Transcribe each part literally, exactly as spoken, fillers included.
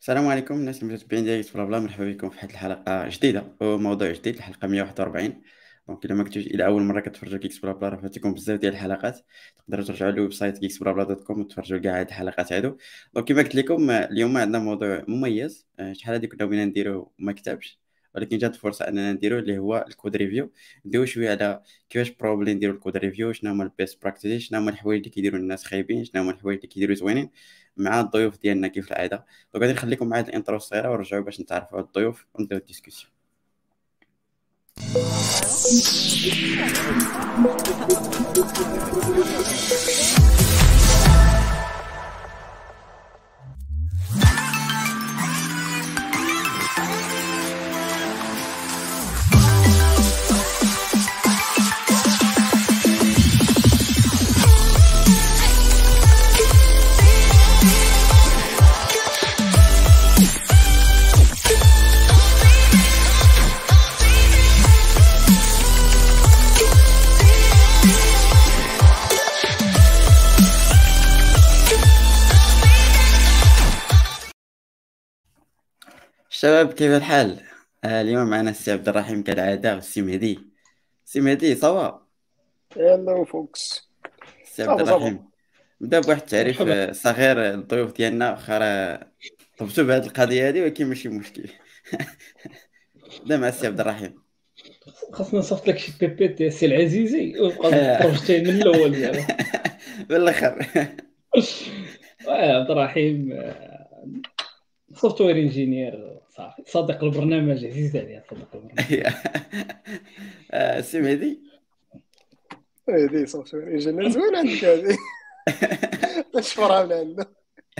السلام عليكم الناس المتابعين ديال بلا بلا، مرحبا بكم في واحد الحلقه جديده وموضوع جديد، الحلقه مية وواحد وأربعين. دونك الا ما كنتوش الى اول مره كتفرجوا كيكس بلا بلا، راه فاتكم بزاف ديال الحلقات. تقدروا ترجعوا للويب سايت كيكس بلا بلا دوت كوم وتفرجوا كاع هاد الحلقات هادو. دونك كما قلت لكم آه، اليوم عندنا موضوع مميز. آه، شحال هادي كنا بغينا نديرو وما كتبش، ولكن جات الفرصه اننا نديرو اللي هو الكود ريفيو. ندويو شويه على كيفاش بروبلي نديرو الكود ريفيو، شنو هما البيست براكتيس، شنو هما الحوايج اللي كيديروا الناس خايبين، شنو هما الحوايج اللي كيديروا زوينين، مع الضيوف ديالنا كيف العاده. دونك غادي نخليكم معايا الانترو الصغيره ونرجعوا باش نتعرفوا على الضيوف ونبداو الديسكوسيون. الشباب كيف الحال؟ آه اليوم معنا السي عبد الرحيم كالعاده والسي مهدي. السي مهدي صافا؟ هلو فوكس. السي عبد صافا صافا. الرحيم، نبدا بواحد التعريف مرحبا. آه، صغير للضيوف ديالنا، واخا راه طبتوا بهذه القضيه هذه ولكن ماشي مشكل. نبدا مع السي عبد الرحيم. خاصنا نصيفط لك شي بي بي تي سي العزيزي ويبقى بروجيتي من الاول زعما. بالاخر. آه، عبد الرحيم سوفتوير انجينير صافي، صديق البرنامج، عزيز عليا صديق البرنامج. آه، السي مهدي. هذه سوفت وير انجينير زوين عندك هذه. نشفرها من عنده.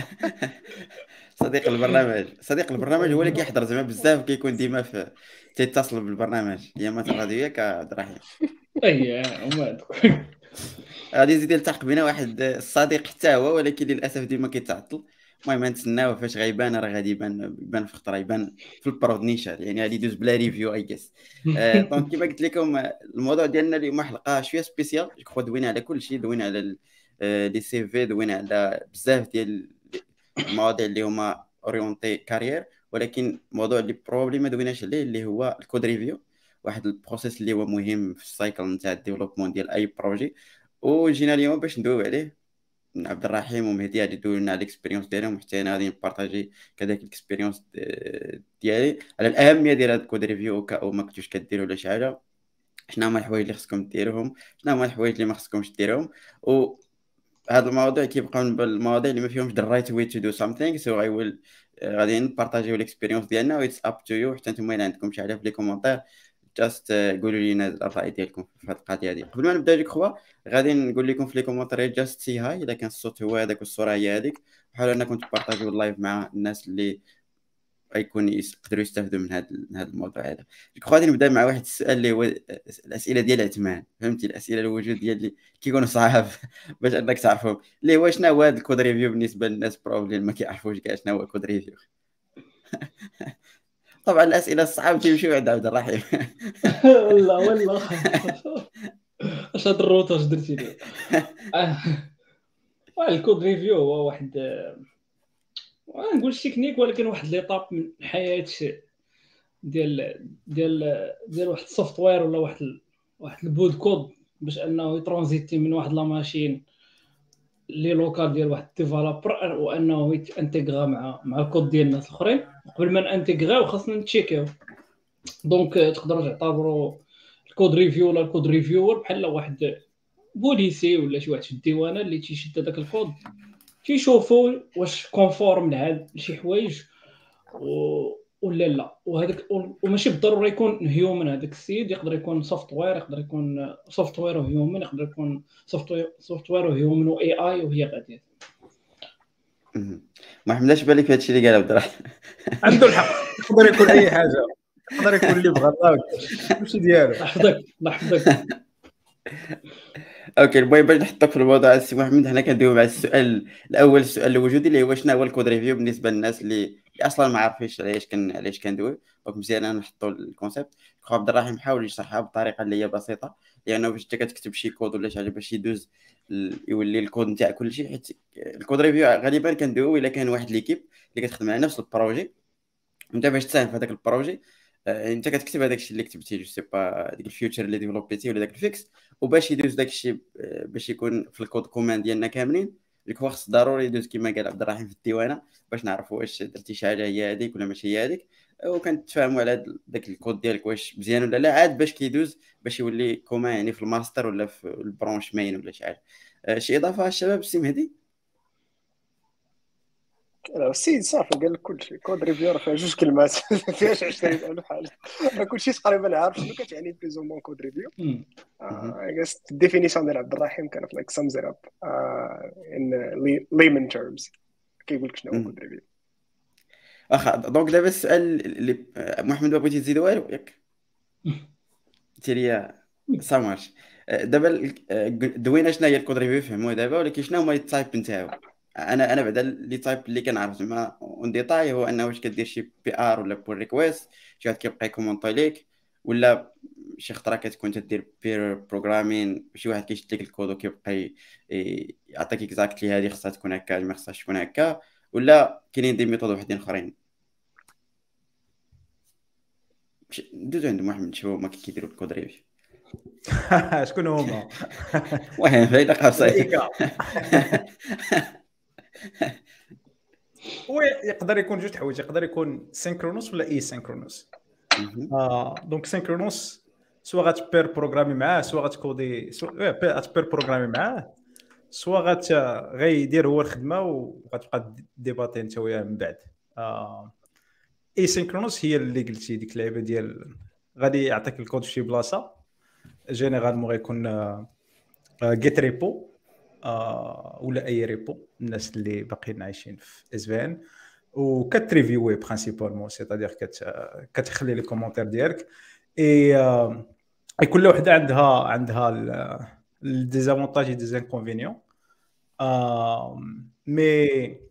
صديق البرنامج، صديق البرنامج هو اللي كيحضر زعما بزاف، كيكون ديما في تيتصل بالبرنامج ايامات الراديو، ياك عبد الرحيم؟ اي هما هادوك. غادي يزيد يلتحق بنا واحد الصديق حتى هو، ولكن للاسف ديما كيتعطل. المهم نتسناوه، فاش غيبان راه غادي يبان يبان في خطره، يبان في البرود نيشان، يعني غادي يدوز بلا ريفيو اي جيس. دونك كما قلت لكم آه، الموضوع ديالنا اليوم حلقه شويه سبيسيال، جو دوينا على كل شيء، دوينا على ال- آه، لي سي في، دوينا على بزاف ديال المواضيع اللي هما اورينتي كارير. ولكن الموضوع اللي بروبلي ما دويناش عليه اللي هو الكود ريفيو، واحد البروسيس اللي هو مهم في السايكل نتاع الديفلوبمون ديال اي بروجي. وجينا اليوم باش ندويو عليه. عبد الرحيم ومهدي غادي يدويو لنا على الاكسبيريونس ديالهم، حتى انا غادي نبارطاجي كذلك الاكسبيريونس ديالي على الاهميه ديال هذا الكود ريفيو، او ما كنتوش كديروا ولا شي حاجه. شنو هما الحوايج اللي خصكم ديروهم، شنو هما الحوايج اللي ما خصكمش ديروهم. وهذا المواضيع كيبقاو من المواضيع اللي ما فيهمش the right way to do something. so I will آه، غادي نبارطاجيو الاكسبيريونس ديالنا و it's up to you. حتى نتوما الا عندكم شي حاجه في لي كومونتير، جاست قولوا لينا الراي ديالكم في هذه القضيه هذه. قبل ما نبدا جو كخوا غادي نقول لكم في لي كومونتير جاست سي هاي، الا كان الصوت هو هذاك والصوره هي هذيك. حاولوا انكم تبارطاجيو اللايف مع الناس اللي غيكون يقدروا يستافدوا من هذا من هذا الموضوع هذا. جو غادي نبدا مع واحد السؤال اللي هو الاسئله ديال عثمان، فهمتي؟ الاسئله الوجود ديال اللي كيكونوا صعاب باش انك تعرفهم، اللي هو شنو هو هذا الكود ريفيو بالنسبه للناس بروبلي ما كيعرفوش كاع شنو هو الكود ريفيو. طبعا الاسئله الصعاب تيمشيو عند عبد الرحيم. والله والله اش هاد الروت اش درتي لي. آه، الكود ريفيو هو واحد، ما نقولش تكنيك، ولكن واحد ليطاب من حياه ديال ديال ديال واحد السوفتوير ولا واحد ال... واحد البود كود، باش انه يترانزيتي من واحد لا ماشين لي لوكال ديال واحد الديفلوبر، وانه يتانتيغرا مع مع الكود ديال الناس الاخرين. قبل ما نانتيغراو خاصنا نتشيكيو. دونك تقدروا تعتبروا الكود ريفيو ولا الكود ريفيور بحال واحد بوليسي ولا شي واحد في الديوانه اللي تيشد هذاك الكود، تيشوفوا واش كونفورم لهاد شي حوايج و ولا لا. وهذاك وماشي بالضروره يكون هيومن، هذاك السيد يقدر يكون سوفتوير، يقدر يكون سوفتوير وهيومن، يقدر يكون سوفتوير سوفتوير وهيومن واي اي، وهي غاديه. ما حملاش بالي في هادشي اللي قال عبد الرحيم. عنده الحق، يقدر يكون اي حاجه، يقدر يكون اللي بغى الله ماشي ديالو. الله يحفظك الله يحفظك. اوكي، المهم باش نحطك في الموضوع السي محمد، حنا كندويو مع السؤال الاول، السؤال الوجودي اللي هو شنو هو الكود ريفيو بالنسبه للناس اللي, اللي اصلا ما عارفينش علاش كان علاش كندويو. دونك مزيان انا نحطوا الكونسيبت. خو عبد الرحيم حاول يشرحها بطريقه اللي هي بسيطه يعني باش انت كتكتب شي كود ولا شي حاجه باش يدوز ال- يولي الكود نتاع كل شيء. حيت الكود ريفيو غالبا كندويو الا كان واحد ليكيب اللي كتخدم على نفس البروجي، انت باش تساهم في هذاك البروجي آه، انت كتكتب هذاك الشيء اللي كتبتي، جو سي با ديك الفيوتشر اللي ديفلوبيتي ولا داك الفيكس، وباش يدوز داك الشيء آه، باش يكون في الكود كومان ديالنا كاملين، اللي هو خص ضروري يدوز كما قال عبد الرحيم في الديوانه باش نعرفوا واش درتي شي حاجه هي هذيك ولا ماشي هي هذيك، وكنتفاهموا على هاد- داك الكود ديالك واش مزيان ولا لا، عاد باش كيدوز باش يولي كومان يعني في الماستر ولا في البرونش مين ولا شي حاجه. آه، شي اضافه الشباب السي مهدي؟ لا السيد صافي قال لك كلشي. كود ريفيور فيها جوج كلمات ما فيهاش عشرين ألف حاجه، راه كلشي تقريبا عارف شنو كتعني بليز او مون كود ريفيو. مم. اي جاس الديفينيسيون ديال عبد الرحيم كانت لايك سمز ات اب ان ليمن تيرمز، كيقول لك شنو هو كود ريفيو. واخا دونك دابا السؤال اللي آه، محمد ما بغيتي تزيد والو ياك؟ تيريا سامارش. دابا ال- آه، دوينا شنو هي الكود ريفيو فهموها دابا، ولكن شنو هما لي تايب نتاعو؟ انا انا بعدا لي تايب اللي كنعرف زعما اون ديتاي هو انه واش كدير شي بي ار ولا بول ريكويست، شي واحد كيبقى يكومونطي ليك، ولا شي خطره كتكون تدير بير بروغرامين، شي واحد كيشد لك الكود وكيبقى ي- ي- يعطيك اكزاكتلي هذه خصها تكون هكا ما خصهاش تكون هكا، ولا كاينين دي ميثود وحدين اخرين. مش- ندوزو عند محمد نشوفو هما كي كيديروا الكود ريفيو. شكون هما؟ المهم بعيد قصير. الملائكة. هو يقدر يكون جوج حوايج، يقدر يكون سينكرونوس ولا اي سينكرونوس. آه دونك سينكرونوس سوا غتبير بروغرامي معاه، سوا غتكودي، سوا غتبير بروغرامي معاه، سوا غت غيدير هو الخدمه وغتبقى ديباتي انت وياه من بعد. آه اي سينكرونوس هي اللي قلتي ديك اللعيبه ديال غادي يعطيك الكود في شي بلاصه، جينيرالمون غيكون جيت ريبو ولا اي ريبو الناس اللي باقيين عايشين في اس في ان، وكتريفيوي برينسيبالمون، سيتادير كت كتخلي لي كومونتير ديالك. اي آه، اي كل وحده عندها عندها الديزافونتاج اي ديزانكونفينيون. مي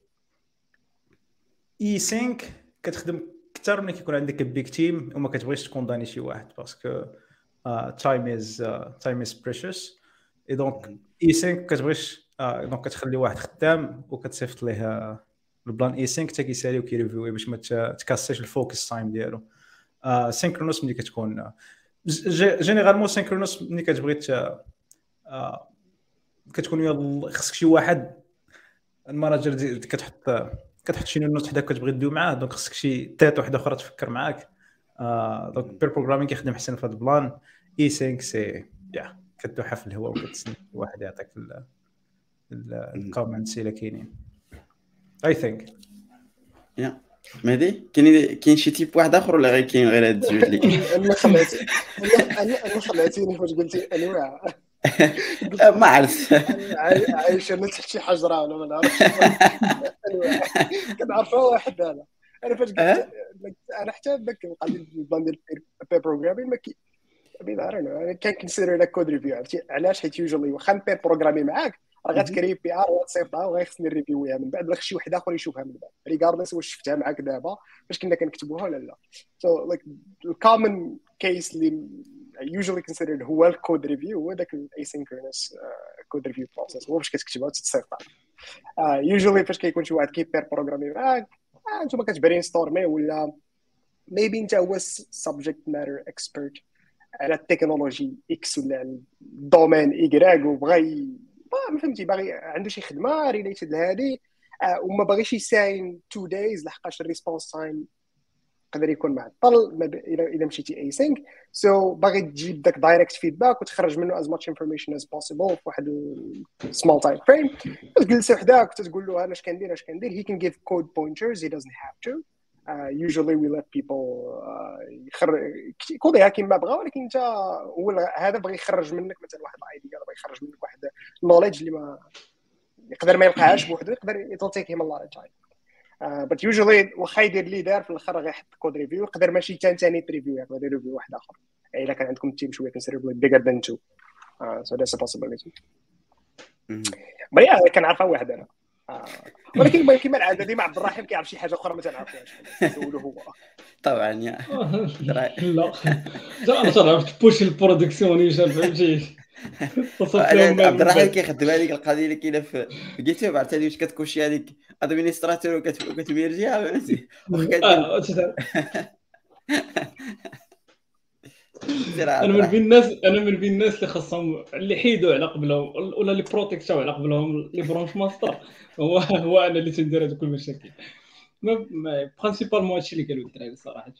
اي خمسة كتخدم اكثر ملي كيكون عندك بيك تيم وما كتبغيش تكونداني شي واحد، باسكو تايم از تايم از بريشيوس. اي دونك اي خمسة كتبغيش آه، دونك كتخلي واحد خدام وكتصيفط ليه آه، البلان اي خمسة حتى كيسالي وكيريفيوي باش ما ت- تكاسيش الفوكس تايم ديالو. آه سينكرونوس ملي كتكون آه، ج- جينيرالمون سينكرونوس ملي كتبغي ت- آه، كتكون يلا خصك شي واحد الماناجر دي كتحط كتحط شي نوت حدا كتبغي تدوي معاه، دونك خصك شي تيت وحده اخرى تفكر معاك. آه دونك بير بروغرامين كيخدم حسن في هذا البلان. اي خمسة سي يا كتوحى في الهواء وكتسنى واحد يعطيك الكومنتس الا كاينين. اي ثينك يا مهدي كاين كاين شي تيب واحد اخر ولا غير كاين غير هاد الجوج اللي انا خلعتي انا انا خلعتيني فاش قلتي انواع. ما عرفت. عاي- عايش انا تحت شي حجره ولا ما نعرفش انواع كنعرفها واحد. انا انا فاش قلت أه؟ انا حتى داك القضيه ديال البلان ديال البي بروغرامين ما كي بين عارفين كان كنسير لك كود ريفيو. عرفتي علاش؟ حيت يوجوالي واخا نبي بروغرامي معاك راه غتكري بي ار وتصيفطها وغيخصني نريفيويها من بعد، ولا شي واحد اخر يشوفها من بعد ريغاردلس واش شفتها معاك دابا فاش كنا كنكتبوها ولا لا. سو لايك الكومن كيس اللي يوجوالي كونسيدرد هو الكود ريفيو هو داك الايسينكرونس كود ريفيو بروسيس، هو باش كتكتبها وتتصيفطها. يوجوالي فاش كيكون شي واحد كيبير بروغرامي معاك انتما كتبرين ستورمي ولا ميبي انت هو سبجكت ماتر اكسبيرت على التكنولوجي اكس ولا على الدومين ايكغيك وبغى ما فهمتي باغي عنده شي خدمه ريليتد لهذه وما باغيش يساين تو دايز لحقاش الريسبونس تايم يقدر يكون معطل الا الا مشيتي اي سينك. سو باغي تجيب داك دايركت فيدباك وتخرج منه از ماتش انفورميشن از بوسيبل في واحد سمول تايم فريم. تجلس وحدك وتقول له انا اش كندير اش كندير. هي كان جيف كود بوينترز هي doesn't have to. Uh, usually we let people uh, يخرج كوديها كيما بغا، ولكن انت هو هذا بغى يخرج منك مثلا واحد الايديا بغى يخرج منك واحد النوليدج اللي ما يقدر ما يلقاهاش بوحدو، يقدر يتلتيك هيم الله تايم. بس يوجوالي واخا يدير لي دار في الاخر غيحط كود ريفيو، يقدر ماشي حتى ثاني ريفيو يقدر يدير ريفيو واحد اخر الا كان عندكم تيم شويه كونسيدربلي بيجر ذان تو. سو ذاتس ا possibility. بري انا كنعرفها واحد انا آه. ولكن المهم كما العاده ديما عبد الرحيم كيعرف شي حاجه اخرى ما تنعرفوهاش نسولو هو. طبعا يا لا انا صراحه بوش البرودكسيونيشن فهمتي تصف لهم عبد الرحيم كيخدم هذيك القضيه اللي كاينه في جيت عرفتي واش كتكوشي هذيك ادمينستراتور وكتميرجيها فهمتي انا من بين الناس انا من بين الناس اللي خاصهم اللي حيدوا على قبلهم ولا اللي بروتيكتاو على قبلهم لي برونش ماستر هو هو انا اللي تندير هذوك المشاكل ما برينسيبالمون هادشي اللي قالوا الدراري صراحه.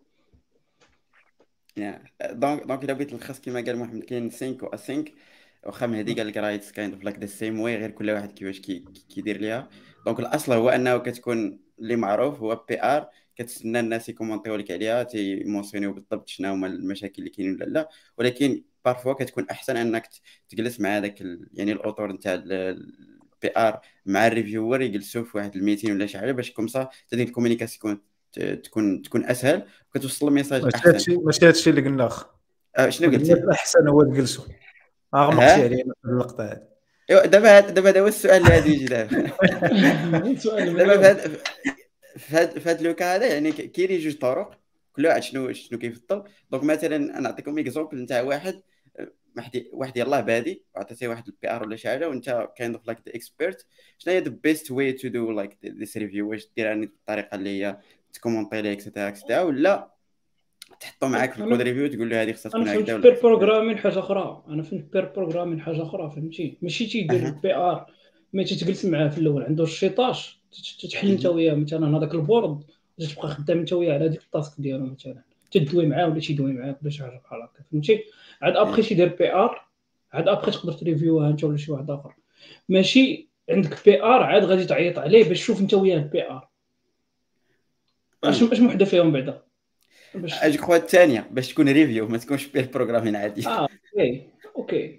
يا دونك دونك الا بغيت نلخص كما قال محمد كاين خمسة و خمسة واخا مهدي قال لك راه اتس كايند اوف لايك ذا سيم واي غير كل واحد كيفاش كيدير ليها. دونك الاصل هو انه كتكون اللي معروف هو بي ار كتسنى الناس يكومونطيو لك عليها تيمونسيونيو بالضبط شنو هما المشاكل اللي كاينين ولا لا. ولكن بارفوا كتكون احسن انك تجلس مع هذاك ال... يعني الاوتور نتاع البي ار مع الريفيور يجلسوا في واحد الميتين ولا شي حاجه باش كومسا تدير الكومونيكاسيون تكون تكون اسهل وكتوصل الميساج احسن. ماشي ماشي هادشي اللي قلنا اخ أه شنو قلتي؟ الاحسن هو تجلسوا غمقتي علينا في اللقطه هذه. ايوا دابا دابا هذا هو السؤال اللي غادي يجي دابا. دابا في هذا في هذا لوكا هذا يعني كاينين جوج طرق كل واحد شنو شنو كيفضل. دونك مثلا انا نعطيكم اكزومبل نتاع واحد واحد واحد يلاه بادي عطيتيه واحد البي ار ولا شي حاجه وانت كايند اوف لايك ذا اكسبيرت شنو هي ذا بيست واي تو دو لايك ذيس ريفيو واش ديرها بالطريقه اللي هي تكومونطي ليه اكسترا اكسترا ولا تحطو معاك في الكود ريفيو تقول له هذه خصها تكون هكذا ولا بير بروغرامين حاجه اخرى. انا فهمت بير بروغرامين حاجه اخرى فهمتي ماشي تيدير البي ار ما تجلس معاه في الاول عنده الشيطاش تحل انت وياه مثلا هذاك البورد تبقى خدام انت وياه على هذيك التاسك ديالو مثلا تدوي معاه ولا تيدوي معاك ولا شي حاجه بحال هكا فهمتي. عاد ابخي تيدير بي ار عاد ابخي تقدر تريفيوها انت ولا شي واحد اخر. ماشي عندك بي ار عاد غادي تعيط عليه باش تشوف انت وياه البي ار اش اش وحده فيهم بعدا باش جو كخوا الثانيه باش تكون ريفيو ما تكونش بيه بروغرامين عادي. اه اوكي اوكي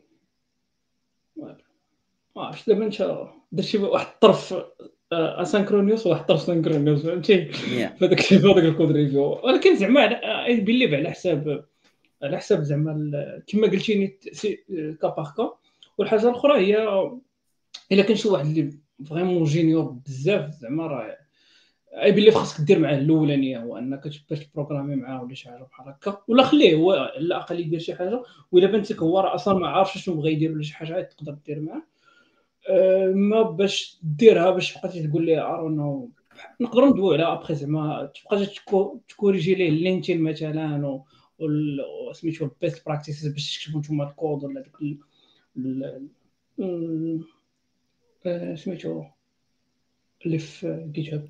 واش دابا انت درتي واحد الطرف اسانكرونيوس وواحد الطرف سانكرونيوس فهمتي فهذاك في هذاك الكود ريفيو. ولكن زعما بيليف على حساب على حساب زعما كما قلتيني كاباركا. والحاجه الاخرى هي الا كان شي واحد اللي فريمون جينيور بزاف زعما راه اي بلي خاصك دير معاه الاولانيه هو انك باش تبروغرامي معاه ولا شي حاجه بحال هكا ولا خليه هو على الاقل يدير شي حاجه. والا بانت لك هو راه اصلا ما عارفش شنو بغى يدير ولا شي حاجه تقدر دير معاه أه ما باش ديرها باش تبقى تقول لي ارونو نقدروا ندويو على ابخي زعما تبقى تكوريجي ليه لينتين مثلا و سميتو البيست براكتيسز باش تكتبوا نتوما الكود ولا داك سميتو اللي في جيت هاب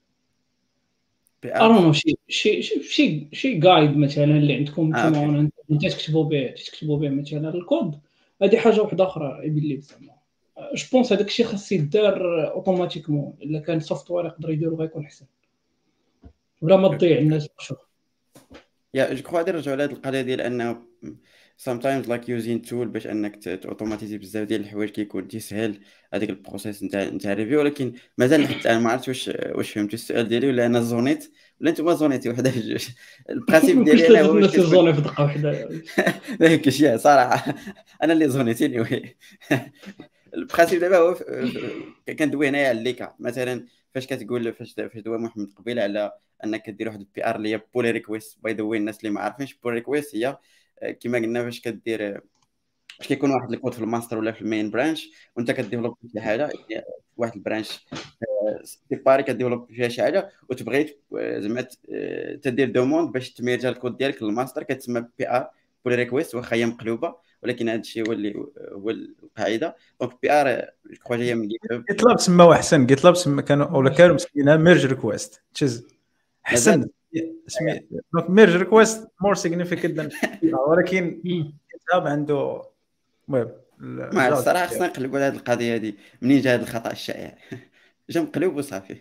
ارونو شي شي شي شي جايد مثلا اللي عندكم نتوما انت تكتبوا به تكتبوا به مثلا الكود. هذه حاجه واحده اخرى يبين زعما جو بونس هذاك الشيء خاص يدار اوتوماتيكمون الا كان سوفتوير يقدر يديرو غيكون احسن ولا ما تضيع الناس شوف. يا جو كخوا نرجعوا لهاد القضيه ديال انه sometimes like using tool باش انك توتوماتيزي بزاف ديال الحوايج كيكون تيسهل هذيك البروسيس نتاع نتاع ريفيو. ولكن مازال حتى انا ما عرفتش واش واش فهمتوا السؤال ديالي ولا انا زونيت ولا نتوما زونيتي وحده في جوج. البرانسيب ديالي انا هو باش زوني في دقه وحده هيك شي صراحه انا اللي زونيتيني وي. البرانسيب دابا هو كندوي هنايا على ليكا مثلا فاش كتقول فاش فاش دوا محمد قبيله على انك كدير واحد البي ار اللي هي بول ريكويست. باي ذا واي الناس اللي ما عارفينش بول ريكويست هي كما قلنا فاش كدير فاش كيكون واحد الكود في الماستر ولا في المين برانش وانت كديفلوب شي حاجه واحد البرانش سيباري كديفلوب فيها شي حاجه وتبغي زعما تدير دوموند باش تميرجا الكود ديالك للماستر كتسمى بي ار بول ريكويست واخا هي مقلوبه ولكن هذا الشيء هو اللي هو القاعده. دونك بي ار جو جايه من جيت لاب سماو احسن جيت لاب سما كانوا ولا كانوا مسكينها ميرج ريكويست تشز احسن اسمي دونك ميرج ريكويست مور سيغنيفيكانت ذان ولكن كتاب عنده المهم ما الصراحه خصنا نقلبوا على هذه القضيه هذه منين جا هذا الخطا الشائع جا مقلوب وصافي.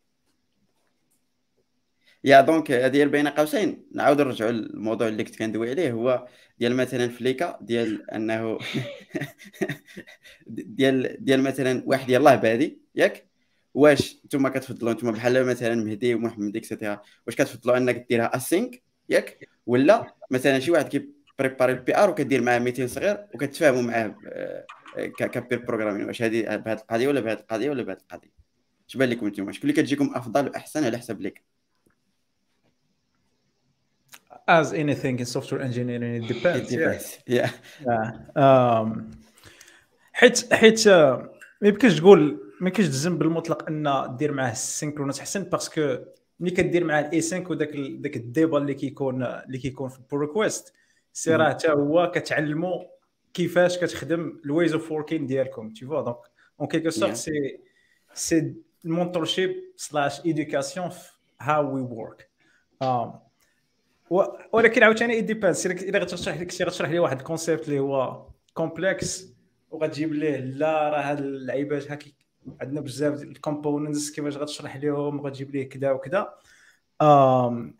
يا دونك ديال بين قوسين نعاود نرجعوا للموضوع اللي كنت كندوي عليه هو ديال مثلا فليكا ديال انه ديال ديال مثلا واحد يلاه بادي ياك واش نتوما كتفضلوا نتوما بحال مثلا مهدي ومحمد اكسيتيرا واش كتفضلوا انك ديرها اسينك ياك ولا مثلا شي واحد كي بريباري البي ار وكدير معاه ميتين صغير وكتفاهموا معاه كبير بروغرامين، واش هذه بهذه القضيه ولا بهذه القضيه ولا بهذه القضيه؟ اش بان لكم نتوما؟ شكون اللي كتجيكم افضل واحسن على حسب ليك؟ as anything in software engineering it depends. It depends. Yeah. Yeah. Um, حيت حيت ما يمكنش تقول ما يمكنش تجزم بالمطلق ان دير معاه السينكرونس احسن، باسكو ملي كدير معاه الاي سينك وداك داك الديبا اللي كيكون اللي كيكون في البول ريكويست، سي راه حتى هو كتعلموا كيفاش كتخدم الويز اوف وركين ديالكم. تي فوا دونك اون كيلكو سورت سي سي المونتورشيب سلاش ايدوكاسيون هاو وي ورك. ولكن عاوتاني اي ديبانس الا غتشرح لك شي غتشرح لي واحد الكونسيبت اللي هو كومبلكس وغتجيب ليه لا راه هاد اللعيبات هاكي عندنا بزاف ديال الكومبوننتس كيفاش غتشرح ليهم وغتجيب ليه كذا وكذا. امم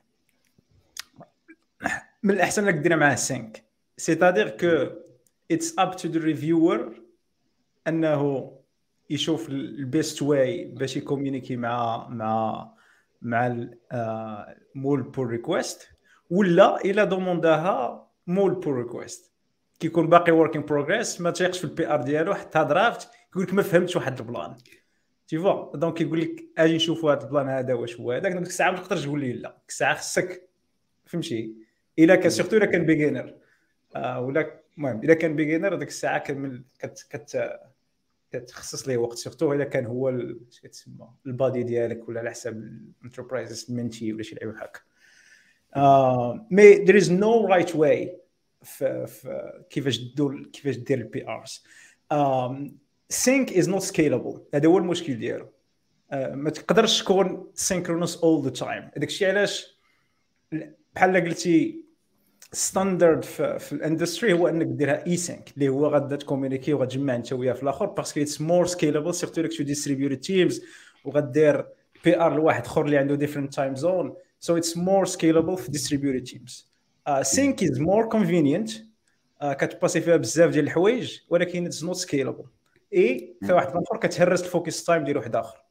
من الاحسن انك دير معاه سينك، سيتادير كو اتس اب تو ذا ريفيور انه يشوف البيست واي باش يكومونيكي مع مع مع مول بول ريكويست، ولا الا دومونداها مول بول ريكويست كيكون باقي وركين بروغريس ما تيقش في البي ار ديالو حتى درافت يقول لك ما فهمتش واحد البلان. تي فوا دونك يقول لك اجي نشوفوا هذا البلان هذا واش هو هذاك. ديك الساعه ما تقدرش تقول لي لا، ديك الساعه خصك فهمتي الا كان سورتو الا كان بيجينر آه ولا المهم الا كان بيجينر ديك الساعه كمل كت كت كتخصص ليه وقت، سورتو الا كان هو اش كتسمى البادي ديالك ولا على حساب الانتربرايز منتي ولا شي لعيبه هكا. آه مي there is no right way في, في كيفاش دير كيفاش دير البي ارز. sync is not scalable، هذا هو المشكل ديالو. آه ما تقدرش تكون synchronous all the time. هذاك الشيء علاش بحال قلتي ستاندرد في, في الاندستري هو انك ديرها اي سينك اللي هو غادا تكومونيكي وغتجمع انت وياه في الاخر، باسكو اتس مور سكيلابل سيرتو لك تو ديستريبيوت تيمز وغدير بي ار لواحد اخر اللي عنده ديفرنت تايم زون، سو اتس مور سكيلابل في ديستريبيوت تيمز. سينك از مور كونفينينت كتباسي فيها بزاف ديال الحوايج، ولكن اتس نوت سكيلابل. اي في واحد الاخر كتهرس الفوكس تايم ديال واحد اخر.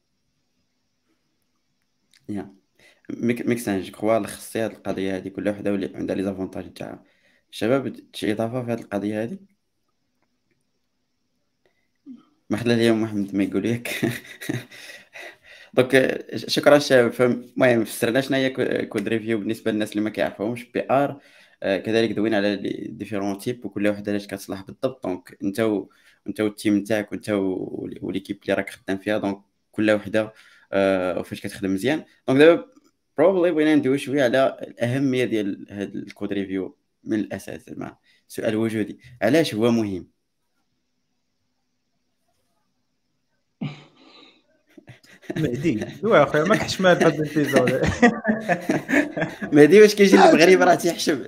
يا ميك سانج كوا الخصيه هذه القضيه هذه كل وحده واللي عندها لي زافونتاج تاعها. شباب شي اضافه في هذه القضيه هذه؟ ما خلى اليوم محمد ما يقول لك. دونك شكرا شباب. فالمهم فسرنا شنو هي كود ريفيو بالنسبه للناس اللي ما كيعرفوهمش. بي ار كذلك دوينا على ديفيرون تيب وكل وحده علاش كتصلح بالضبط. دونك انت و... انت والتيم نتاعك وانت وليكيب اللي راك خدام فيها، دونك كل وحده آه وفاش كتخدم مزيان. دونك دابا بروبلي بغينا ندوي شويه على الاهميه ديال هذا الكود ريفيو من الاساس. زعما سؤال وجودي، علاش هو مهم؟ مهدي هو اخويا ما كحشمات هذا الفيزا. مهدي واش كيجي المغرب راه تيحشم.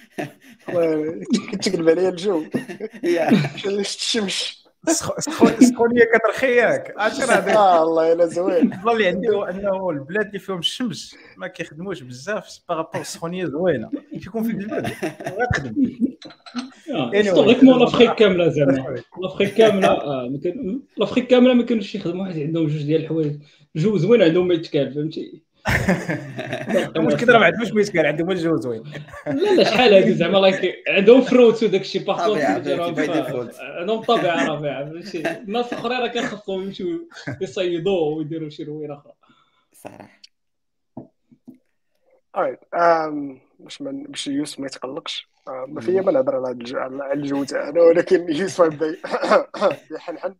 كتقلب عليا الجو يا الشمس سخونيه كترخياك عشرة هذاك. اه الله الا زوين. البلان اللي عندي هو انه البلاد اللي فيهم الشمس ما كيخدموش بزاف باغابور السخونيه زوينه كيكون في البلاد غتخدم. هيستوريكمون لافريك كامله زعما لافريك كامله اه ممكن لافريك كامله ما كانوش يخدموا واحد عندهم جوج ديال الحوايج جو زوين عندهم ما يتكال فهمتي. المشكل راه ما عندهمش ما يتكال عندهم الجو زوين. لا لا شحال هادي زعما لايك عندهم فروت وداك الشيء باغ عندهم طبيعه رافعه فهمتي. الناس الاخرين راه كان خصهم يمشيو يصيدوا ويديروا شي روينه اخرى صراحه. alright ام باش من باش يوسف ما يتقلقش ما فيا ما نهضر على الجو تاعنا، ولكن يوسف يبدا يحنحن.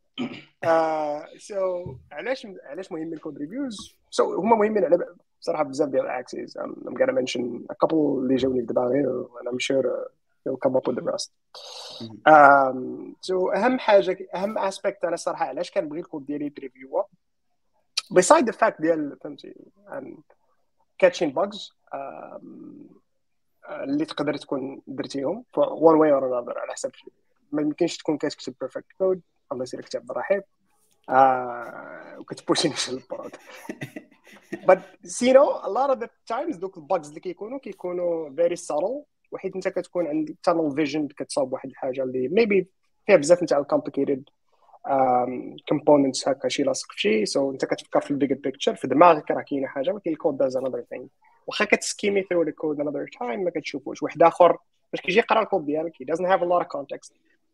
سو علاش علاش مهم الكود ريفيوز؟ سو هما مهمين على بصراحه بزاف ديال الاكسيس. I'm gonna mention a couple اللي جاوني في دماغي and I'm sure you'll come up with the rest. um so اهم حاجه اهم اسبيكت انا الصراحه علاش كنبغي الكود ديالي يتريفيو beside the fact ديال فهمتي and catching bugs um, اللي تقدر تكون درتيهم one way or another على حسب ما يمكنش تكون كتكتب perfect code الله يسير كتاب بالرحيب آه وكتبوشي نفس البرود. but you know a lot of the times دوك الباجز اللي كيكونوا كيكونوا very subtle وحيت انت كتكون عندك tunnel vision كتصاوب واحد الحاجه اللي maybe فيها بزاف نتاع complicated um, components هكا شي لاصق في شي so انت كتفكر في البيج بيكتشر في دماغك راه كاينه حاجه ولكن الكود does another thing. واخا كتسكيمي through the code another time ما كتشوفوش واحد اخر باش كيجي يقرا الكود ديالك he doesn't have a lot of context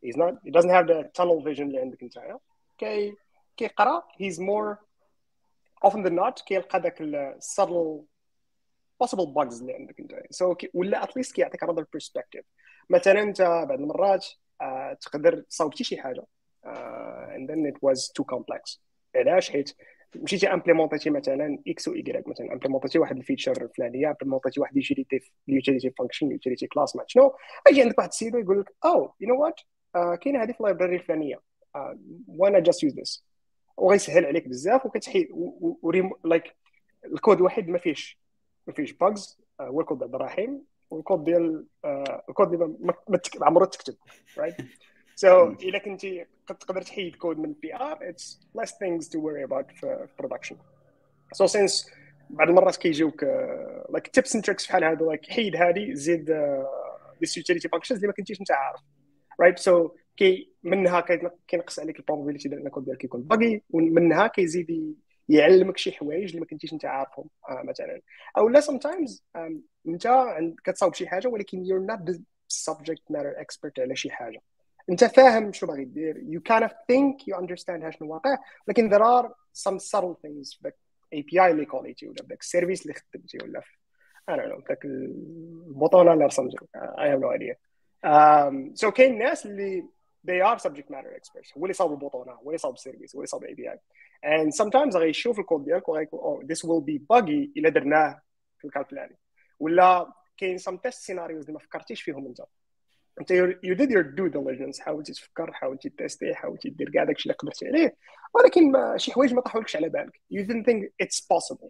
he's not he doesn't have the tunnel vision اللي عندك نتايا كي كيقرا he's more often than not كيلقى داك ال subtle possible bugs اللي عندك نتايا so ولا at least كيعطيك another perspective. مثلا انت بعض المرات uh, تقدر تصاوبتي شي حاجه uh, and then it was too complex. علاش؟ حيت مشيتي امبليمونتيتي مثلا اكس و ايغريك، مثلا امبليمونتيتي واحد الفيتشر الفلانيه، امبليمونتيتي واحد اليوتيليتي اليوتيليتي فانكشن اليوتيليتي كلاس ما شنو، اجي عندك واحد السيد يقول لك او يو نو وات كاينه هذه في اللايبراري الفلانيه وانا جاست يوز ذس، وغيسهل عليك بزاف وكتحيد لايك الكود الوحيد ما فيهش ما فيهش باجز هو الكود ديال ابراهيم، والكود ديال الكود اللي ما عمرو تكتب رايت. So إذا كنتي تقدر تحيد كود من بي آر it's less things to worry about في production. So since بعض المرات كيجيوك uh, like tips and tricks بحال هادو like حيد هادي زيد uh, this utility functions اللي ما كنتيش انت عارف right. So كي منها كينقص عليك البروبابيليتي ديال الكود ديالك يكون باغي، ومنها كيزيد يعلمك شي حوايج اللي ما كنتيش انت عارفهم uh, مثلا. او لا sometimes um, انت كتصاوب شي حاجه ولكن you're not the subject matter expert على شي حاجه، انت فاهم شنو باغي دير you kind of think you understand شنو واقع، لكن there are some subtle things like إيه بي آي اللي كوليتي ولا داك السيرفيس اللي خدمتي ولا I don't know داك البوطونه اللي رسمتي I have no idea. um, so كاين ناس اللي they are subject matter experts، هو اللي صاوب البوطونه، هو اللي صاوب السيرفيس، هو اللي صاوب إيه بي آي and sometimes غيشوف الكود ديالك وغيقول oh this will be buggy الا درناه في الكال الفلاني، ولا كاين some test scenarios اللي ما فكرتيش فيهم انت انت you did your due diligence، حاولتي تفكر، حاولتي تيستي، حاولتي دير كاع داكشي اللي قدرتي عليه، ولكن ما شي حوايج ما طاحولكش على بالك you didn't think it's possible.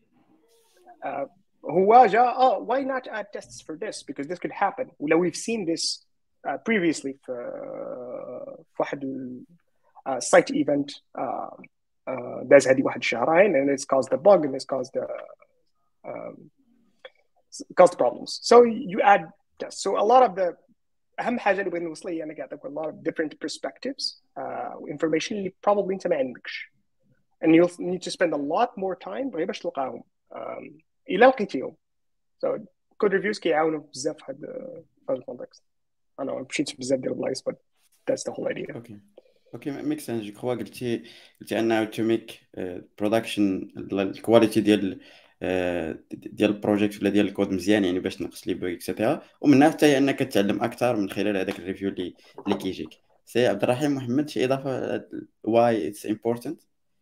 uh, هو جا اه why not add tests for this because this could happen، ولا we've seen this uh, previously في uh, في واحد uh, site event uh, uh, داز هذه واحد الشهرين and it's caused a bug and it's caused a, um, caused problems so you add tests. So a lot of the اهم حاجه اللي بغيت نوصل ليها انا كنعطيك a lot of different perspectives uh, information اللي probably انت ما عندكش and you'll need to spend a lot more time غير باش تلقاهم um, الا لقيتيهم. so code reviews كيعاونوا بزاف في هذا الكونتكست. انا مشيت بزاف ديال البلايص but that's the whole idea. اوكي اوكي ميك سنس. جو كخوا قلتي قلتي انه تو ميك برودكشن الكواليتي ديال ديال البروجيكت ولا ديال الكود مزيان، يعني باش تنقص لي بوغ اكسيتيرا، ومنها حتى انك تتعلم اكثر من خلال هذاك الريفيو اللي اللي كيجيك. سي عبد الرحيم محمد شي اضافه واي اتس امبورتانت؟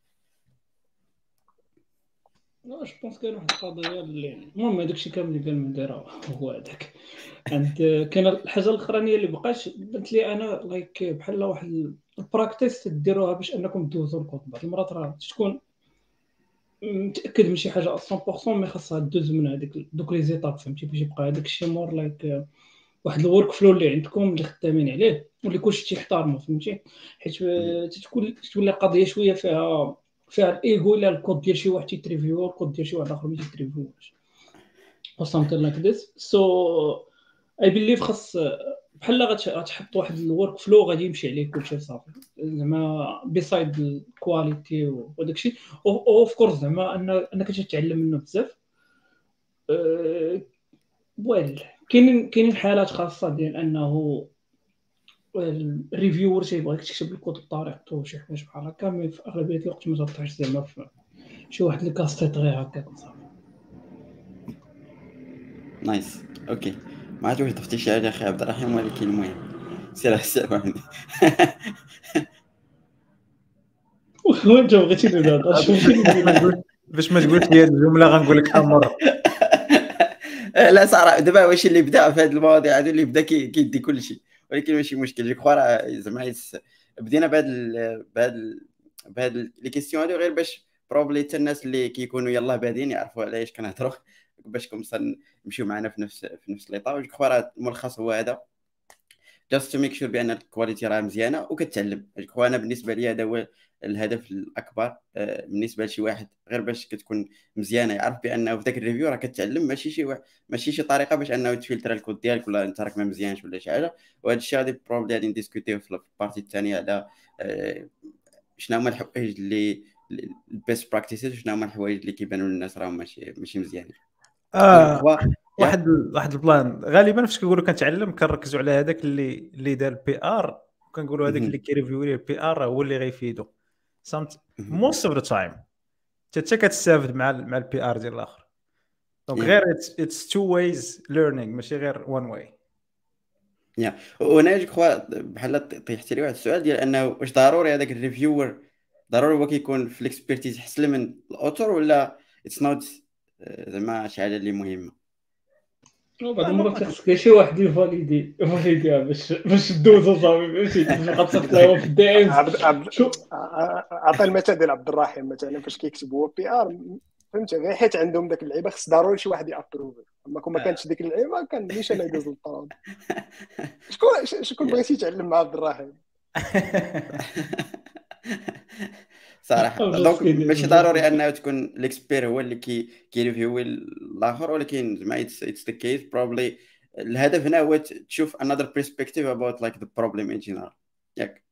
لا جو بونس كاين واحد القضيه اللي المهم هذاك الشيء كامل اللي قال من دايره هو هذاك. عند كاين الحاجه الاخرانيه اللي بقاش بنت لي انا لايك بحال واحد البراكتيس تديروها باش انكم تدوزوا الكود. بعض المرات راه تكون متاكد من شي حاجه مية بالمية مي خاصها دوز من هذيك دوك لي زيتاب فهمتي باش يبقى هذاك الشيء مور لايك واحد الورك فلو اللي عندكم اللي خدامين عليه واللي كلشي تيحترموا فهمتي، حيت تتكون تولي قضيه شويه فيها فيها الايغو لا الكود ديال شي واحد تيتريفيو الكود ديال شي واحد اخر ما تيتريفيوش او something like this. so I believe خاص بحال غتحط واحد الورك فلو غادي يمشي عليه كلشي صافي زعما بيسايد الكواليتي وداك الشيء اوف كورس زعما انك تتعلم منه بزاف. ويل كاينين كاينين حالات خاصه ديال انه الريفيور تيبغيك تكتب الكود بطريقته شي حوايج بحال هكا، مي في اغلبيه الوقت ما تطيحش زعما في شي واحد اللي كاستيط غير هكاك صافي. نايس اوكي. ما عرفت واش ضفتي شي حاجه اخي عبد الرحيم، ولكن المهم سير سير عندي. وانت بغيتي تهضر باش ما تقولش لي الجمله غنقول لك امر. لا صراحه دابا واش اللي بدا في هذه المواضيع هذو اللي بدا كيدي كل شيء، ولكن ماشي مشكل. جو كخوا راه زعما بدينا بهاد بهاد بهاد لي كيسيون هادو غير باش بروبلي حتى الناس اللي كيكونوا يلاه بادين يعرفوا على ايش كنهضروا، باش كومسا نمشيو معنا في نفس في نفس ليطا. جو كخوا راه الملخص هو هذا، جاست تو ميك شور بان الكواليتي راه مزيانه وكتعلم. جو كخوا انا بالنسبه لي هذا هو الهدف الاكبر بالنسبه لشي واحد، غير باش كتكون مزيانه يعرف بانه في داك الريفيو راه كتعلم، ماشي شي واحد ماشي شي طريقه باش انه تفلتر الكود ديالك ولا انت راك ما مزيانش ولا شي حاجه. وهذا الشيء غادي بروبلي غادي نديسكوتيو في البارتي الثانيه على شنو هما الحوايج اللي البيست براكتيسز، شنو هما الحوايج اللي كيبانوا للناس راهم ماشي ماشي مزيانين. اه واحد واحد البلان غالبا فاش كنقولوا كنتعلم كنركزوا على هذاك اللي اللي دار بي ار وكنقولوا هذاك اللي كيريفيو ليه البي ار هو اللي غيفيدو سامت موست اوف ذا تايم حتى كتستافد مع مع البي ار ديال الاخر دونك غير اتس تو ويز ليرنينغ ماشي غير وان واي. يا وانا جو كخوا بحال طيحت لي واحد السؤال ديال انه واش ضروري هذاك الريفيور ضروري هو كيكون في الاكسبيرتيز احسن من الاوتور ولا اتس نوت زعما شي حاجه اللي مهمه؟ بعض المرات خصك شي واحد يفاليدي يفاليديها باش باش دوزو صافي ماشي تبقى تطلعوا في الدي ام. عطى المثال ديال عبد الرحيم مثلا فاش كيكتب هو بي ار فهمت غير حيت عندهم داك اللعيبه خص ضروري شي واحد يابروف اما كون ما كانتش ديك اللعيبه كان مانيش انا يدوز الطراب. شكون شكون بغيتي تعلم مع عبد الرحيم صراحه دونك ماشي ضروري انه تكون الاكسبير هو اللي كي كيريفيو الاخر ولكن زعما اتس اتس ذا كيس بروبلي الهدف هنا هو تشوف another perspective about like the problem in general ياك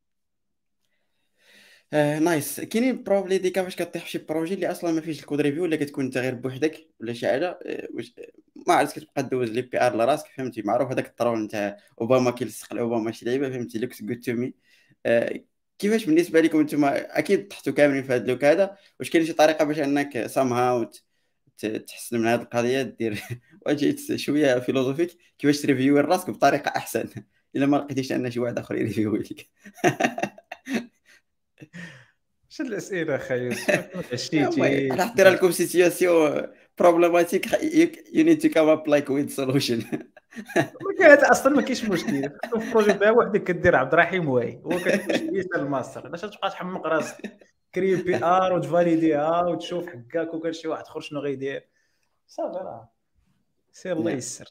نايس. uh, nice. كاينين بروبلي دي كيفاش كطيح في شي بروجي اللي اصلا ما فيش الكود ريفيو ولا كتكون انت غير بوحدك ولا شي حاجه واش ما عرفتش كتبقى دوز لي بي ار لراسك فهمتي معروف هذاك الطرول نتاع اوباما كيلصق لاوباما شي لعيبه فهمتي لوكس جود تو مي. كيفاش بالنسبه لكم نتوما اكيد طحتوا كاملين في هذا اللوك هذا واش كاين شي طريقه باش انك سام هاو تحسن من هذه القضيه دير واجيت شويه فيلوزوفيك كيفاش تريفيو راسك بطريقه احسن الا ما لقيتيش ان شي واحد اخر يريفيو لك؟ شد الاسئله خايس عشتيتي راح دير لكم سيتوياسيون بروبليماتيك يو نيد تو كام اب لايك ويز سولوشن. ما كاين اصلا ما كاينش مشكل في بروجي بها وحدك كدير عبد الرحيم واي هو كتمشي الماستر علاش تبقى تحمق راسك كري بي ار وتفاليديها وتشوف حكاك وكان شي واحد اخر شنو غيدير صافي راه سير الله يسر.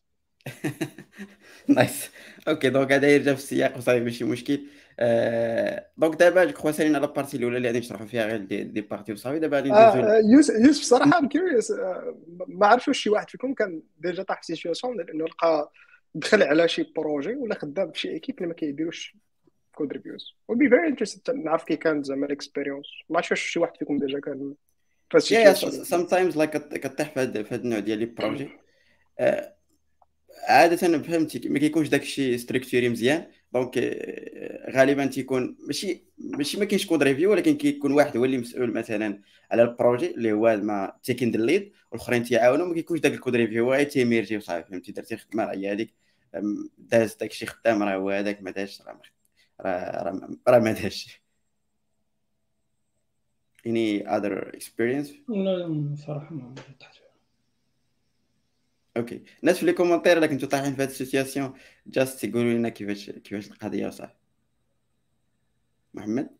نايس اوكي دونك هذا يرجع في السياق وصافي ماشي مشكل. دونك دابا جو كخوا سالينا على البارتي الاولى اللي غادي نشرحوا فيها غير دي, دي بارتي وصافي دابا غادي ندوزو. يوسف يوسف صراحه ام كيوريوس ما عرفتش واش شي واحد فيكم كان ديجا طاح في سيتوياسيون لانه لقى دخل على شي بروجي ولا خدام في شي ايكيب اللي ما كيديروش كود ريفيوز و بي فيري انتريستد نعرف كي كان زعما الاكسبيريونس ما عرفتش واش شي واحد فيكم ديجا كان فاش يا سام تايمز لايك كطيح في هذا النوع ديال لي بروجي عاده فهمتي ما كيكونش داك الشيء ستركتوري مزيان دونك غالبا تيكون ماشي ماشي ما كاينش كود ريفيو ولكن كيكون واحد هو اللي مسؤول مثلا على البروجي اللي هو ما تيكين الليد والاخرين تيعاونوا ما كيكونش داك الكود ريفيو غير تيميرجي وصافي فهمتي درتي خدمه هي هذيك داز داك الشيء خدام راه هو هذاك ما داش راه راه راه ما داش. any other experience؟ لا صراحه ما تحت. اوكي الناس في لي كومونتير الا كنتو طايحين في هذه السيتوياسيون جاست تقولوا لنا كيفاش كيفاش القضيه وصافي. محمد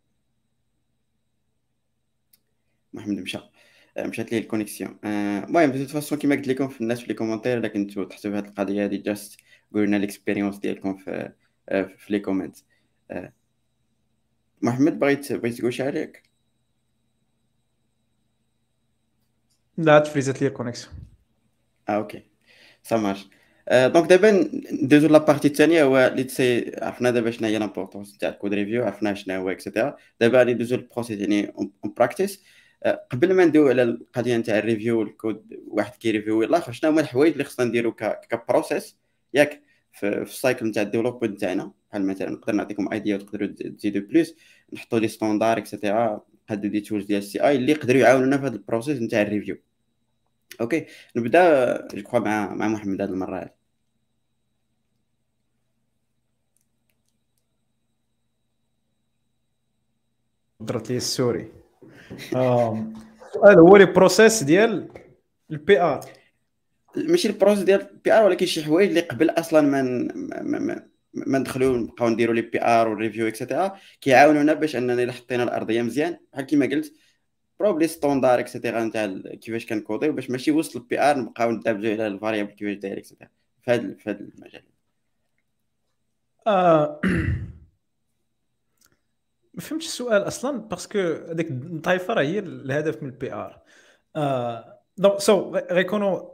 محمد مشى مشات ليه الكونيكسيون. المهم دو فاسون كيما قلت لكم في الناس في لي كومونتير الا كنتو تحسوا في هذه القضيه هذه جاست قولوا لنا الاكسبيريونس ديالكم في في لي كومنت. محمد بغيت بغيت تقول شي حاجه؟ لا تفريزت لي الكونيكسيون. اه اوكي سامارش. دونك دابا ندوزو لابارتي الثانيه هو اللي تسي عرفنا دابا شنو هي لامبورطونس تاع الكود ريفيو عرفنا شنو هو اكسيتيرا. دابا غادي ندوزو للبروسيس يعني اون براكتيس. قبل ما ندوي على القضيه نتاع الريفيو والكود واحد كيريفيو الاخر شنو هما الحوايج اللي خصنا نديرو كبروسيس ياك في السايكل نتاع الديفلوبمنت تاعنا بحال مثلا نقدر نعطيكم ايديا وتقدروا تزيدوا بليس نحطوا لي ستاندار اكسيتيرا نقادو دي تولز ديال السي اي اللي يقدروا يعاونونا في هذا البروسيس نتاع الريفيو. اوكي نبدا جو كخوا مع مع محمد هذه المره هذه. درت لي السوري. السؤال هو لي بروسيس ديال البي ار ماشي البروسيس ديال البي ار ولكن شي حوايج اللي قبل اصلا من ما, ما, ما ندخلوا نبقاو نديروا لي بي ار والريفيو اكسيتيرا كيعاونونا باش اننا الا حطينا الارضيه مزيان بحال كيما قلت بروبلي ستاندار اكسيتيرا نتاع كيفاش كنكوديو باش ماشي وسط البي ار نبقاو ندابزو على الفاريابل كيفاش داير اكسيتيرا في هذا في هذا المجال. اه ما فهمتش السؤال اصلا باسكو هذيك الطايفه راه هي الهدف من البي ار. اه دونك سو غيكونوا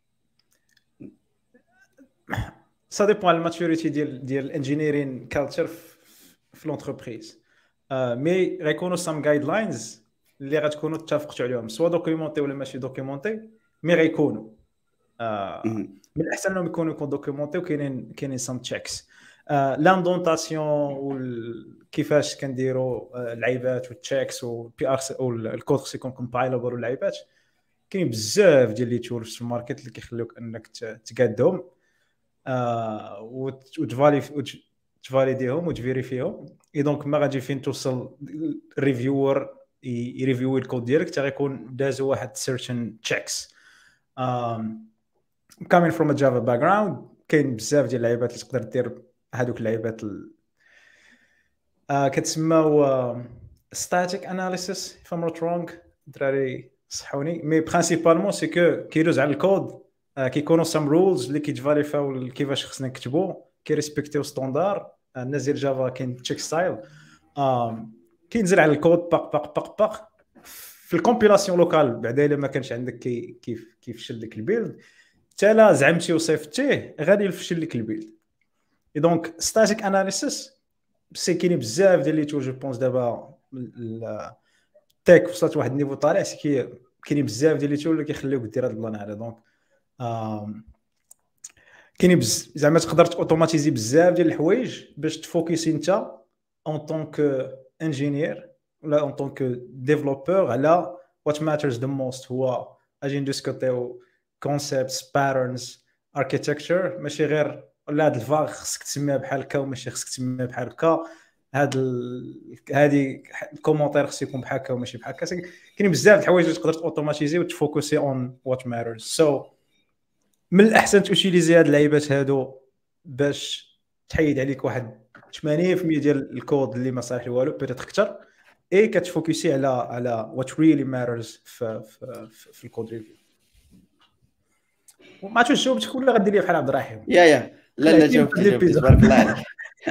سا ديبون على الماتوريتي ديال ديال الانجينيرين كالتشر في لونتربريز. اه مي غيكونوا سام جايد لاينز اللي غتكونوا اتفقتوا عليهم سوا دوكيومونتي ولا ماشي دوكيومونتي مي غيكونوا آه من الاحسن انهم يكونوا يكون دوكيومونتي وكاينين كاينين سام تشيكس. لاندونطاسيون كيفاش كنديروا اللعيبات والتشيكس والبي ار والكود خصو يكون كومبايلابل واللعيبات. كاين بزاف ديال لي تولز في الماركت اللي كيخليوك انك تقادهم آه وتفالي تفاليديهم وتفيريفيهم. اي دونك ما غادي فين توصل الريفيور يريفيو الكود ديالك حتى غيكون دازو واحد سيرتن تشيكس. ام coming from a Java background كاين بزاف ديال اللعيبات اللي تقدر دير هذوك اللعيبات ال... آه كتسماو static analysis if I'm not wrong. دراري صحوني مي برينسيبالمون سي كو كيدوز على الكود آه كيكونوا سام رولز اللي كيتفاليفاو كيفاش خصنا نكتبوا كيريسبكتيو ستاندار. الناس ديال جافا كاين تشيك ستايل آه كينزل على الكود باق باق باق باق في الكومبيلاسيون لوكال. بعدا الا ما كانش عندك كي كيف كيفشل لك البيلد حتى لا زعمتي وصيفطتيه غادي يفشل لك البيلد. اي دونك ستاتيك اناليسيس سي كاين بزاف ديال لي تو جو بونس دابا التيك وصلت واحد النيفو طالع سي كاين بزاف ديال لي تو اللي كيخليوك دير هذا البلان هذا. دونك كاين زعما تقدر اوتوماتيزي بزاف ديال الحوايج باش تفوكسي انت en tant que ingénieur ولا en tant que développeur على what matters the most. هو اجي ندسكوتيو concepts patterns architecture ماشي غير لا هاد الفاغ خصك تسميها بحال هكا وماشي خصك تسميها بحال هكا. هاد ال... هادي الكومونتير خصو يكون بحال هكا وماشي بحال هكا. كاين بزاف د الحوايج اللي تقدر اوتوماتيزي وتفوكسي on what matters. so من الاحسن توتيليزي هاد اللعيبات هادو باش تحيد عليك واحد ثمانين بالمية ديال الكود اللي ما صالح والو بيتيت اكثر اي كتفوكسي على على what really matters في في, في الكود ريفيو. وما عرفتش جاوبتك ولا غدير لي بحال عبد الرحيم. يا يا لا لا جاوبتي جاوبتي تبارك الله عليك.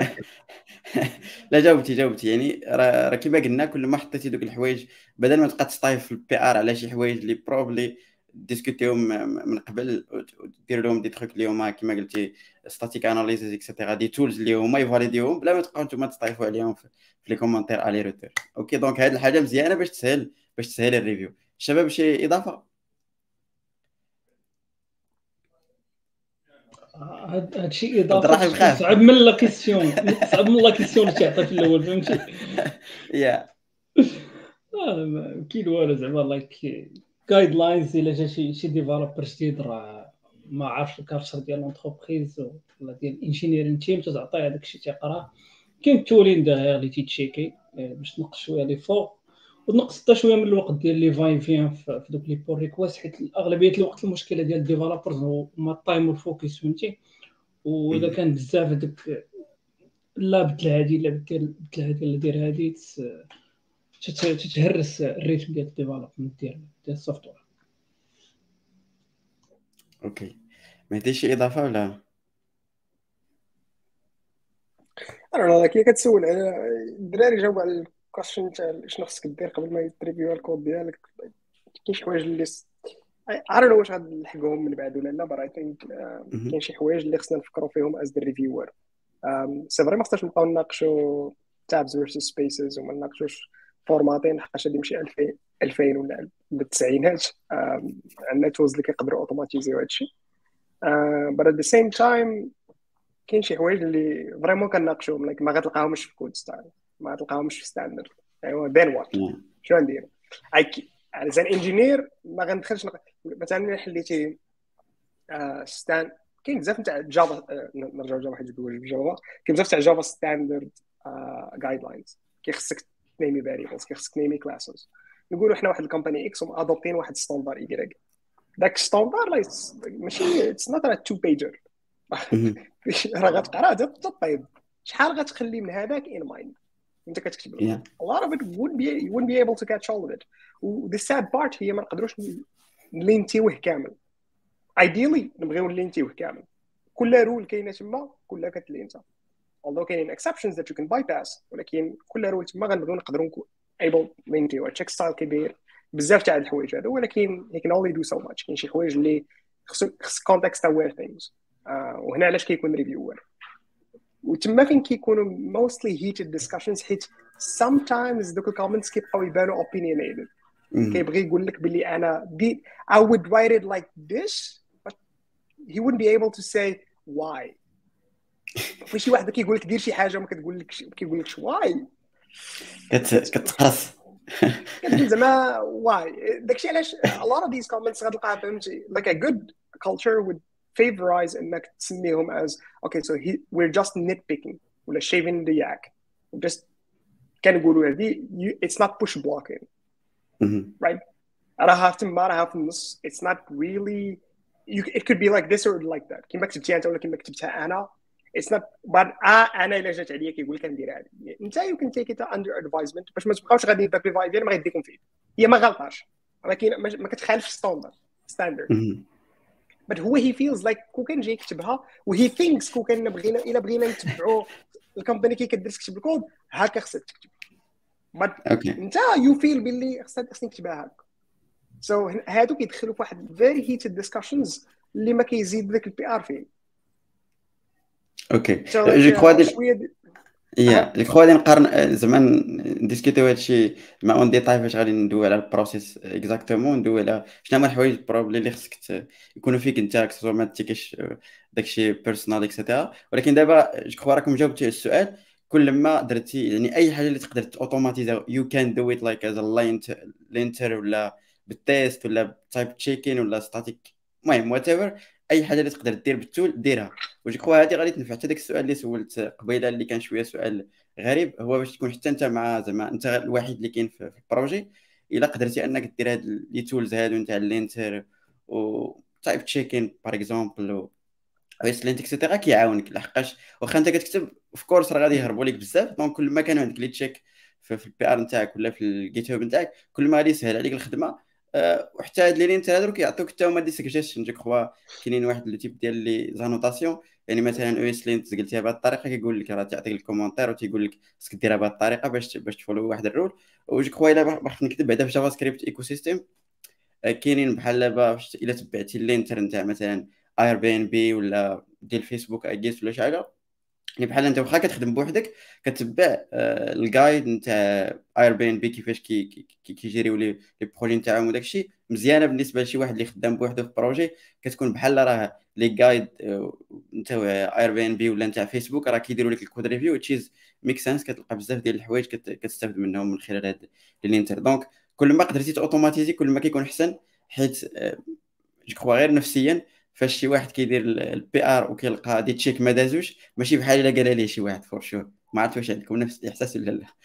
لا جاوبتي جاوبتي يعني راه كيما قلنا كل ما حطيتي دوك الحوايج بدل ما تبقى تستايف في البي ار على شي حوايج اللي بروبلي ديسكوتيهم من قبل ودير لهم دي تروك اللي هما كيما قلتي ستاتيك اناليسيس اكسيتيرا دي تولز اللي هما يفاليديوهم بلا ما تبقاو نتوما تستايفوا عليهم في لي كومونتير الي روتور. اوكي دونك هاد الحاجه مزيانه باش تسهل باش تسهل الريفيو. الشباب شي اضافه؟ هاد الشيء اضافه صعب من لا كيسيون صعب من لا كيسيون اللي تعطي في الاول فهمتي. يا اه كاين والو زعما لايك جايد لاينز الا جا شي شي ديفلوبر جديد راه ما عارفش الكارشر ديال لونتربريز ولا ديال الانجينيرين تيم تعطيه هذاك الشيء تيقراه. كاين تولين داير اللي تيتشيكي باش تنقص شويه لي فوق ونقص حتى شويه من الوقت ديال لي فاين فين في دوك لي بول ريكويست حيت اغلبيه الوقت المشكله ديال الديفلوبرز هما التايم والفوكس فهمتي. واذا كان بزاف هذاك لا بدل هادي لا بدل هادي لا دير هادي تتهرس الريتم ديال الديفلوبمنت ديال ديال السوفتوير. اوكي ما عنديش شي اضافه ولا انا لا كي كتسول على الدراري جاوب على الكويشن تاع شنو خصك دير قبل ما يتريفيو الكود ديالك. كاين شي حوايج اللي عارف واش غنلحقوهم من بعد ولا لا برا ثينك كاين شي حوايج اللي خصنا نفكروا فيهم از ذا ريفيور. سي فري ما خصناش نبقاو نناقشوا تابز فيرسس سبيسز وما نناقشوش فورماتين حقاش غادي يمشي ألفين ولا بالتسعينات. عندنا تولز اللي كيقدروا اوتوماتيزيو هادشي but at the same time كاين شي حوايج اللي فريمون كنناقشوهم لك ما غتلقاهمش في كود ستايل ما غتلقاهمش في ستاندرد. ايوا دين وات شنو ندير على زي انجينير ما غندخلش مثلا حليتي ستاند. كاين بزاف تاع جافا نرجعوا جافا حيت جوج جافا كاين بزاف تاع جافا ستاندرد جايد لاينز كيخصك تنيمي فاريبلز كيخصك تنيمي كلاسز. نقولوا حنا واحد الكومباني اكس وادوبتين واحد ستاندر اي داك ستاندر ماشي اتس نوت ا تو بيجر راه غتقرا تطيب شحال غتخلي من هذاك ان مايند انت كتكتب له. a lot of it wouldn't be you wouldn't be able to catch all of it. و the sad part هي ما نقدروش نلينتيوه كامل. ideally نبغيو نلينتيوه كامل كل رول كاينه تما كلها كتلينتا although كاينين exceptions that you can bypass ولكن كل رول تما غنبغيو نقدروا able نلينتيوه. تشيك ستايل كبير بزاف تاع الحوايج هذا ولكن he can only do so much. كاين شي حوايج اللي خص خص context aware things uh, وهنا علاش كيكون ريفيور وتما فين كيكونوا mostly heated discussions حيت sometimes دوك الكومنتس كيبقاو يبانوا opinionated. كيبغي يقول لك بلي انا دي I would write it like this but he wouldn't be able to say why. فشي واحد كيقول لك دير شي حاجه وما كتقول لك كيقول لك واي كت كتقرص كتقول زعما واي. داكشي علاش a lot of these comments غتلقاها فهمتي like a good culture would favorize انك تسميهم as okay so he, we're just nitpicking ولا shaving the yak just كنقولوا هذه it's not push blocking right راها تما راها في النص it's not really you, it could be like this or like that كيما كتبتيها انت ولا كيما كتبتها انا it's not but آه انا الا جات عليا كيقول لك ندير هذه انت you can take it under advisement باش ما تبقاوش غادي داك الفايب ديال ما غيديكم فيه هي ما غلطاش ولكن ما كتخالفش ستاندرد ستاندرد but هو he feels like كون كان جاي يكتبها و he thinks كون كان بغينا الا بغينا نتبعوا الكومباني كي كدير تكتب الكود هكا خصك تكتب but اوكي انت you feel باللي خصك خصني نكتبها هكا so هادو كيدخلوا في واحد very heated discussions اللي ما كيزيد ذاك البي ار فيه. اوكي جو كخوا ديال شويه يا جو كخوا غادي نقارن زعما نديسكوتيو هادشي مع اون ديتاي فاش غادي ندوي على البروسيس اكزاكتومون ندوي على شنو هما الحوايج بروبلي اللي خصك يكونوا فيك انت كسوا ما تيكيش داكشي بيرسونال اكسيتيرا. ولكن دابا جو كخوا راكم جاوبتوا على السؤال كل ما درتي يعني اي حاجه اللي تقدر اوتوماتيزا يو كان دو ات لايك از ا لينتر ولا بالتيست ولا تايب تشيكين ولا ستاتيك المهم وات ايفر اي حاجه اللي تقدر دير بالتول ديرها. وجو كخوا هذه غادي تنفع حتى داك السؤال اللي سولت قبيله اللي كان شويه سؤال غريب هو باش تكون حتى انت مع زعما انت الوحيد اللي كاين في البروجي الا قدرتي انك دير هاد لي تولز هادو نتاع اللينتر و تايب تشيكين باغ اكزومبل و ويسلنت اكسيتيرا كيعاونك لحقاش واخا انت كتكتب في كورس راه غادي يهربوا لك بزاف دونك كل ما كان عندك لي تشيك في البي ار نتاعك ولا في الجيت هاب نتاعك كل ما غادي يسهل عليك الخدمه. أه وحتى هاد لي لينتر هادو كيعطيوك حتى هما دي سجيشن جو كخوا كاينين واحد لو تيب ديال لي زانوتاسيون يعني مثلا او اس لينت قلتيها بهذه الطريقه كيقول لك راه تعطيك الكومونتير وتيقول لك خصك ديرها بهذه الطريقه باش باش تفولو واحد الرول. وجو كخوا الا بغيت نكتب بعدا في جافا سكريبت ايكو سيستيم كاينين بحال دابا الا تبعتي اللينتر نتاع مثلا اير بي ان بي ولا ديال فيسبوك اجيس ولا شي حاجه يعني بحال انت واخا كتخدم بوحدك كتبع آه الجايد نتاع اير بي ان بي كيفاش كي كيجيريو لي لي بروجي نتاعهم وداكشي مزيانه بالنسبه لشي واحد اللي خدام بوحده في بروجي كتكون بحال راه لي جايد نتاع اير بي ان بي ولا نتاع فيسبوك راه كيديروا لك الكود ريفيو تشيز ميك سنس كتلقى بزاف ديال الحوايج كتستافد منهم من خلال هاد الانتر. دونك كل ما قدرتي اوتوماتيزي كل ما كيكون احسن حيت آه جو كخوا غير نفسيا فاش شي واحد كيدير البي ار وكيلقى دي تشيك ما دازوش ماشي بحال الا قال ليه شي واحد فور شور. ما عرفت واش عندكم نفس الاحساس ولا لا؟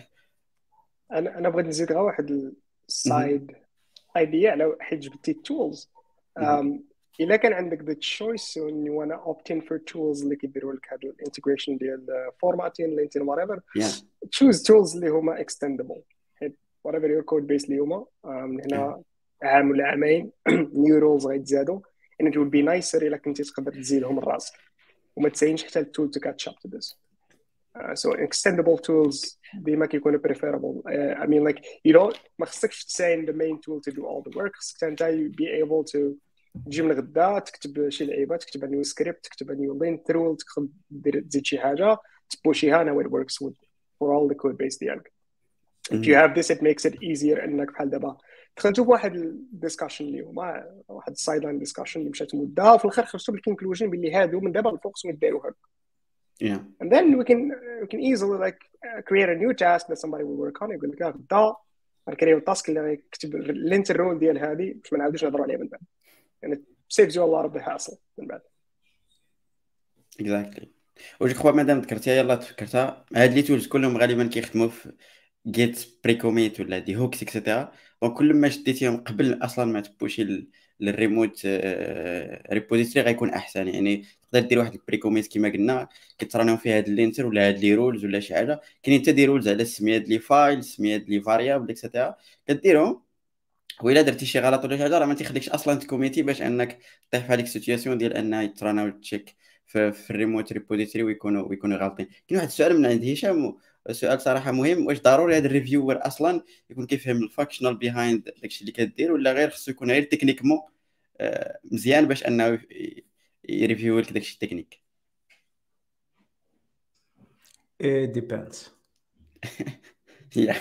انا انا بغيت نزيد غير واحد السايد ايديا على حيت جبتي التولز. الا كان عندك ذا تشويس وان يو وانا اوبتين فور تولز اللي كيديروا لك هذا الانتجريشن ديال فورماتين لينتين وات ايفر تشوز تولز اللي هما اكستندبل حيت وات ايفر يور كود بيس اللي هما من هنا عام ولا عامين نيو رولز غيتزادوا and it would be nicer الا كنتي تقدر تزيدهم لراسك وما تساينش حتى التول to catch up to this. Uh, so extendable tools ديما كيكونوا preferable. uh, I mean like you don't ما خصكش تساين the main tool to do all the work. خصك انت be able to تجي من غدا تكتب شي لعيبه تكتب نيو سكريبت تكتب نيو لين ترول تقدر تزيد شي حاجه تبوشيها now it works with for all the code base ديالك. if you have this it makes it easier انك بحال دابا دخلتوا بواحد الديسكشن اللي هما واحد السايد لاين ديسكشن اللي مشات مده وفي الاخر خرجتوا بالكونكلوجن باللي هادو من دابا الفوق خصهم يديروا هكا. yeah and then we can we can easily like create a new task that somebody will work on. يقول لك غدا غنكريو التاسك اللي غيكتب الانتر رول ديال هذه باش ما نعاودوش نهضروا عليها من بعد and it saves you a lot of the hassle من بعد. exactly. وجو كخوا مادام ذكرتيها يلاه تفكرتها هاد لي تولز كلهم غالبا كيخدموا في جيت بريكوميت ولا دي هوكس اكسيتيرا. دونك كل ما شديتيهم قبل اصلا ما تبوشي للريموت ريبوزيتوري غيكون احسن. يعني تقدر دير واحد البريكوميت كما قلنا كترانيو فيها هاد اللينتر ولا هاد لي رولز ولا شي حاجه كاينين حتى دي رولز على السميات لي فايل سميات لي فاريابل اكسيتيرا كديرهم وإلا درتي شي غلط ولا شي حاجه راه ما تيخليكش اصلا تكوميتي باش انك طيح في هذيك السيتوياسيون ديال انها يتراناو تشيك في, في الريموت ريبوزيتوري ويكونوا ويكونوا غالطين. كاين واحد السؤال من عند هشام سؤال صراحه مهم واش ضروري هذا الريفيور اصلا يكون كيفهم الفانكشنال بيهايند داكشي اللي كدير ولا غير خصو يكون غير تكنيكمون مزيان باش انه يريفيو لك داكشي التكنيك؟ اي ديبيندز يا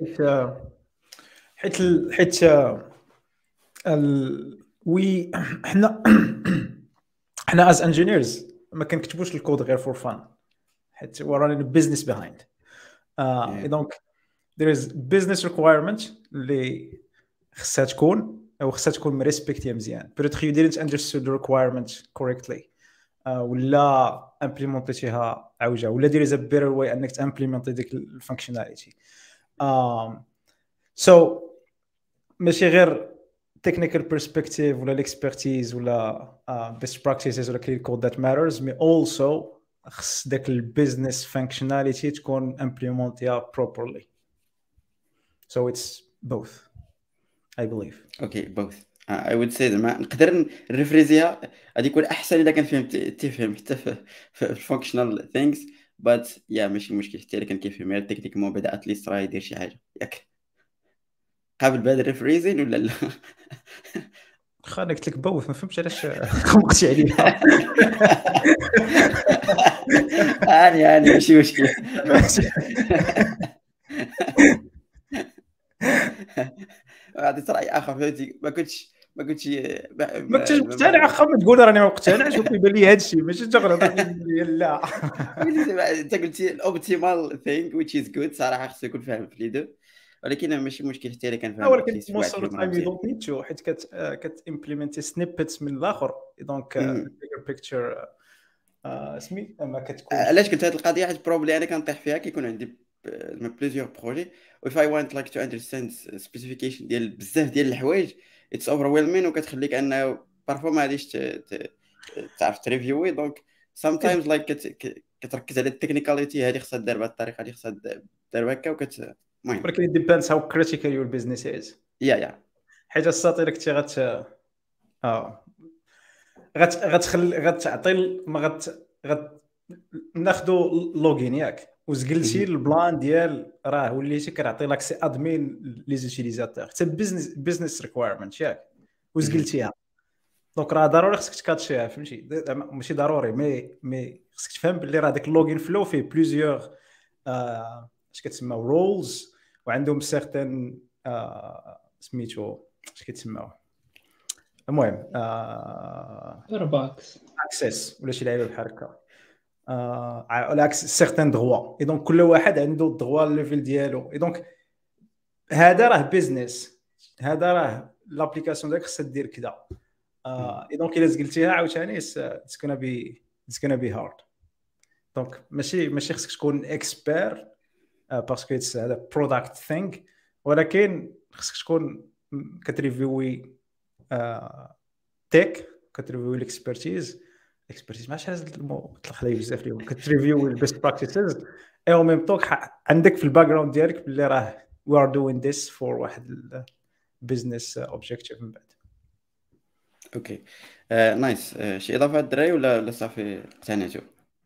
حيت حيت ال وي حنا حنا از انجينيرز ما كنكتبوش الكود غير فور فان حيت ورانا بزنس بيهايند اه دونك there is business requirement اللي خصها تكون او خصها تكون مريسبكتيها مزيان peut-être you didn't understood the requirement correctly uh, ولا implementatيها عوجه ولا there is a better way انك تimplement ديك الفانكشناليتي um, so ماشي غير technical perspective ولا expertise ولا uh, best practices ولا clean code that matters but also خص داك البيزنس functionality تكون implemented properly so it's both I believe. Okay, both. Uh, I would say زعما نقدر نريفريزيها غادي يكون احسن اذا كان فهمت تفهم حتى في الفانكشنال ثينكس but يا ماشي مشكل حتى الا كان كيفهم غير تكنيكمون بعدا اتليست راه يدير شي حاجه ياك قابل بهذا الريفريزين ولا لا؟ خا قلت لك بوث ما فهمتش علاش خمقتي عليها اني اني ماشي مشكل عطيت راي اخر فهمتي ما كنتش ما كنتش ما كنتش مقتنع اخا ما تقول راني ما مقتنعش وكيبان لي هذا الشيء ماشي تغلط لا انت قلتي الاوبتيمال ثينك which is good صراحه خصو يكون فاهم في ليدو ولكن ماشي مشكل حتى الا كان فاهم ولكن موست اوف تايم يو دونت نيد تو حيت كت كت امبليمنتي سنيبتس من الاخر دونك البيجر بيكتشر سمي ما كتكون علاش قلت هذه القضيه حيت بروبلي انا كنطيح فيها كيكون عندي بليزيور بروجي و if I want like to understand specification ديال بزاف ديال الحوايج it's overwhelming وكتخليك انه بارفو ما غاديش تعرف تريفيوي دونك sometimes like كتركز على التكنيكاليتي هذه خصها دار بهذه الطريقه هذه خصها دار هكا وكت المهم ولكن it depends how critical your business is يا يا حيت الساطير كنتي غت اه غت غتخلي غتعطي ما غت غت ناخذوا لوغين ياك وزقلتي البلان ديال راه وليتي كنعطي لك سي ادمين لي زوتيليزاتور حتى بزنس بزنس ريكوايرمنت ياك وزقلتيها دونك راه ضروري خصك تكاتشيها فهمتي ماشي ضروري مي مي خصك تفهم باللي راه داك اللوغين فلو فيه بليزيور آه اش كتسمى رولز وعندهم سيغتان آه سميتو اش كيتسماو المهم آه ايرباكس اكسس ولا شي لعيبه بحال هكا آه على سيغتان دروا اي دونك كل واحد عنده الدروا الليفل ديالو اي دونك هذا راه بيزنس هذا راه لابليكاسيون ديالك خصها دير كذا آه اي دونك الا زقلتيها عاوتاني اتس كونا بي اتس كونا بي هارد دونك ماشي ماشي خصك تكون اكسبير باسكو اتس هذا برودكت ثينغ ولكن خصك تكون كتريفيوي تيك كتريفيوي الاكسبرتيز اكسبرتيز ماشي هذا طلع لي بزاف اليوم كتريفيوي البيست براكتيسز اي او ميم توك عندك في الباك جراوند ديالك باللي راه وي ار دوين ذيس فور واحد البيزنس اوبجيكتيف من بعد اوكي نايس شي اضافه الدراري ولا ولا صافي اقتنعتوا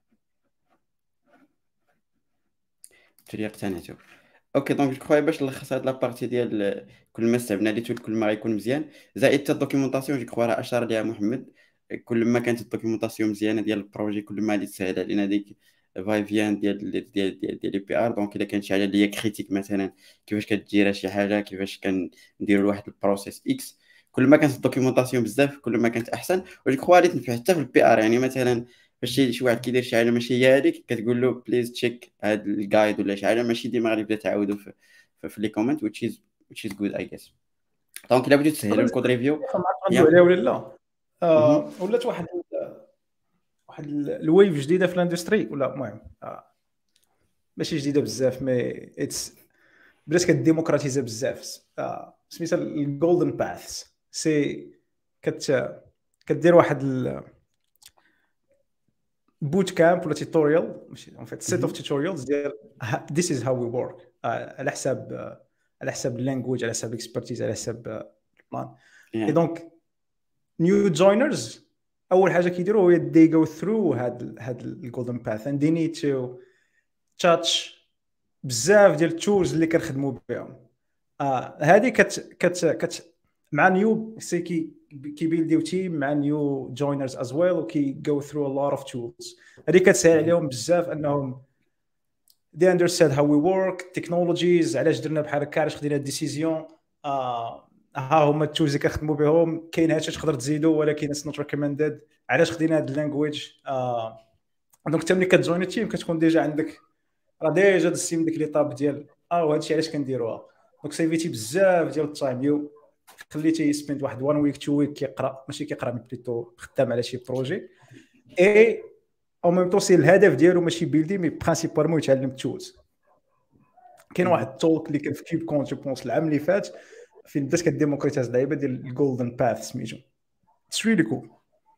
تري اقتنعتوا اوكي دونك خويا باش نلخص هاد لابارتي ديال كل ما استعملنا لي تول كل ما غيكون مزيان زائد حتى الدوكيومونطاسيون جو كخوا راه اشار ليها محمد كل ما كانت الدوكيومونطاسيون مزيانه ديال البروجي كل ما غادي تسهل علينا ديك فاي فيان ديال ديال ديال ديال لي بي ار دونك الا كانت شي حاجه اللي هي كريتيك مثلا كيفاش كديرها شي حاجه كيفاش كنديروا لواحد البروسيس اكس كل ما كانت الدوكيومونطاسيون بزاف كل ما كانت احسن وجو كخوا غادي تنفع حتى في البي ار يعني مثلا فاش شي واحد كيدير شي حاجه ماشي هي هذيك كتقول له بليز تشيك هاد الجايد ولا شي حاجه ماشي ديما غادي يبدا تعاودو في في, في لي كومنت which is which is good I guess دونك الا بغيتو تسهلوا الكود ريفيو عليه ولا لا آه ولات واحد واحد الويف جديده في الاندستري ولا المهم آه. ماشي جديده بزاف مي اتس بدات كديموكراتيزا بزاف آه. سميتها الجولدن باث سي كت كدير واحد ال... بوت كامب ولا توتوريال ماشي ان فيت سيت اوف توتوريالز ديال this is how we work على حساب على حساب اللانجويج على حساب الاكسبرتيز على حساب البلان اي دونك نيو جوينرز اول حاجه كيديروا هو they go through هاد هاد الجولدن باث and they need to touch بزاف ديال التولز اللي كنخدموا بهم اه هذه كت كت كت مع نيو سي كي كيبيلديو تيم مع نيو جوينرز از ويل وكي جو ثرو ا لوت اوف تولز هذه كتسهل عليهم بزاف انهم they understand how we work technologies علاش درنا بحال هكا علاش خدينا الديسيزيون آه ها هما التولز اللي كنخدموا بهم، كاين هادشي تقدر تزيدو ولكن اتس نوت ريكومندد. علاش خدينا هاد اللانجويج؟ آه دونك انت ملي كتجوين التيم كتكون ديجا عندك راه ديجا دزتي من ديك ليطاب ديال اه وهادشي علاش كنديروها. دونك سيفيتي بزاف ديال التايم يو خليتي سبيند واحد وان ويك تو ويك كيقرا، ماشي كيقرا بليتو خدام على شي بروجي اي او ميم طون سي الهدف ديالو ماشي بيلدي مي برينسيبالمون يتعلم التولز. كاين واحد التولك اللي كان في كيوب كون جو بونس العام اللي فات فين بدات كديموكريتايز لعيبه ديال الجولدن باث سميتو اتس ريلي كول.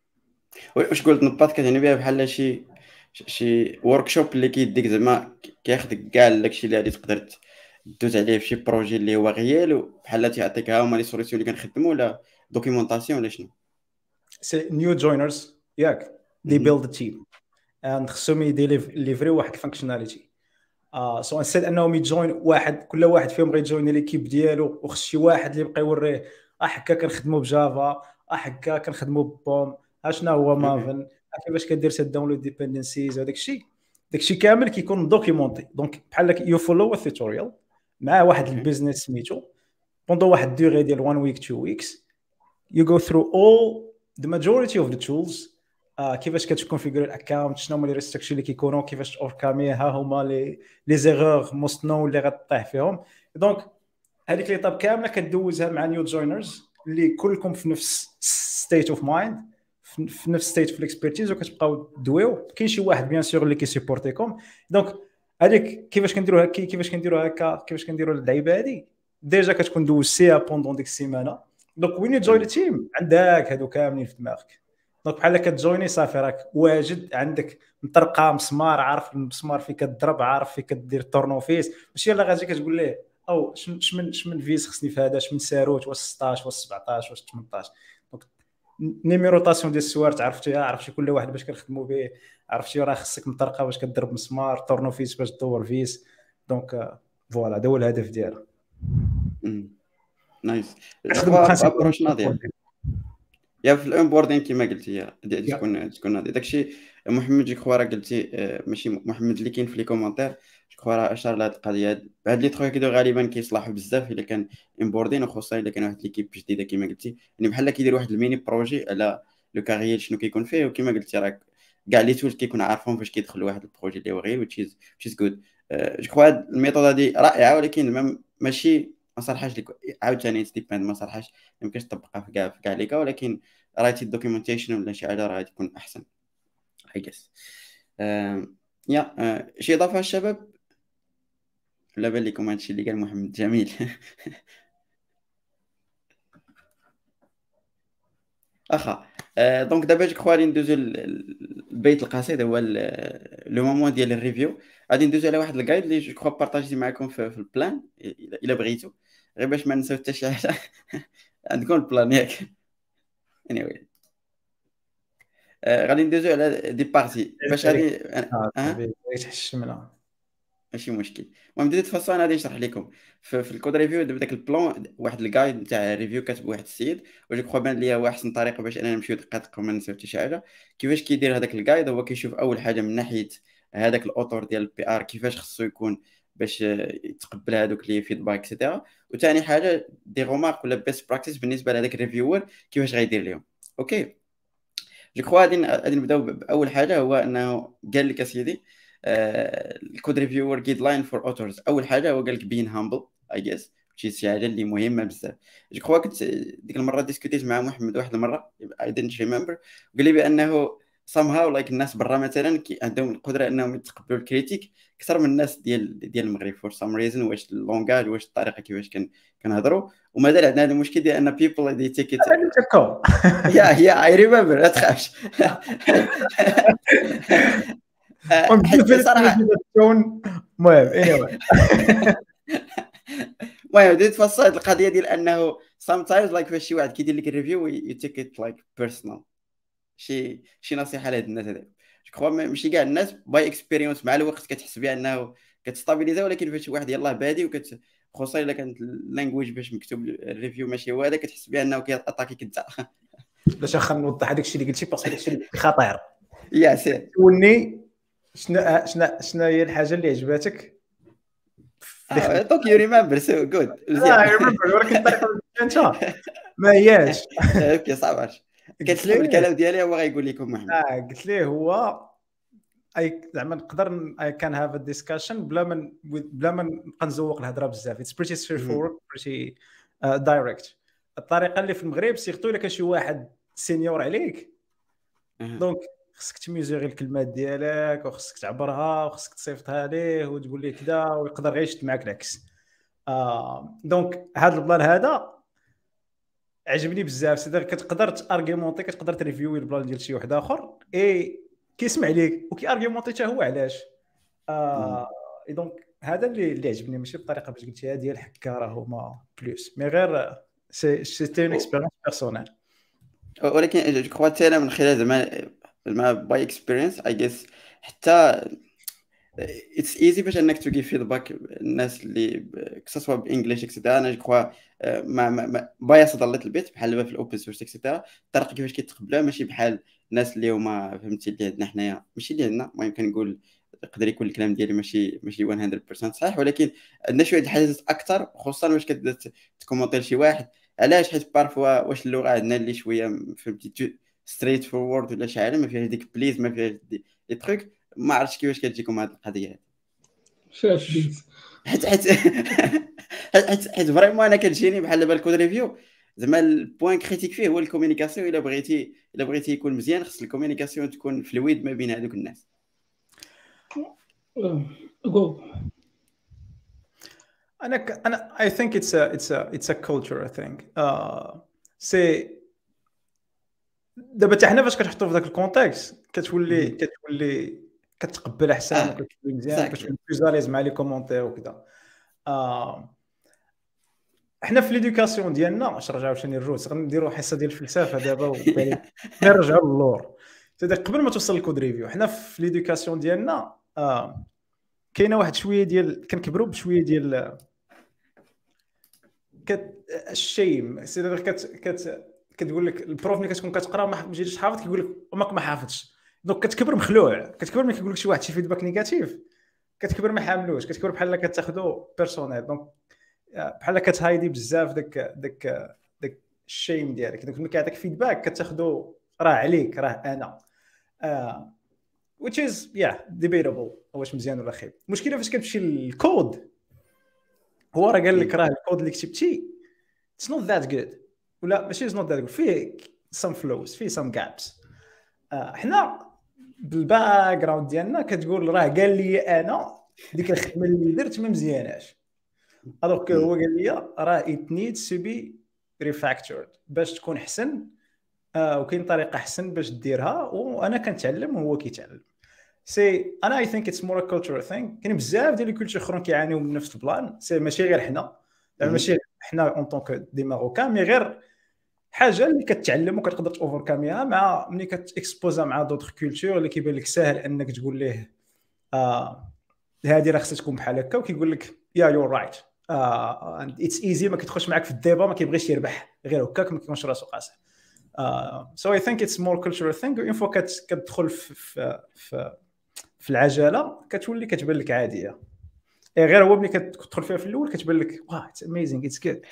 واش قلت نبات كتعني بها بحال شي شي ورك شوب اللي كيديك زعما كياخذك كاع داكشي اللي غادي تقدر دوز عليه في شي بروجي اللي هو غيال بحال تيعطيك ها هما لي سوليسيون اللي كنخدموا ولا دوكيومونطاسيون ولا شنو؟ سي نيو جوينرز ياك دي بيلد تيم اند خصهم يديليفري واحد الفانكشناليتي. اه سو انسيت انهم يجوين واحد كل واحد فيهم غيجوين ليكيب ديالو وخص شي واحد اللي يبقى يوريه اه هكا كنخدموا بجافا اه هكا كنخدموا ببوم ها شنو هو مافن كيفاش كدير سيت داونلود ديبندنسيز وداك الشيء داكشي كامل كيكون دوكيومونتي. دونك بحال لك يو فولو التوتوريال مع واحد البيزنس سميتو بوندو واحد ديغي ديال one week two weeks you go through all the majority of the tools. آه كيفاش كتكونفيغوري الاكونت، شنو هما لي ريستريكشن اللي كيكونوا، كيفاش اوركامي، ها هما لي لي زيرور موست نو اللي غطيح فيهم. دونك هذيك ليطاب كامله كدوزها مع نيو جوينرز اللي كلكم في نفس ستيت اوف مايند، في نفس ستيت في الاكسبيرتيز وكتبقاو دويو. كاين شي واحد بيان سور اللي كيسيبورتيكم. دونك هذيك كيفاش كنديروا هكا كيفاش كنديروا هكا كيفاش كنديروا اللعيبه هذه ديجا كتكون دوزتيها بوندون ديك السيمانه. دونك وين جوين التيم عندك هادو كاملين في دماغك. دونك بحال كتجويني صافي راك واجد عندك مطرقه مسمار، عارف المسمار فين كتضرب، عارف فين كدير التورنوفيس، ماشي يلاه غادي كتقول ليه او شمن شمن فيز خصني في هذا، شمن ساروت واش ستطاش واش سبعطاش واش ثمنطاش. دونك نيميروطاسيون ديال السوارت عرفتيها، عرفتي كل واحد باش كنخدموا به، عرفتي راه خصك مطرقه باش كضرب مسمار، تورنوفيس باش تدور فيس. دونك فوالا هذا هو الهدف ديالها. نايس. ابروش ناضيه يا في الانبوردين كما قلتي تكون تكون هذا داكشي. محمد جي كخوا راه قلتي ماشي محمد اللي كاين في لي كومونتير جو كخوا راه اشار لهاد القضيه. هاد لي تخويا كيدو غالبا كيصلحوا بزاف الا كان امبوردين، وخصوصا الا كان واحد ليكيب جديده كما قلتي، يعني بحال كيدير واحد الميني بروجي على لو كارير شنو كيكون فيه. وكما قلتي راه كاع لي تولز كيكون عارفهم فاش كيدخل واحد البروجي اللي هو غير وتشيز تشيز جود. جو كخوا هاد الميثود هادي رائعه، ولكن ماشي ما صالحاش لك عاوتاني ديباند ما صالحاش ما يمكنش تطبقها في كاع في كاع ليكا، ولكن رايتي الدوكيومنتيشن ولا شي حاجه راه تكون احسن اي جيس. يا uh, شي اضافه الشباب ولا بان لكم هادشي اللي قال محمد جميل؟ اخا دونك دابا جو كخوا غادي ندوزو البيت القصيد، هو لو مومون ديال الريفيو. غادي ندوزو على واحد الجايد اللي جو كخوا بارطاجيتي معكم في, في البلان الا بغيتو، غير باش ما نساو حتى شي حاجه. عندكم البلان ياك؟ anyway آه، غادي ندوزو على دي بارتي باش غادي اه تحشمنا ماشي مشكل. المهم ديت فاصون انا غادي نشرح لكم في, في الكود ريفيو دابا داك البلان واحد الجايد نتاع الريفيو كاتب واحد السيد، وجو كخوا بان ليا هو احسن طريقه باش انا نمشيو دقيق وما نساو حتى شي حاجه. كيفاش كيدير هذاك الجايد؟ هو كيشوف اول حاجه من ناحيه هذاك الاوتور ديال البي ار كيفاش خصو يكون باش يتقبل هذوك لي فيدباك اكسيتيرا، وثاني حاجه دي رومارك ولا بيست براكتيس بالنسبه لهذاك الريفيور كيفاش غيدير لهم. اوكي جو كخوا غادي غادي نبداو باول حاجه، هو انه قال لك اسيدي الكود ريفيور جايد لاين فور اوتورز. اول حاجه هو قال لك بين هامبل اي جيس شي شي حاجه اللي مهمه بزاف. جو كخوا كنت ديك المره ديسكوتيت مع محمد واحد المره اي دينت ريمبر، قال لي بانه somehow like الناس برا مثلا كي عندهم القدره انهم يتقبلوا الكريتيك اكثر من الناس ديال ديال المغرب فور سام ريزن. واش اللونغاج واش الطريقه كيفاش كان كنهضروا، ومازال عندنا هذا المشكل ديال ان بيبل دي تيك ات يا يا اي ريمبر لا تخافش. صراحه المهم anyway المهم بديت تفصل هذه القضيه ديال انه sometimes like فاش شي واحد كيدير لك الريفيو يو تيك ات لايك بيرسونال. شي شي نصيحه لهاد الناس هذا جو كخوا ماشي كاع الناس باي اكسبيريونس مع الوقت كتحس بها انه كتستابيليزا، ولكن فاش واحد يلاه بادي وكت خصوصا الا كانت اللانجويج باش مكتوب الريفيو ماشي هو هذا كتحس بها انه كياتاكيك انت. باش خا نوضح هذاك الشيء اللي قلتي باسكو هذاك الشيء خطير. يا سي وني شنو شنو شنو هي الحاجه اللي عجباتك؟ دونك يو ريمبر سو جود اه ريمبر ولكن الطريقه انت ما هياش. اوكي صعب كتسحب الكلام ديالي هو غايقول لكم محمد. اه قلت ليه هو اي زعما نقدر اي كان هاف ا ديسكشن بلا ما بلا ما نبقى نزوق الهضره بزاف. اتس بريتي ستريت فورورد بريتي دايركت. الطريقه اللي في المغرب سيرتو الا كان شي واحد سينيور عليك دونك خصك تميزيغي الكلمات ديالك وخصك تعبرها وخصك تصيفطها ليه وتقول ليه كذا ويقدر غير يشد معاك العكس. آه دونك هذا البلان هذا عجبني بزاف. سيدي كتقدر تارغيمونتي كتقدر تريفيوي البلان ديال شي واحد اخر اي كيسمع ليك وكيارغيمونتي حتى هو علاش. آه دونك هذا اللي اللي عجبني ماشي بالطريقه باش قلتيها ديال حكا راه هما بلوس مي غير سي سيتي اون اكسبيريونس بيرسونيل. ولكن جو كخوا حتى انا من خلال زعما زعما باي اكسبيرينس اي جيس حتى اتس ايزي باش انك تجي فيدباك الناس اللي كسوا بانجليش اكسيتيرا. انا جو كخوا ما ما بايس ضلت البيت بحال دابا في الاوبن سورس اكسيتيرا الطريقه كيفاش كيتقبلوها ماشي بحال الناس اللي هما فهمتي اللي عندنا حنايا ماشي اللي عندنا. المهم كنقول يقدر يكون الكلام ديالي ماشي ماشي مية بالمية صحيح ولكن عندنا شويه الحاجات اكثر خصوصا واش كتبدا تكومونتي لشي واحد علاش حيت بارفوا واش اللغه عندنا اللي شويه فهمتي ستريت فورورد ولا شي حاجه ما فيهاش ديك بليز ما فيهاش دي تروك. ما عرفتش كيفاش كتجيكم هذه القضيه هذه شاف بليز حيت حيت حيت حيت فريمون انا كتجيني بحال دابا الكود ريفيو زعما البوين كريتيك فيه هو الكومونيكاسيون. الا بغيتي الا بغيتي يكون مزيان خص الكومونيكاسيون تكون فلويد ما بين هذوك الناس. جو انا ك... انا I think it's a it's a it's a culture I think. اه سي دابا حتى حنا فاش كتحطوا في ذاك الكونتكست كتولي كتولي كتقبل احسن آه. وكتولي مزيان كتولي بلوزاليز مع لي كومونتير وكذا. آه. حنا في ليدوكاسيون ديالنا اش رجعوا ثاني الروس غنديروا حصه ديال الفلسفه دابا وبالي نرجعوا للور. سيدي قبل ما توصل للكود ريفيو حنا في ليدوكاسيون ديالنا آه. كاينه واحد شويه ديال كنكبروا بشويه ديال كت الشيم. سيدي كت كت كتقول لك البروف ملي كتكون كتقرا ما مجيتش حافظ كيقول لك امك ما حافظش دونك كتكبر مخلوع. كتكبر ملي كيقول لك شي واحد شي فيدباك نيجاتيف كتكبر ما حاملوش كتكبر بحال كتاخذو بيرسونيل. دونك بحال كتهايدي بزاف داك داك داك الشيم ديالك. دونك ملي كيعطيك فيدباك كتاخذو راه عليك راه انا آه. which is yeah debatable واش مزيان ولا خايب. المشكله فاش كتمشي للكود هو راه قال لك راه الكود اللي كتبتي it's not that good ولا ماشي it's not that good فيه some flows فيه some gaps. آه حنا بالباك جراوند ديالنا كتقول راه قال لي انا ديك الخدمه اللي درت ما مزياناش الوغ هو قال لي راه it needs to be refactored باش تكون احسن. آه وكاين طريقه احسن باش ديرها وانا كنتعلم وهو كيتعلم. سي انا اي ثينك اتس مور ا كولتشر ثينك. كاين بزاف ديال الكولتشر اخرين كيعانيو من نفس البلان. سي ماشي غير حنا ماشي حنا اون طونك دي ماروكان مي غير حاجه اللي كتعلم وكتقدر اوفركاميها مع ملي كتاكسبوزا مع دوطخ كولتور اللي كيبان لك ساهل انك تقول ليه اه هذه راه خصها تكون بحال هكا وكيقول لك يا يور رايت اتس ايزي ما كتدخلش معاك في الديبا ما كيبغيش يربح غير هكاك ما كيكونش راسو قاصح. سو اي ثينك اتس مور كولتشرال ثينك. اون فوا كتدخل في في في العجله كتولي كتبان لك عاديه غير هو ملي كتدخل فيها في الاول كتبان لك واه اتس اميزينغ اتس جود.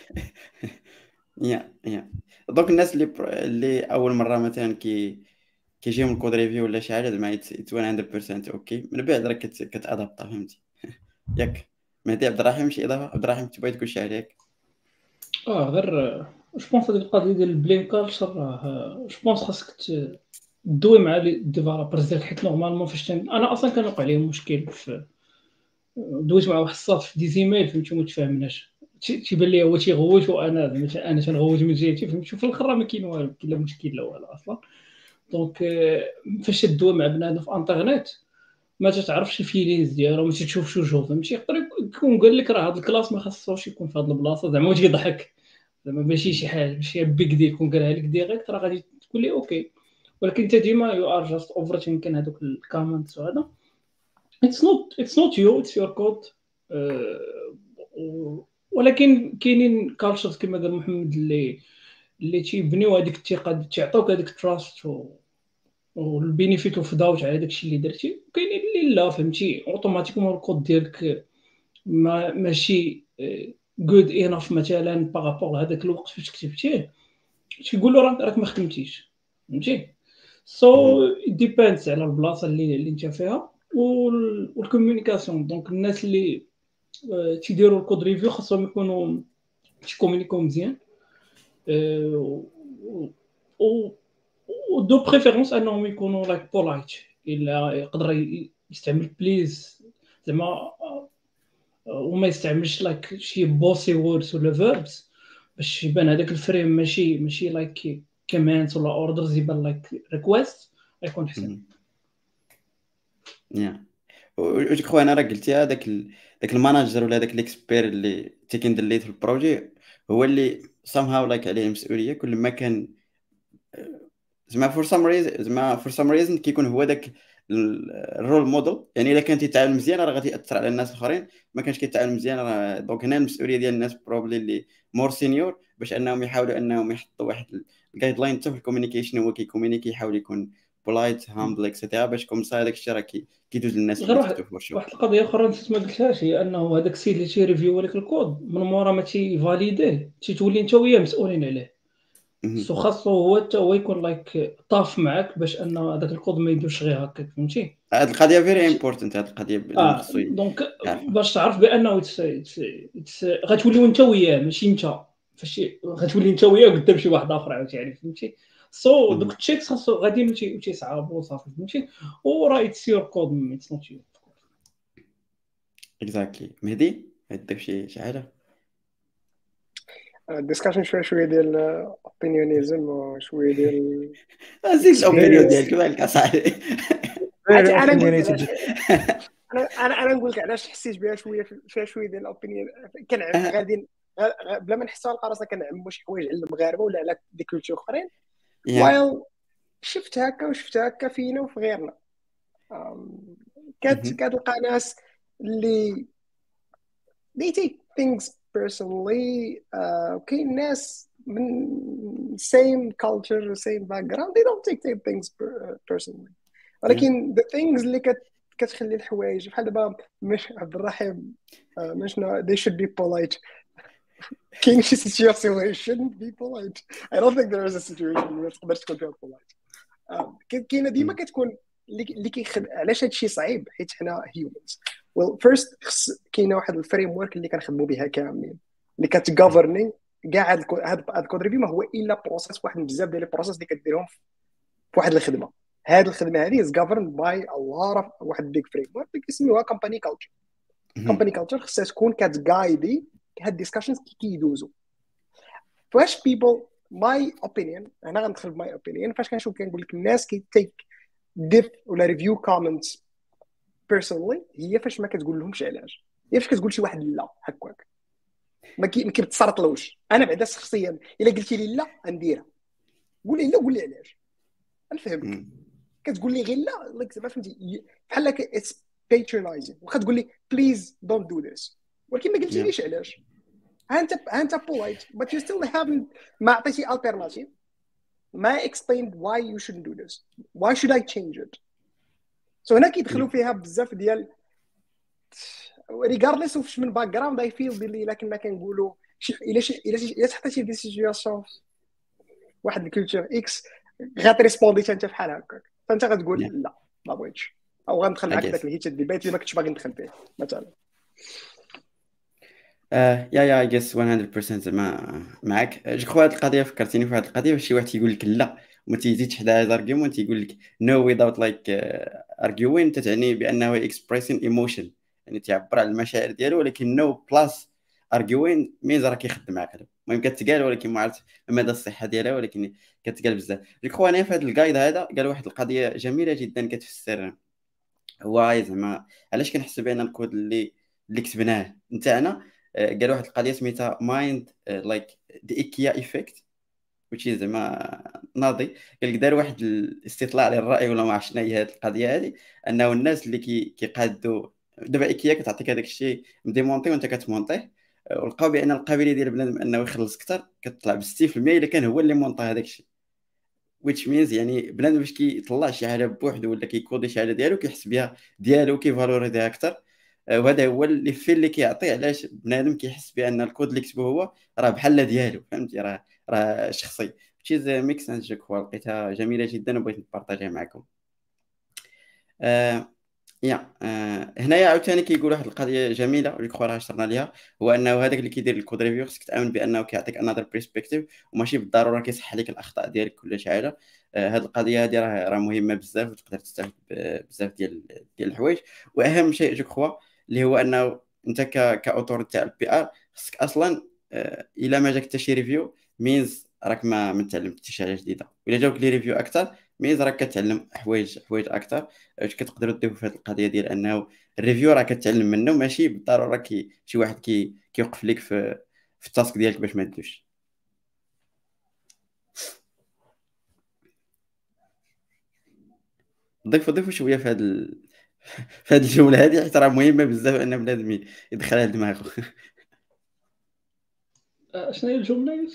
يا يا دونك الناس اللي اللي اول مره مثلا كي كيجيهم الكود ريفيو ولا شي حاجه زعما اتس مية بالمية اوكي من بعد راك كتادابطا فهمتي ياك مهدي عبد الرحيم شي اضافه؟ عبد الرحيم تبغي تقول شي عليك؟ اه غير جو بونس هذيك القضيه ديال البلين كالتشر راه جو بونس خاصك تدوي مع لي ديفلوبرز ديالك حيت نورمالمون فاش انا اصلا كنوقع لي مشكل في دويت مع واحد الصاد في دي زيميل فهمتي ما تفاهمناش تيبان لي هو تيغوت وانا انا تنغوت من جهتي فهمتي في الاخر ما كاين والو كاين لا مشكل لا والو اصلا. دونك فاش تدوي مع بنادم في انترنيت ما تعرفش الفيلينز ديالو ما تشوفش وجهو فهمتي يقدر يكون قال لك راه هذا الكلاس ما خاصوش يكون في هذه البلاصه زعما واش يضحك زعما ماشي شي حاجه ماشي بيك ديل يكون قالها لك ديريكت راه غادي تقول لي اوكي. ولكن انت ديما يو ار جاست اوفر ثينكين هذوك الكومنتس وهذا اتس نوت اتس نوت يو اتس يور كود. ولكن كاينين كالتشرز كما قال محمد اللي اللي تيبنيو هذيك الثقه تيعطوك هذيك التراست والبينيفيت اوف داوت على داكشي اللي درتي. وكاينين اللي لا فهمتي اوتوماتيكمون الكود ديالك ما ماشي جود انف مثلا بارابور لهذاك الوقت فاش كتبتيه تيقول له راك راك ما خدمتيش فهمتي. سو ديبيندز على البلاصه اللي اللي انت فيها والكومونيكاسيون. دونك الناس اللي آه، تيديروا الكود ريفيو خاصهم يكونوا تيكومونيكو مزيان آه، و و دو بريفيرونس انهم يكونوا لايك بولايت. الا يقدر ي- يستعمل بليز زعما آه، وما يستعملش لايك شي بوسي ووردز ولا فيربس باش يبان هذاك الفريم ماشي ماشي لايك كوماندز ولا اوردرز، يبان لايك ريكويست يكون احسن. يا وجو كخوا انا راه قلتيها داك ال... داك الماناجر ولا داك الاكسبير اللي تيكن الليد في البروجي هو اللي somehow لايك عليه المسؤوليه كل ما كان زعما فور سام ريزن زعما فور سام ريزن كيكون هو داك الرول موديل. يعني الا كان تيتعامل مزيان راه غادي ياثر على الناس الاخرين، ما كانش كيتعامل مزيان راه دونك هنا المسؤوليه ديال الناس بروبلي اللي مور سينيور باش انهم يحاولوا انهم يحطوا واحد الجايد لاين حتى في الكوميونيكيشن. هو كيكومينيكي يحاول يكون بولايت هامبل اكسيتيرا باش كوم سا داك الشيء راه كي- كيدوز للناس غير اللي واحد تحتو في ورشو. واحد القضيه اخرى نسيت ما قلتهاش، هي انه هذاك السيد اللي تيريفيو لك الكود من مورا ما تيفاليديه تيتولي انت وياه مسؤولين عليه. سو خاصو هو حتى هو يكون لايك طاف معاك باش ان هذاك الكود ما يدوش غير هكاك فهمتي. هاد القضيه فيري امبورتنت، هاد القضيه بنادم اه خصو دونك يعرفها. باش تعرف بانه it's- it's- it's- غتوليو انت وياه ماشي انت فاش غتولي انت وياه قدام شي واحد اخر عاوتاني فهمتي. سو مهم. دوك التشيكس خاصو غاديين وتي- وتيصعبوا صافي فهمتي. وراه اتس يور كود اتس نوت يور. اكزاكتلي. مهدي عندك شي شي حاجه؟ الديسكشن شويه شويه ديال اوبينيونيزم وشويه ديال زيد الاوبينيون experience. ديالك مالك اصاحبي. عرفتي فيري انا نقول لك اوبينيونيتد. علاش انا انا انا نقول لك علاش حسيت بها شويه فيها شويه ديال الاوبينيون. كان غادي غ- بلا ما نحسوا على راسنا كنعموا شي حوايج على المغاربه ولا على دي كولتور اخرين يا وايل شفت هكا وشفت هكا فينا وفي غيرنا. أم، كت كتلقى ناس اللي they take things personally. uh, وكاين ناس من same culture same background they don't take take things per- personally. ولكن the things اللي كت كتخلي الحوايج بحال دابا مش عبد الرحيم آه، مش they should be polite. كاين شي situation where you shouldn't be polite. I don't think there is a situation where تقدر تكون فيها polite. آه، كاين- كاينه ديما كتكون اللي اللي كيخد علاش هادشي صعيب حيت حنا humans. well first خص كاينه واحد الفريم ورك اللي كنخدموا بها كاملين اللي كتغوفرني كاع هاد الكو- هاد هاد الكود ريفيو ما هو الا بروسيس واحد من بزاف ديال البروسيس اللي كديرهم في واحد الخدمه. هاد الخدمه هذه is governed by a lot of واحد big framework اللي كيسميوها company culture. company culture خصها تكون كتغايدي هاد الديسكشنز كي كيدوزو. فاش people my opinion انا غندخل my opinion فاش كنشوف كنقول لك الناس كي take diff ولا review comments personally هي فاش ما كتقول لهمش علاش. هي فاش كتقول شي واحد لا هكاك ما كي ما كيتسرطلوش. انا بعدا شخصيا الا قلتي لي لا نديرها قول لي لا قول لي علاش نفهمك. كتقول لي غير لا لايك زعما فهمتي بحال لك اتس patronizing. واخا تقول لي بليز دونت دو ذس ولكن ما قلتيليش علاش. ها انت ها انت polite but you still haven't ما عطيتي alternative ما explained why you shouldn't do this. why should I change it. so هنا كيدخلوا فيها بزاف ديال regardless of من باك جراوند I feel باللي الا كنا كنقولوا الا شي الا الا تحطيتي في سيتوياسيون واحد الكولتور اكس غاتريسبوندي انت بحال هكاك فانت غتقول Yeah. لا ما بغيتش او غندخل معاك I guess. داك الهيت ديبيت اللي ما كنتش باغي ندخل فيه مثلا. آه يا يا جيس مية بالمية زعما معاك. جو كخوا هاد القضيه فكرتيني في واحد القضيه واش شي واحد تيقول لك لا وما تيزيدش حدا هذا الارغيومون تيقول لك نو ويزاوت لايك ارغيوين تتعني بانه اكسبريسين ايموشن يعني تعبر على المشاعر ديالو ولكن نو بلاس ارغيوين ميز راه كيخدم معاك. المهم كتقال ولكن ما عرفت مدى الصحه ديالها ولكن كتقال بزاف. جو كخوا انا في هذا الجايد هذا قال واحد القضيه جميله جدا كتفسر هو زعما علاش كنحس بان الكود اللي اللي كتبناه نتاعنا. قال واحد القضيه سميتها مايند لايك ذا ايكيا ايفيكت which is زعما ناضي. قال لك دار واحد الاستطلاع للراي ولا ما عرفتش شنو هي هذه القضيه هذه انه الناس اللي كي كيقادوا دابا ايكيا كتعطيك هذاك الشيء مديمونطي وانت كتمونطيه ولقاو بان القابليه ديال بنادم انه يخلص اكثر كتطلع ب ستين بالمية الا كان هو اللي مونطا هذاك الشيء. which means يعني بنادم باش كيطلع شي حاجه بوحدو ولا كيكودي شي حاجه ديالو كيحس بها ديالو كيفالوريزيها اكثر وهذا هو اللي في اللي كيعطي علاش بنادم كيحس بان الكود اللي كتبه هو راه بحال ديالو، فهمتي؟ راه راه شخصي. تشيز ميك سنس جو كوا لقيتها جميله جدا وبغيت نبارطاجيها معكم. آه يا آه هنايا عاوتاني كيقول واحد القضيه جميله اللي كخوا راه شرنا ليها، هو انه هذاك اللي كيدير الكود ريفيو خصك تامن بانه كيعطيك انذر بريسبكتيف وماشي بالضروره كيصحح لك الاخطاء ديالك كل شي حاجه. آه هذه القضيه هذه راه راه مهمه بزاف وتقدر تستافد بزاف ديال ديال الحوايج. واهم شيء جو كخوا اللي هو انه انت ك كاوتور تاع البي ار خصك اصلا آه الا ما جاك حتى شي ريفيو مينز راك ما ما تعلمتيش شي حاجه جديده، الا جاوك لي ريفيو اكثر ميز راك كتعلم حوايج حوايج اكثر. واش كتقدروا تضيفوا في هذه القضيه ديال انه الريفيو راه كتعلم منه ماشي بالضروره كي شي واحد كي كيوقف لك في في التاسك ديالك باش ما تدوش. ضيفوا ضيفوا شويه في هذا ال... في هذه الجمله هذه حيت راه مهمه بزاف ان بنادم يدخلها لدماغه. شنو هي الجمله؟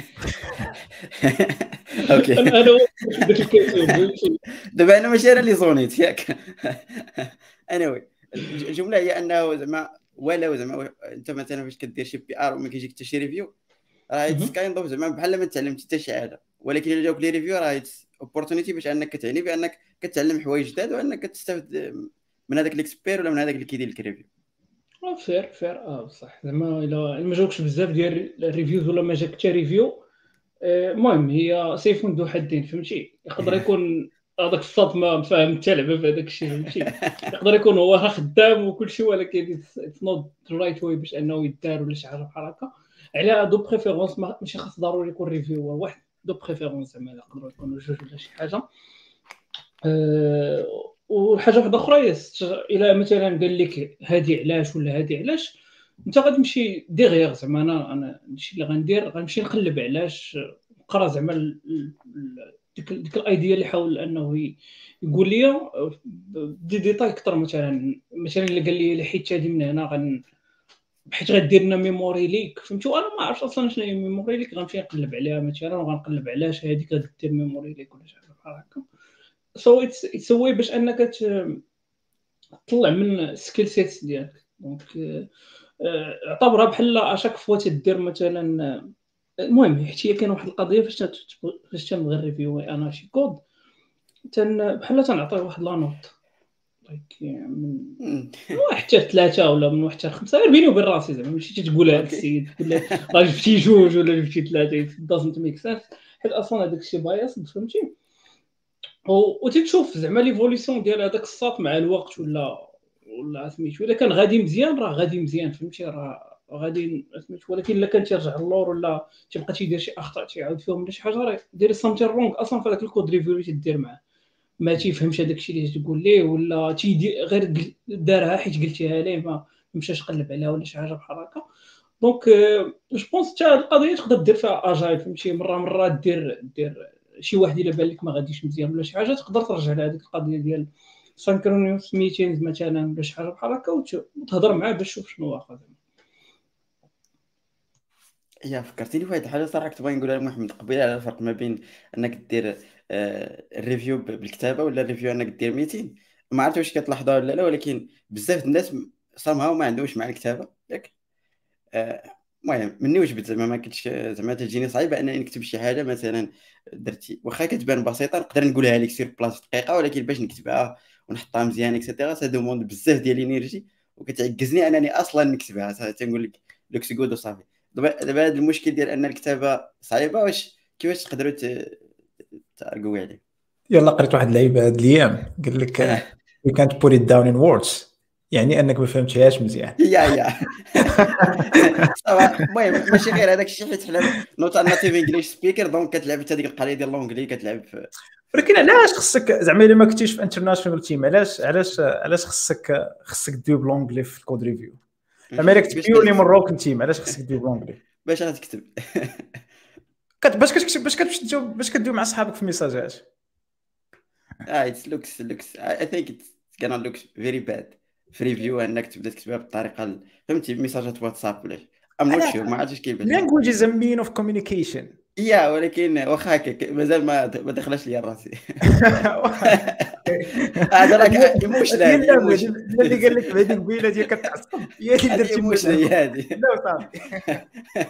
اوكي انا انا داك الكاتب دابا انا ماشي انا اللي صونيت ياك. anyway الجمله هي انه زعما ولا زعما انت مثلا فاش كدير شي بي ار وما كيجيك حتى شي ريفيو راه اتس كايند اوف زعما بحال ما تعلمتي حتى شي حاجه، ولكن الا جاوك لي ريفيو راه اتس اوبورتونيتي باش انك كتعني بانك كتعلم حوايج جداد وانك كتستافد من هذاك الاكسبير ولا من هذاك اللي كيدير لك ريفيو. فير فير اه بصح زعما الا ما جاوكش بزاف ديال الريفيوز ولا ما جاك حتى ريفيو، المهم هي سيف ذو حدين، فهمتي؟ يقدر يكون هذاك الصاد ما فاهم حتى لعبه في هذاك الشيء، فهمتي؟ يقدر يكون هو خدام وكل شيء ولكن اتس نوت رايت واي باش انه يدار ولا شي حاجه بحال هكا. على دو بريفيرونس ماشي خاص ضروري يكون ريفيو واحد، دو بريفيرونس زعما يقدروا يكونوا جوج ولا شي حاجه. أه وحاجه واحده اخرى الى مثلا قال لك هذه علاش ولا هذه علاش، انت غتمشي ديغيغ زعما انا انا الشيء اللي غندير غنمشي نقلب علاش، نقرا زعما ديك ديك الايديا اللي حاول انه يقول لي دي ديتاي اكثر. مثلا مثلا اللي قال لي حيت هذه من هنا غن حيت غدير لنا ميموري ليك، فهمتوا؟ انا ما عرفتش اصلا شنو هي ميموري ليك، غنمشي نقلب عليها مثلا وغنقلب علاش هذيك غدير ميموري ليك ولا شي حاجه بحال هكا. سو اتس اتس واي باش انك تطلع من السكيل سيتس ديالك. دونك اعتبرها بحال اشاك فوا تدير مثلا، المهم حيت هي كاين واحد القضيه فاش فاش تنبغي ريفيو انا شي كود تن بحال تنعطيه واحد لا نوت من واحد حتى ثلاثه ولا من واحد حتى خمسه بيني وبين راسي زعما ماشي تقول هذا السيد تقول لك راه جبتي جوج ولا جبتي ثلاثه دازنت ميك سنس حيت اصلا هذاك الشيء بايص، فهمتي؟ وتشوف زعما ليفوليسيون ديال هذاك الساط مع الوقت ولا ولا سميتو الا كان غادي مزيان راه غادي مزيان، فهمتي؟ راه غادي سميتو. ولكن الا كان تيرجع اللور ولا تيبقى تيدير شي اخطاء تيعاود فيهم ولا شي حاجه راه ديري سامتين رونغ اصلا في هذاك الكود ريفيو اللي تدير معاه، ما تيفهمش هذاك الشيء اللي تقول ليه ولا تيدير غير دارها حيت قلتيها ليه ما مشاش قلب عليها ولا شي حاجه بحال هكا. دونك جو بونس حتى القضيه تقدر دير فيها اجايل، فهمتي؟ مره مره دير دير شي واحد الا بان لك ما غاديش مزيان ولا شي حاجه تقدر ترجع لهذيك القضيه ديال سانكرونيوس ميتينز مثلا ولا شي حاجه بحال هكا وتهضر معاه باش تشوف شنو واقع. يا فكرتيني بواحد الحاجه صراحه كنت باغي نقولها لمحمد قبيله على الفرق ما بين انك دير آه الريفيو بالكتابه ولا الريفيو انك دير ميتين. ما عرفت واش كتلاحظوها ولا لا، ولكن بزاف الناس صامها ما عندهمش مع الكتابه ياك. المهم آه مني وجبت زعما ما كنتش زعما تجيني صعيبه انني نكتب شي حاجه مثلا درتي واخا كتبان بسيطه نقدر نقولها لك سير بلاصه دقيقه، ولكن باش نكتبها ونحطها مزيان اكسيتيرا سا دوموند بزاف ديال الانرجي وكتعجزني انني اصلا نكتبها. تنقول لك لوكس جود وصافي. دابا دابا هذا المشكل ديال ان الكتابه صعيبه واش كيفاش تقدروا تقوي عليه؟ يلا قريت واحد اللعيبه هاد الايام قال لك you can't put it down in words، يعني انك ما فهمتيهاش مزيان. يا يا صافا. المهم ماشي غير هذاك الشيء حيت حنا نوت ناتيف انجليش سبيكر دونك كتلعب حتى ديك القضيه ديال لونجلي كتلعب في. ولكن علاش خصك زعما الا ما كنتيش في انترناشونال تيم علاش علاش علاش خصك خصك دير بلونجلي في الكود ريفيو؟ زعما الا كنت بيورلي من روكن تيم علاش خصك دير بلونجلي؟ باش غتكتب باش كتكتب باش كتمشي تجاوب باش كدوي مع صحابك في ميساجات. اه اتس لوكس لوكس اي ثينك اتس كان لوكس فيري باد في ريفيو انك تبدا تكتبها بالطريقه فهمتي ميساجات واتساب ولا ام نوت شور ما عرفتش كيفاش. language is a mean of communication. يا ولكن واخا هكاك مازال ما ما دخلش ليا راسي. هذا راك ايموشن، هي هذه اللعبه ايموشن، اللي قال لك بهذيك البيله ديال كتعصب هي اللي هذه درتي ايموشن اللعبه. هي هذه. لا صافي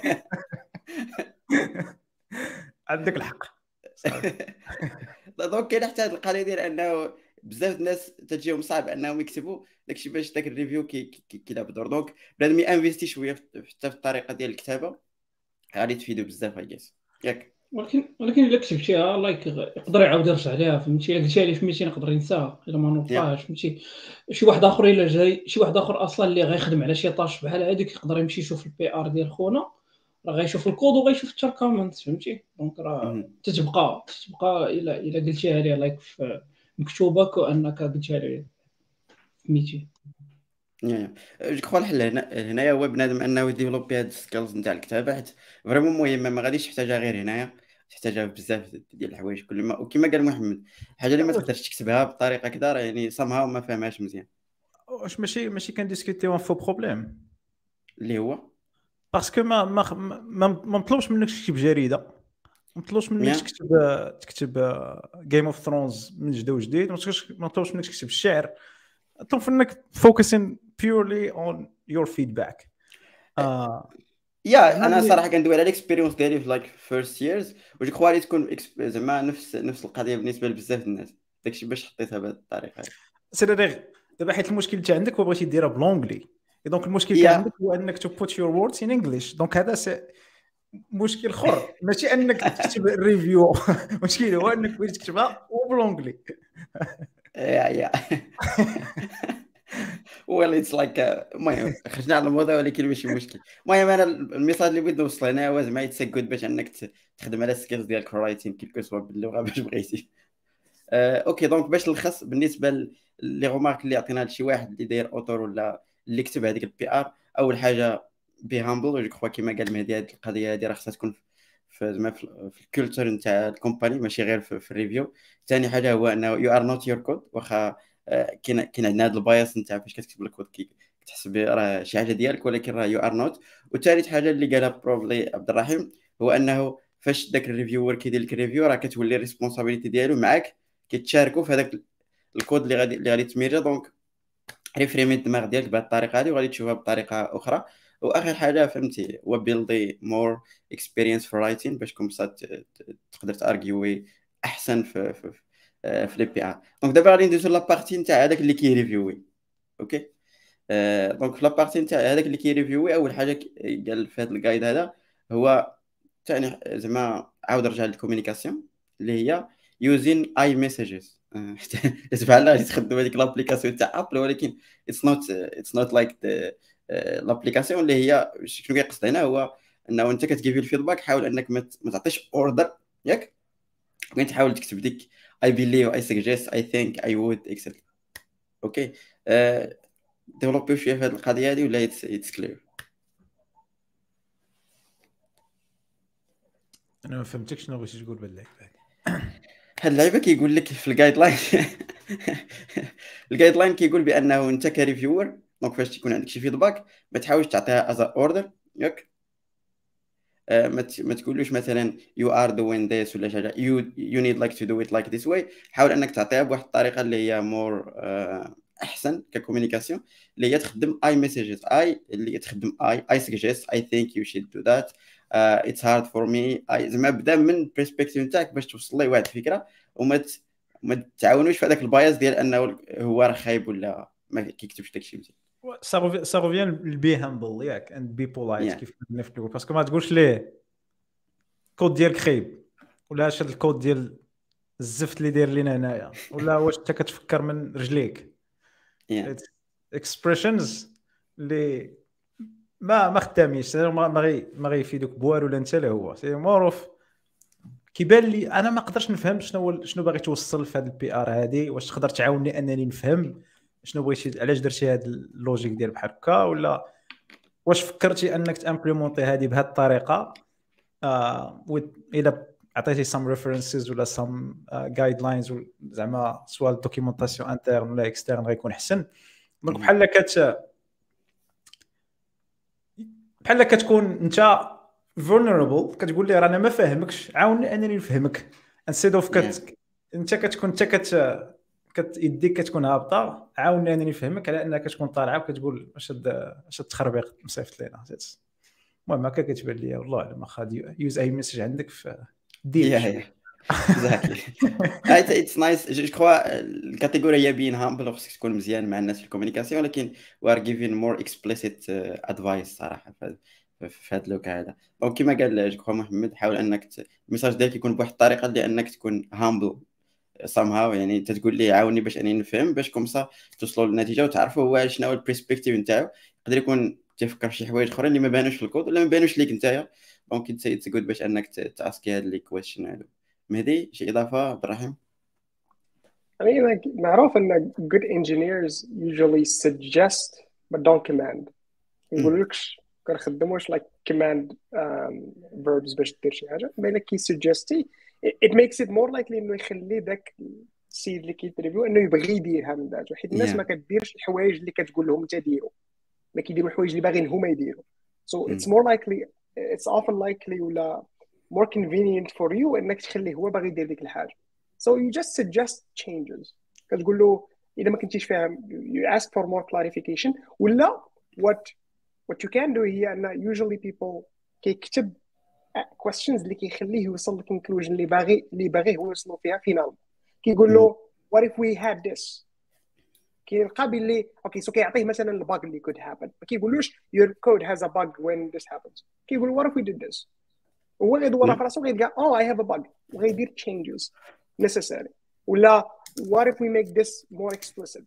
عندك الحق صافي. دونك كاين حتى هذه القضيه ديال انه بزاف الناس تجيهم صعب انهم يكتبوا داكشي باش داك الريفيو كيلعب دور. دونك بنادم ينفيستي شويه في- حتى في الطريقه ديال الكتابه غادي تفيدو بزاف اياس ياك. ولكن ولكن الا كتبتيها لايك يقدر يعاود يرجع ليها، فهمتي؟ الا قلتيها ليه في ميتين يقدر ينساها الا ما نوطاش، فهمتي؟ شي واحد اخر الا جاي شي واحد اخر اصلا اللي غيخدم على شي طاش بحال هذيك يقدر يمشي يشوف البي ار ديال خونا، راه غيشوف الكود وغيشوف حتى الكومنت، فهمتي؟ دونك راه مهم. تتبقى تتبقى الا الا قلتيها ليه لايك في مكتوبه كانك قلتيها ليه في ميتين. يا جو كخوا الحل هنا هنايا هو بنادم انه يديفلوبي هاد السكيلز نتاع الكتابه، حيت فريمون مهمه، ما غاديش تحتاجها غير هنايا، تحتاجها في بزاف ديال الحوايج كل ما. وكما قال محمد الحاجه اللي ما تقدرش تكتبها بطريقه كذا راه يعني صامها وما فهمهاش مزيان، واش ماشي ماشي كنديسكوتيو فو بروبليم اللي هو باسكو ما ما ما ما مطلوبش منك تكتب جريده، ما مطلوبش منك ميان. تكتب تكتب جيم اوف ثرونز من جديد وجديد، ما مطلوبش منك تكتب الشعر، مطلوب منك فوكسين بيورلي اون يور فيدباك. يا انا صراحه كندوي على الاكسبيريونس ديالي في لايك فيرست ييرز، وجو كخوا غادي تكون إكسب- زعما نفس نفس القضيه بالنسبه لبزاف الناس، داكشي باش حطيتها بهذه الطريقه. سير دابا حيت المشكل تاع عندك وبغيتي ديرها بلونجلي، دونك المشكل يا تاع عندك هو انك تو بوت يور ووردز ان انجلش، دونك هذا سي مشكل اخر، ماشي انك تكتب الريفيو المشكل هو انك بغيتي تكتبها وبلونجلي. يا يا ويل اتس لايك. المهم خرجنا على الموضوع ولكن ماشي مشكل. المهم انا الميساج اللي بغيت نوصل هنا هو زعما اتس جود باش انك ت- تخدم على السكيلز ديالك في الرايتين كيلكو سوا باللغه باش بغيتي. آه، اوكي دونك باش نلخص بالنسبه ل- لي غومارك اللي عطينا لشي واحد اللي داير اوتور ولا اللي كتب هذيك البي ار، اول حاجه بي هامبل، جو كخوا كيما قال مهدي هذه القضيه هذه راه خصها تكون في زعما في في الكولتور نتاع الكومباني ماشي غير في, في الريفيو. ثاني حاجه هو انه يو ار نوت يور كود، واخا آه، كاين كاين عندنا هذا البايس نتاع فاش كتكتب الكود كي كتحسب راه شي حاجه ديالك ولكن راه يو ار نوت. وثالث حاجه اللي قالها بروبلي عبد الرحيم هو انه فاش داك الريفيور كيدير لك الريفيو راه كتولي الريسبونسابيلتي ديالو معاك، كيتشاركوا في هذاك الكود اللي غادي اللي غادي تميرجا. دونك ريفريمي الدماغ ديالك بهذه الطريقه هذه وغادي تشوفها بطريقه اخرى. واخر حاجه فهمتي هو بيلدي مور اكسبيرينس في رايتين باش كون بصات تقدر تارجيوي احسن في في في, في لي بي ار. دونك دابا غادي ندوزو لابارتي نتاع هذاك اللي كيريفيوي. اوكي آه، دونك في لابارتي نتاع هذاك اللي كيريفيوي اول حاجه ك- قال في هذا الجايد هذا هو ثاني زعما عاود رجع للكوميونيكاسيون اللي هي يوزين اي ميساجز. بحال غادي تخدم هذيك لابليكاسيون تاع ابل ولكن اتس نوت اتس نوت لايك لابليكاسيون اللي هي شنو كيقصد هنا هو انه انت كتجيبي الفيدباك حاول انك ما ت- ما تعطيش اوردر ياك، ممكن تحاول تكتب ديك اي بيليف اي سجست اي ثينك اي وود اكسيترا. اوكي ديفلوبيو شويه في هذه القضيه هذه ولا اتس كلير؟ انا ما فهمتكش شنو بغيتي تقول بالله. هاد اللعيبه كيقول لك في الجايد لاين الجايد لاين كيقول بانه انت كريفيور دونك فاش تكون عندك شي فيدباك ما تحاولش تعطيها از اوردر ياك. آه، ما ت- ما تقولوش مثلا يو ار دوين ذيس ولا شي حاجه يو يو نيد لايك تو دو ات لايك ذيس واي. حاول انك تعطيها بواحد الطريقه اللي هي مور احسن ككوميونيكاسيون اللي هي تخدم اي ميساجز اي اللي هي تخدم اي اي سجست اي ثينك يو شود دو ذات اتس هارد فور مي اي زعما بدا من البرسبكتيف نتاعك باش توصل ليه واحد الفكره وما ت... ما تعاونوش في هذاك الباياس ديال انه هو راه خايب ولا ما كيكتبش داكشي مزيان. سا ريفيان البي هامبل ياك اند بي بولايت Yeah. كيف قلنا في الاول، باسكو ما تقولش ليه الكود ديالك خايب ولا اش هذا الكود ديال الزفت اللي داير لينا هنايا ولا واش انت كتفكر من رجليك. Yeah. اكسبريشنز اللي ما ما خدامينش ما ما غي ما غيفيدوك بوالو ولا انت لا هو سي معروف. كيبان لي انا ما نقدرش نفهم شنو شنو باغي توصل في هذا البي ار هذه، واش تقدر تعاوني انني نفهم شنو بغيتي علاش درتي هذا اللوجيك ديال بحال هكا، ولا واش فكرتي انك تامبليمونطي هذه بهذه الطريقه آه الى عطيتي سام ريفرنسز ولا سام جايد لاينز زعما سواء الدوكيومونطاسيون انترن ولا اكسترن غيكون احسن. دونك Mhm. بحال كت بحال كتكون انت vulnerable كتقول لي رانا ما فاهمكش عاوني انني نفهمك انستيد اوف كت انت كتكون انت كت كت يديك كتكون هابطه عاوني انني نفهمك على انك كتكون طالعه وكتقول واش هاد واش التخربيق مصيفط لينا. المهم هكا كتبان لي والله الا ما خادي يوز اي ميساج عندك في دير اكزاكتلي. اتس نايس جو كخوا الكاتيجوري هي بين هامبل وخصك تكون مزيان مع الناس في الكومونيكاسيون، ولكن وي ار جيفين مور اكسبليسيت ادفايس صراحه في هذا اللوك هذا. دونك كما قال جو كخوا محمد، حاول انك الميساج ديالك يكون بواحد الطريقه اللي انك تكون هامبل somehow، يعني انت تقول لي عاوني باش اني نفهم، باش كومسا توصلوا للنتيجه وتعرفوا هو شنو هو البرسبكتيف نتاعو. يقدر يكون تفكر في شي حوايج اخرين اللي ما بانوش في الكود ولا ما بانوش ليك نتايا. دونك اتس اتس جود باش انك تاسكي هاد لي كويشن هادو. مهدي شي اضافه؟ عبد الرحيم؟ I mean, like, معروف ان good engineers usually suggest but don't command. يقولكش كنخدم واش like command um, verbs باش دير شي حاجه، بين كي suggesti it makes it more likely انه يخلي داك السيد اللي كيتريفيو انه يبغي يديرها من ذاته، حيت الناس Yeah. ما كديرش الحوايج اللي كتقول لهم انت ديروا، ما كيديروا الحوايج اللي باغيين هما يديروا. so Mm. it's more likely it's often likely ولا more convenient for you انك تخليه هو باغي يدير ديك الحاجه. so you just suggest changes. كتقول له اذا ما كنتيش فاهم you ask for more clarification، ولا what what you can do هي ان usually people كيكتب questions اللي كيخليه يوصل للكونكلوجن اللي باغي اللي باغي هو يوصلوا فيها فينال. كيقول له what if we had this، كيلقى باللي اوكي سو كيعطيه مثلا الباج اللي could happen، ما كيقولوش your code has a bug when this happens، كيقول what if we did this، هو غيدور في راسو غيلقى oh I have a bug وغيدير changes necessary. ولا what if we make this more explicit.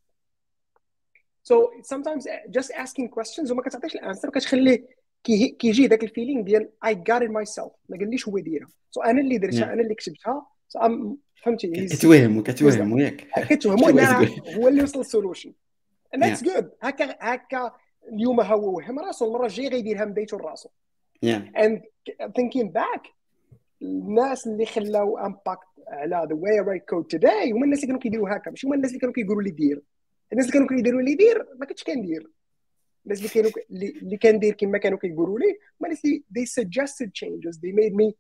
so sometimes just asking questions وما كتعطيش الانسر كتخليه كيجي داك الفيلينغ ديال I got it myself، ما قاليش هو يديرها، سو انا اللي درتها، انا اللي كتبتها. so I'm فهمتي كتوهم كتوهم ياك كتوهمو ان هو اللي وصل للسولوشن and that's good. هكا هكا اليوم هو وهم راسو، المره الجايه غيديرها من بيته لراسو. and thinking back الناس اللي خلاو امباكت على the way I write code today هما الناس اللي كانوا كيديروا هكا، ماشي هما الناس اللي كانوا كيقولوا لي دير. الناس اللي كانوا كيديروا لي دير ما كنتش كندير، الناس اللي كانوا اللي كندير كما كانوا كيقولوا لي هما الناس اللي they suggested changes they made me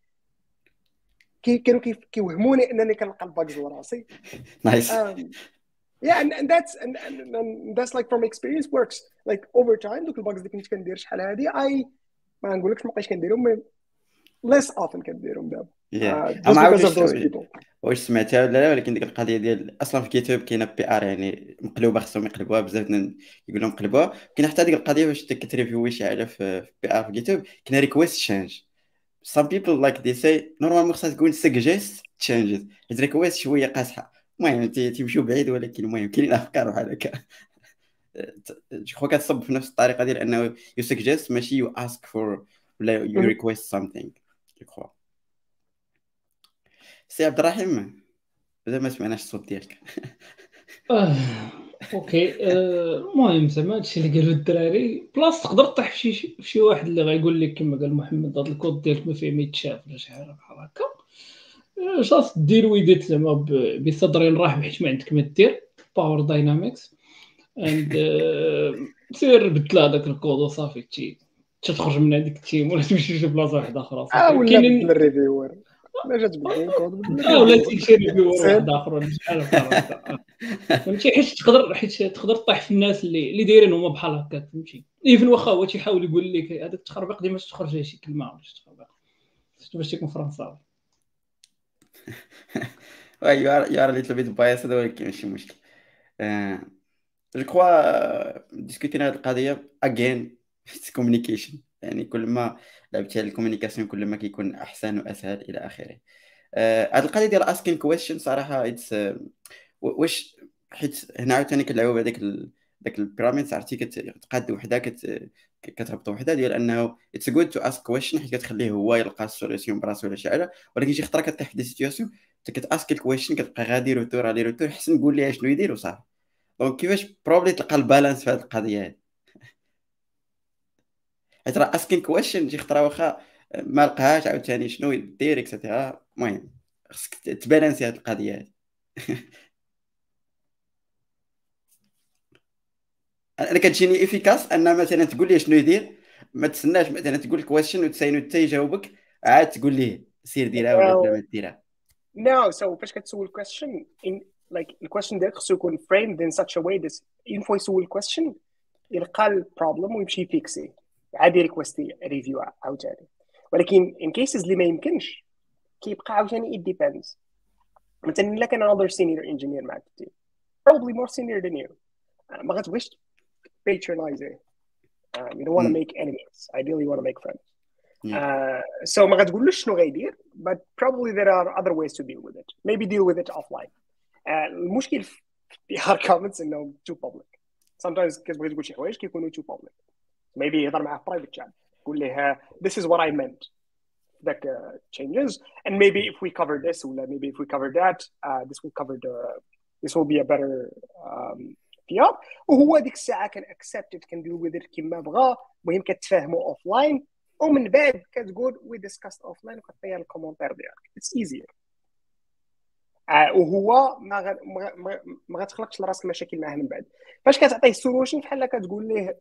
كي كانوا كيوهموني انني كنلقى الباجز وراسي. nice. um, yeah and, and that's and, and, and that's like from experience works like over time. دوك الباجز اللي كنت كندير شحال هادي I ما نقولكش ما بقيتش كنديرهم less often كنديرهم دابا. yeah. uh, just because of those people. واش سمعتها ولا لا؟ ولكن ديك القضيه ديال اصلا في كيتوب كاينه بي ار يعني مقلوبه، خصهم يقلبوها بزاف يقول لهم قلبوها. كاين حتى ديك القضيه واش كتريفيوي شي حاجه في بي ار في كيتوب كاين ريكويست تشينج. some people like they say نورمالمون خصها تكون suggest changes، حيت ريكويست شويه قاصحه. المهم تيمشيو بعيد، ولكن المهم كاينين افكار بحال هكا جو كخوا كتصب في نفس الطريقه ديال انه you suggest ماشي you ask for ولا you request something. جو كخوا سي عبد الرحيم بدا ما سمعناش الصوت ديالك. اه اوكي المهم زعما هادشي اللي قالوا الدراري بلاص تقدر تطيح في شي في شي واحد اللي غايقول لك كما قال محمد هذا الكود ديالك ما فيه ما يتشاف ولا شي حاجه بحال هكا. جاست دير ويديت زعما بصدر رحب حيت ما عندك ما دير باور داينامكس اند سير بدل هذاك الكود وصافي تي تخرج من هذيك التيم ولا تمشي لشي بلاصه واحده اخرى. اه ولا بدل الريفيور ما جات بدل الكود اه ولا تيمشي ريفيور واحد اخر ولا شحال بحال هكا فهمتي. حيت تقدر حيت تقدر طيح في الناس اللي اللي دايرين هما بحال هكا فهمتي. ايفن واخا هو تيحاول يقول لك هذاك التخربيق ديما تخرج شي كلمه ولا شي تخربيق باش تكون فرنساوي. واي يو ار يو ار ليتل بيت بايس، هذا ولكن ماشي مشكل. جو كخوا ديسكوتينا هذه القضيه اجين كوميونيكيشن، يعني كل ما لعبتي على الكوميونيكاسيون كل ما كيكون احسن واسهل الى اخره. هذه القضيه ديال اسكين كويشن صراحه اتس واش حيت هنا عاوتاني كنلعبوا بهذاك داك البيراميد، عرفتي كتقاد وحده كت كتربط وحده ديال انه اتس جود تو اسك كويشن حيت كتخليه هو يلقى السوليسيون براسو ولا شي حاجه. ولكن شي خطره كطيح في دي سيتوياسيون كتاسك الكويشن كتبقى غادي روتور على روتور، حسن نقول ليه شنو يدير وصافي. دونك كيفاش بروبلي تلقى البالانس في هذه القضيه هذه؟ حيت راه اسكين كويشن شي خطره واخا ما لقاهاش عاوتاني شنو يدير اكسيتيرا. المهم خصك تبالانسي هذه القضيه هذه. انا كتجيني افيكاس ان مثلا تقول لي شنو يدير ما تسناش مثلا تقول الكويشن وتساينو حتى يجاوبك عاد تقول ليه سير ديرها ولا بلا ما ديرها. No, so فاش كتسول question in like the question ديالك خصو يكون framed in such a way that in فوا يسول question يلقى البروبلم ويمشي فيكسي عادي ريكويستي ريفيو عاوتاني. ولكن in cases اللي ما يمكنش كيبقى عاوتاني it depends. مثلا الا كان another senior engineer معك في التيم probably more senior than you ما غتبغيش patronize it. Um, you don't want to make enemies. Ideally, you want to make friends. Yeah. Uh, so ما غتقولوش شنو غيدير, but probably there are other ways to deal with it. Maybe deal with it offline. Uh, المشكل في P R comments انهم too public. Sometimes كتبغي تقول شي حوايج كيكونوا too public. Maybe يهضر معاه private chat. قول له this is what I meant. That uh, changes. And maybe if we cover this, or maybe if we cover that, uh, this will cover the. This will be a better. Um, فيها وهو ديك الساعه كان اكسبتد كندير وذ كيما بغا. المهم كتفاهموا اوف لاين ومن بعد كتقول وي ديسكاست اوف لاين وكتعطيها الكومونتير ديالك. اتس ايزير. آه وهو ما غ... ما, ما غتخلقش لراسك مشاكل معاه من بعد. فاش كتعطيه السولوشن بحال كتقول ليه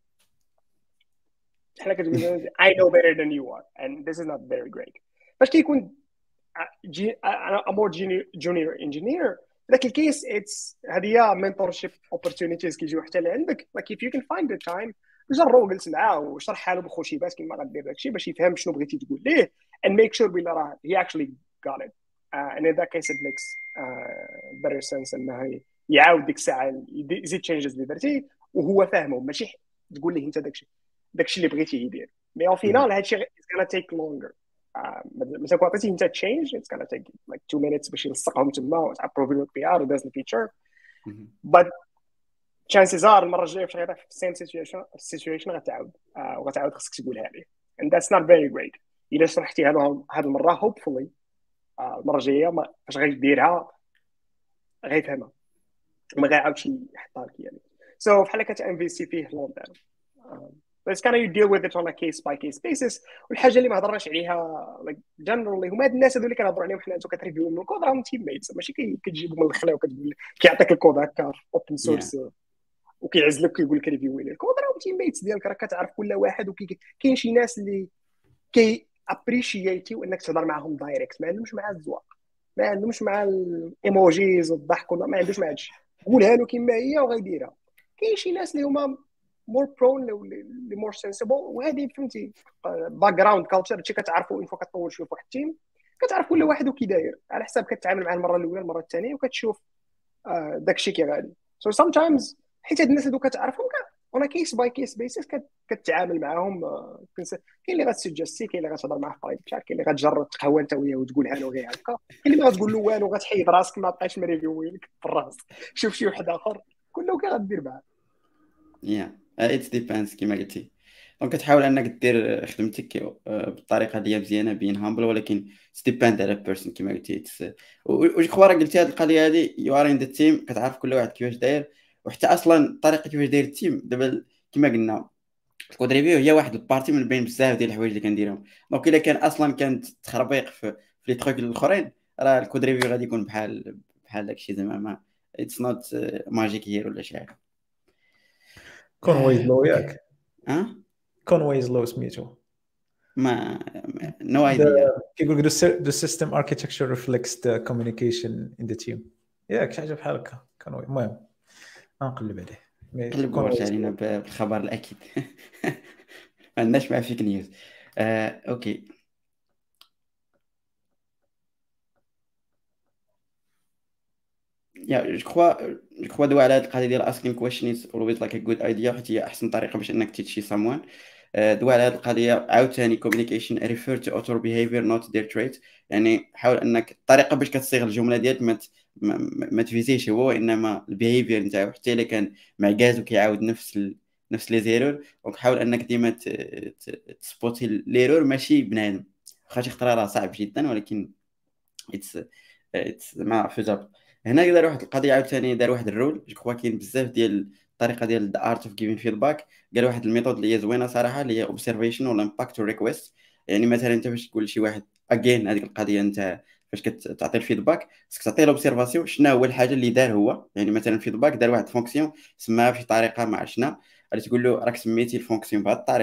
بحال كتقول له I know better than you are and this is not very great. فاش كيكون جي... a more junior, junior engineer ذاك الكيس اتس هذه هي منتورشيب اوبورتونيتيز كيجيو حتى لعندك. like if you can find the time جرو جلس معاه وشرح له بخوشيبات كيما غدير داكشي باش يفهم شنو بغيتي تقول ليه and make sure بلي راه he actually got it uh, and in that case it makes uh, better sense انه يعاود ديك الساعه يزيد changes اللي درتي وهو فاهمه ماشي تقول ليه انت داكشي داكشي اللي بغيتي يدير. مي او فينال هادشي it's gonna take longer. مثلا كون عطيتي انت تشينج it's gonna take like two minutes باش يلصقهم تما وتابروفي لك بي ار وداز الفيتشر. but chances are المره الجايه فاش غيطيح في السيم سيتويشن السيتويشن غتعاود uh, وغتعاود خصك تقولها ليه and that's not very great. الا شرحتيها له هذه المره hopefully uh, المره الجايه فاش غيديرها غيفهمها وما غيعاودش يحطها لك يعني. so بحال كتانفيستي فيه لون تيرم. بس كان you deal with it on a case by case basis. والحاجه اللي ما هضرناش عليها like generally هما هاد الناس هذو اللي كنهضروا عليهم حنا انتو كتريفيو من الكود راهم تيم ميتس ماشي كتجيبهم من الخلا وكتقول كيعطيك الكود هكا اوبن سورس وكيعزلك كيقول لك ريفيو لي الكود راهم تيم ميتس ديالك راك كتعرف كل واحد. وكاين شي ناس اللي كي ابريشيتيو انك تهضر معاهم دايركت ما عندهمش مع الزواق ما عندهمش مع الايموجيز والضحك ما عندهمش مع هادشي قولها له كما هي وغيديرها. كاين شي ناس اللي هما more prone ل more sensible وهذه فهمتي باك جراوند كالتشر هادشي كتعرفوا ان فوا كتطول شويه في واحد التيم كتعرف كل واحد وكي داير على حساب كتعامل معاه المره الاولى المره الثانيه وكتشوف آه داكشي كي غادي. so sometimes حيت هاد الناس هادو كتعرفهم on a case by case basis كتعامل معاهم. آه كاين اللي غتسجستي كاين اللي غتهضر معاه في برايفت شات كاين اللي غتجرب تقهوى انت وياه وتقولها له غير هكا كاين اللي غتقول له والو غتحيد راسك ما بقاش مريفيو لك في الراس شوف شي واحد اخر كله كغدير معاه. يا ات ديبانس كيما قلتي. دونك كتحاول انك دير خدمتك بالطريقه اللي هي مزيانه بين هامبل ولكن ستيباند على بيرسون كيما قلتي. وجو كخوا راه قلتي هذه القضيه هذه يو ار ان ذا تيم كتعرف كل واحد كيفاش داير وحتى اصلا طريقه كيفاش داير التيم. دابا كيما قلنا الكود ريفيو هي واحد البارتي من بين بزاف ديال الحوايج اللي كنديرهم. دونك الا كان اصلا كانت تخربيق في في لي تروك الاخرين راه الكود ريفيو غادي يكون بحال بحال داكشي زعما ما اتس نوت ماجيك هير ولا شي حاجه. كونويز لو ياك ها كونويز لو سميتو ما نو ايديا كيقول لك the system architecture reflects the communication in the team ياك شي حاجه بحال هكا كانوا. المهم غنقلب عليه قلب ورش علينا بالخبر الاكيد. ما عندناش مع فيك نيوز. آه، اوكي يا جو كخوا جو كخوا دوا على هاد القضيه ديال asking question is always like a good idea حيت هي احسن طريقه باش انك تيتشي someone. دوا على هاد القضيه عاوتاني communication refer to author behavior not their trait. يعني حاول انك الطريقه باش كتصيغ الجمله ديالك ما ما, ما تفيزيش هو وانما البيهيفير نتاعو حتى الا كان معكاز وكيعاود نفس ال... نفس لي زيرور. دونك حاول انك ديما ت... ت... تسبوتي ليرور ماشي بنادم واخا شي خطره راه صعب جدا ولكن اتس اتس ما فيزابل. هنا دار واحد القضيه عاوتاني دار واحد الرول جو كخوا كاين بزاف ديال الطريقه ديال ذا ارت اوف جيفين فيدباك. قال واحد الميثود اللي هي زوينه صراحه اللي هي اوبزرفيشن ولا امباكت ريكويست. يعني مثلا انت باش تقول لشي واحد اجين هذيك القضيه انت فاش كتعطي الفيدباك خصك تعطي له اوبزرفاسيون شنو هو الحاجه اللي دار هو. يعني مثلا الفيدباك دار واحد فونكسيون سماها بشي طريقه ما عرفنا غادي تقول له راك سميتي الفونكسيون بهذه الطريقه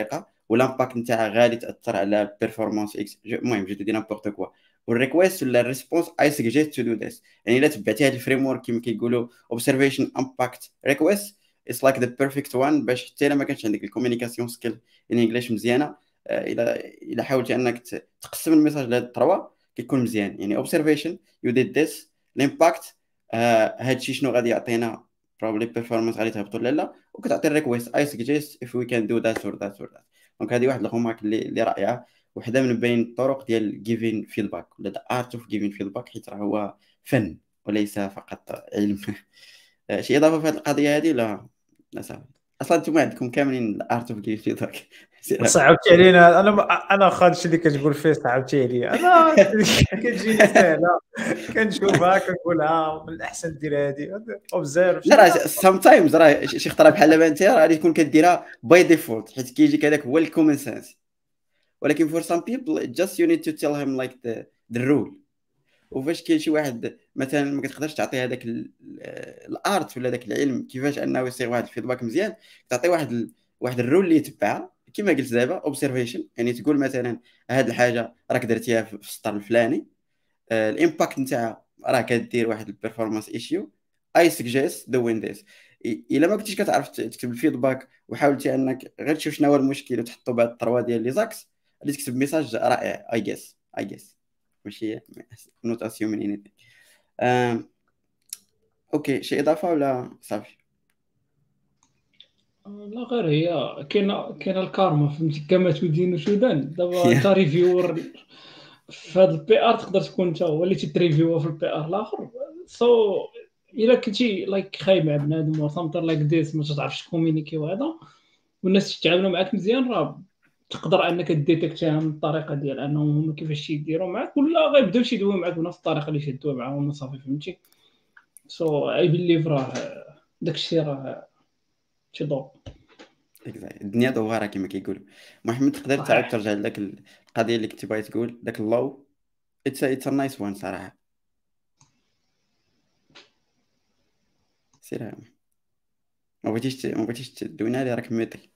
والامباكت نتاعها غادي تاثر على البيرفورمانس اكس. المهم جو دي نامبورط كوا. والريكويست ولا الريسبونس اي سجست تو دو ذس. يعني الا تبعتي هذا الفريم ورك كما كيقولوا اوبزرفيشن امباكت ريكويست اتس لايك ذا بيرفكت وان، باش حتى الا ما كانش عندك الكوميونيكاسيون سكيل ان انجليش مزيانه، الا الا حاولتي انك تقسم الميساج لهاد الثروا كيكون مزيان. يعني اوبزرفيشن يو ديد ذس، الامباكت هادشي شنو غادي يعطينا probably performance غادي تهبط ولا لا، وكتعطي الريكويست I suggest if we can do that or that or that. دونك هذه واحد الهوماك اللي اللي رائعه، وحده من بين الطرق ديال giving feedback ولا the art of giving feedback، حيت راه هو فن وليس فقط علم. شي اضافه في هذه القضيه هذه؟ لا لا صافي. اصلا انتم عندكم كاملين the art of giving feedback. صعبتي علينا. انا انا خالد اللي كتقول فيه صعبتي عليا. انا كتجيني سهله كنشوفها كنقولها من الاحسن دير هذه اوبزيرف. لا راه سام تايمز راه شي خطره بحال دابا انت راه غادي تكون كديرها باي ديفولت حيت كيجيك هذاك هو الكومن سنس، ولكن فور سام بيبل جاست يو نيد تو تيل هيم لايك ذا رول. وفاش كاين شي واحد مثلا ما كتقدرش تعطي هذاك الارت ولا داك العلم كيفاش انه يصيغ واحد الفيدباك مزيان، تعطي واحد ال... واحد الرول اللي يتبعها كما قلت دابا اوبزرفيشن. يعني تقول مثلا هاد الحاجه راك درتيها في السطر الفلاني، آه الامباكت نتاعها راه كدير واحد البيرفورمانس ايشيو اي سجست دوين ذيس. الا ما كنتيش كتعرف تكتب الفيدباك وحاولتي انك غير تشوف شنو هو المشكل وتحطو بهاد الطروا ديال لي زاكس، غادي تكتب ميساج رائع. اي جيس اي جيس ماشي نوت اسيومين انيثين. اوكي شي اضافه ولا صافي؟ لا غير هي كاينه كاينه الكارما، فهمتي كما تدين سودان. دابا انت ريفيور في هذا البي ار تقدر تكون انت هو اللي تريفيو في البي ار الاخر. سو so, الا كنتي لايك خايب مع بنادم ولا سامتر لايك ديس ما تعرفش كومينيكي وهذا والناس تتعاملوا معاك مزيان، راه تقدر انك ديتيكتيها من الطريقه ديال انهم هما كيفاش يديروا معاك، ولا غيبداو يدويو معاك بنفس الطريقه اللي شدوا معاهم صافي. فهمتي؟ سو اي بليف راه داكشي راه شي دور الدنيا دواره كما كيقولوا. محمد تقدر تعاود ترجع لذاك القضيه اللي كنتي باغي تقول داك اللو؟ اتس اتس نايس وان صراحه. سير ما بغيتيش ما بغيتيش تدوينا لي راك ميطي.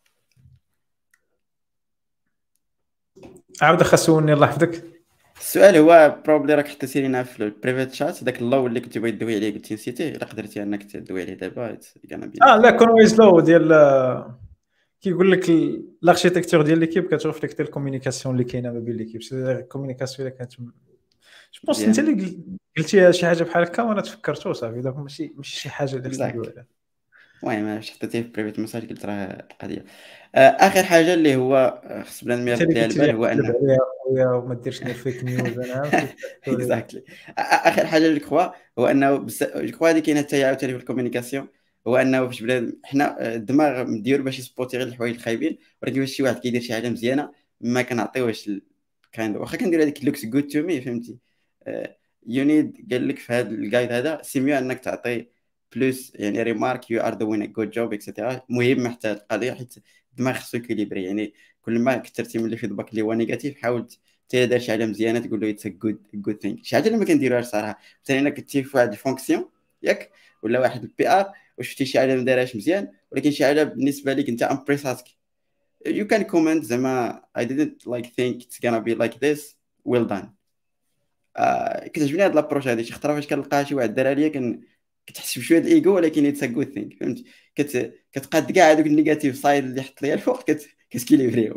عاود خاصوني الله يحفظك. السؤال هو بروبلي راك حتى سيرينا في البريفيت شات داك اللو اللي كنتي بغيت تدوي عليه قلتي نسيتيه، الا قدرتي انك تدوي عليه دابا اه لا كونويز لو ديال كيقول لك الاركتيكتور ديال ليكيب كترفليكت الكومونيكاسيون اللي كاينه ما بين ليكيب. سي الكومونيكاسيون اللي كانت جو بونس انت اللي قلتي شي حاجه بحال هكا وانا تفكرتو صافي. دابا ماشي ماشي شي حاجه اللي خصني ندويها. المهم انا حطيتيه في بريفيت مساج قلت راه القضيه. اخر حاجه اللي هو خص بلا نمير ليها البال هو انه وما ديرش لي فيك نيوز. انا اكزاكتلي اخر حاجه اللي كخوا هو انه جو كخوا هذه كاينه حتى عاوتاني في الكومونيكاسيون، هو انه فاش بلا حنا الدماغ مدير باش يسبوتي غير الحوايج الخايبين، ولكن فاش شي واحد كيدير شي حاجه مزيانه ما كنعطيوهش كاين واخا كندير هذيك لوكس جود تو مي. فهمتي؟ يو نيد قال لك في هذا الجايد هذا سيميو انك تعطي بلوس يعني ريمارك يو ار دوين ا جود جوب اكسيتيرا. مهم حتى هذه القضيه حيت الدماغ خصو يكيليبري. يعني كل ما كثرتي من الفيدباك اللي هو نيجاتيف حاول حتى دار شي حاجه مزيانه تقول له اتس جود جود ثينك. شي حاجه اللي ما كنديروهاش صراحه. مثلا انا كنتي في واحد الفونكسيون ياك ولا واحد البي ار وشفتي شي حاجه ما دارهاش مزيان ولكن شي حاجه بالنسبه لك انت امبريساتك، you can comment زعما I didn't like think it's gonna be like this well done. آه كتعجبني هاد لابروش هادي. شي خطره فاش كنلقى شي واحد دارها ليا كن كتحس بشويه د الايجو ولكن اتس ا جود ثينك. فهمت؟ كت كتقاد كاع هذوك النيجاتيف سايد اللي حط ليا الفوق كت كتكيليبريو.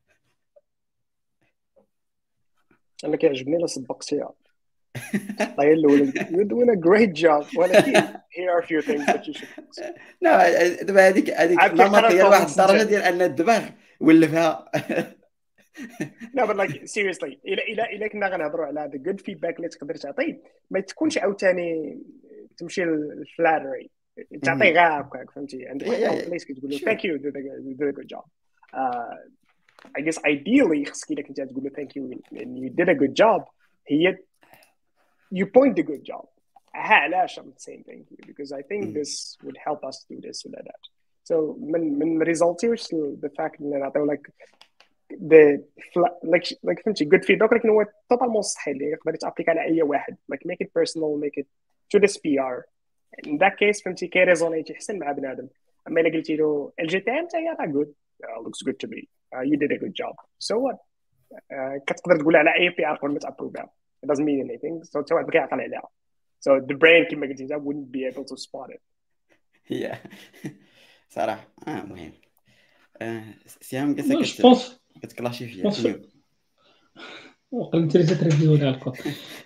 انا كيعجبني الا سبقتيها طاير الاول you're doing a great job ولكن here are a few things that you should لا دابا هذيك هذيك نمطيه لواحد الدرجه ديال ان الدماغ ولفها. لا but like seriously الى الى الى كنا غنهضروا على هذا good feedback اللي تقدر تعطيه ما تكونش عاوتاني تمشي للفلاتري تعطي غير هكاك. فهمتي؟ عندك واحد ليش كتقول له thank you you did a good job. uh, I guess ideally خصك الا كنتي تقول له thank you and you did a good job هي you point the good job. علاش I'm saying thank you because I think this would help us do this or that. So من من results the fact اللي نعطيو like the like like فهمتي good feedback لكن هو totalement صحيح اللي يقدر يتابليك على اي واحد like make it personal make it to this P R in that case. فهمتي كيريزونيتي يحسن مع بنادم. اما الا قلتي له الجي تي ام تاعي راه good uh, looks good to me uh, you did a good job. So what? Uh, كتقدر تقول على اي بي ار قبل ما تابروفها. It doesn't mean anything. So حتى واحد ما كيعقل عليها. So the brain كما قلتي wouldn't be able to spot it. هي صراحه اه مهم. آه سيام جو قصه بونس كتكلاشي فيها بونس شنو وقال انت اللي تريفيو على الكود.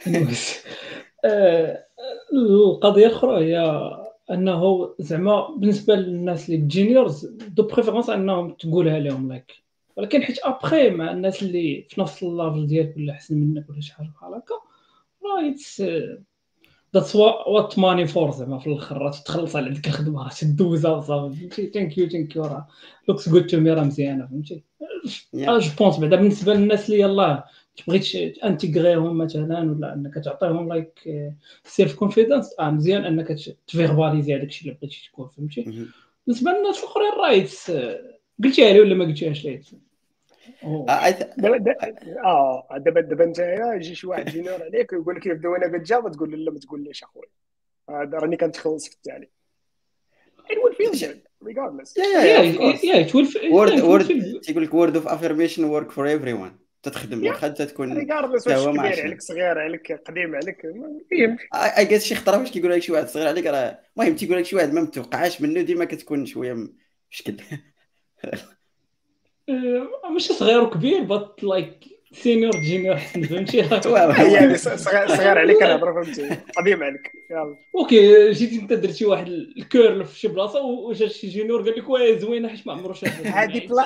آه، القضيه الاخرى هي انه زعما بالنسبه للناس اللي جينيورز دو بريفيرونس انهم تقولها لهم لايك، ولكن حيت ابخي مع الناس اللي في نفس الليفل ديالك ولا احسن منك ولا شي حاجه بحال هكا راه اتس ذاتس وات ماني فور زعما في الاخر راه تخلص على ديك الخدمه راه تدوزها وصافي فهمتي. ثانك يو ثانك يو راه لوكس جود تو مي راه مزيانه فهمتي. اه جو بونس بعدا بالنسبه للناس اللي يلاه تبغيتش انتيغريهم مثلا ولا انك تعطيهم لايك سيلف كونفيدنس اه مزيان انك تفيرباليزي هذاك الشيء اللي بغيتي تكون فهمتي. بالنسبه للناس الاخرين رايت قلتيها لي ولا ما قلتيهاش لي؟ دابا اه دابا دابا نتايا يجي شي واحد جينيور عليك ويقول لك يبدا وانا كتجاوب تقول له لا ما تقوليش اخويا هذا راني كنتخلص في التالي. It will feel good regardless. Yeah, yeah, yeah, of course. Yeah, it will word word تيقول لك word of affirmation work for everyone. تتخدم واخا تكون regardless واش كبير عليك صغير عليك قديم عليك المهم اي جيس شي خطره واش كيقول لك شي واحد صغير عليك راه المهم تيقول لك شي واحد ما متوقعاش منه ديما كتكون شويه مشكل. ماشي صغير وكبير بط لايك سينيور جينيور حسن فهمتي. يعني صغير عليك كنهضر فهمتي قديم عليك يلا اوكي جيتي انت درتي واحد الكيرل في شي بلاصه وجا شي جينيور قال لك واه زوينه حيت ما عمرو شافها هذه بلا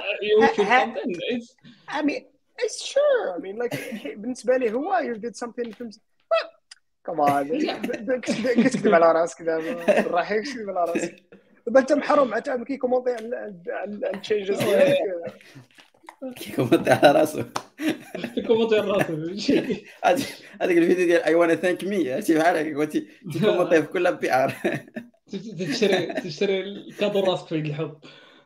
I mean it's sure I mean like بالنسبه لي هو you did something فهمتي كمان كتكذب على راسك دابا راحي كتكذب على راسك دابا انت محروم عاد كي كومونتي على التشينجز ديالك كيكومونتي على راسو كيكومونتي على راسو فهمتي. هذاك الفيديو ديال اي وانا ثانك مي عرفتي بحال هكا قلتي تيكومونتي في كل بي ار تشري تشري الكادو راسك في الحب.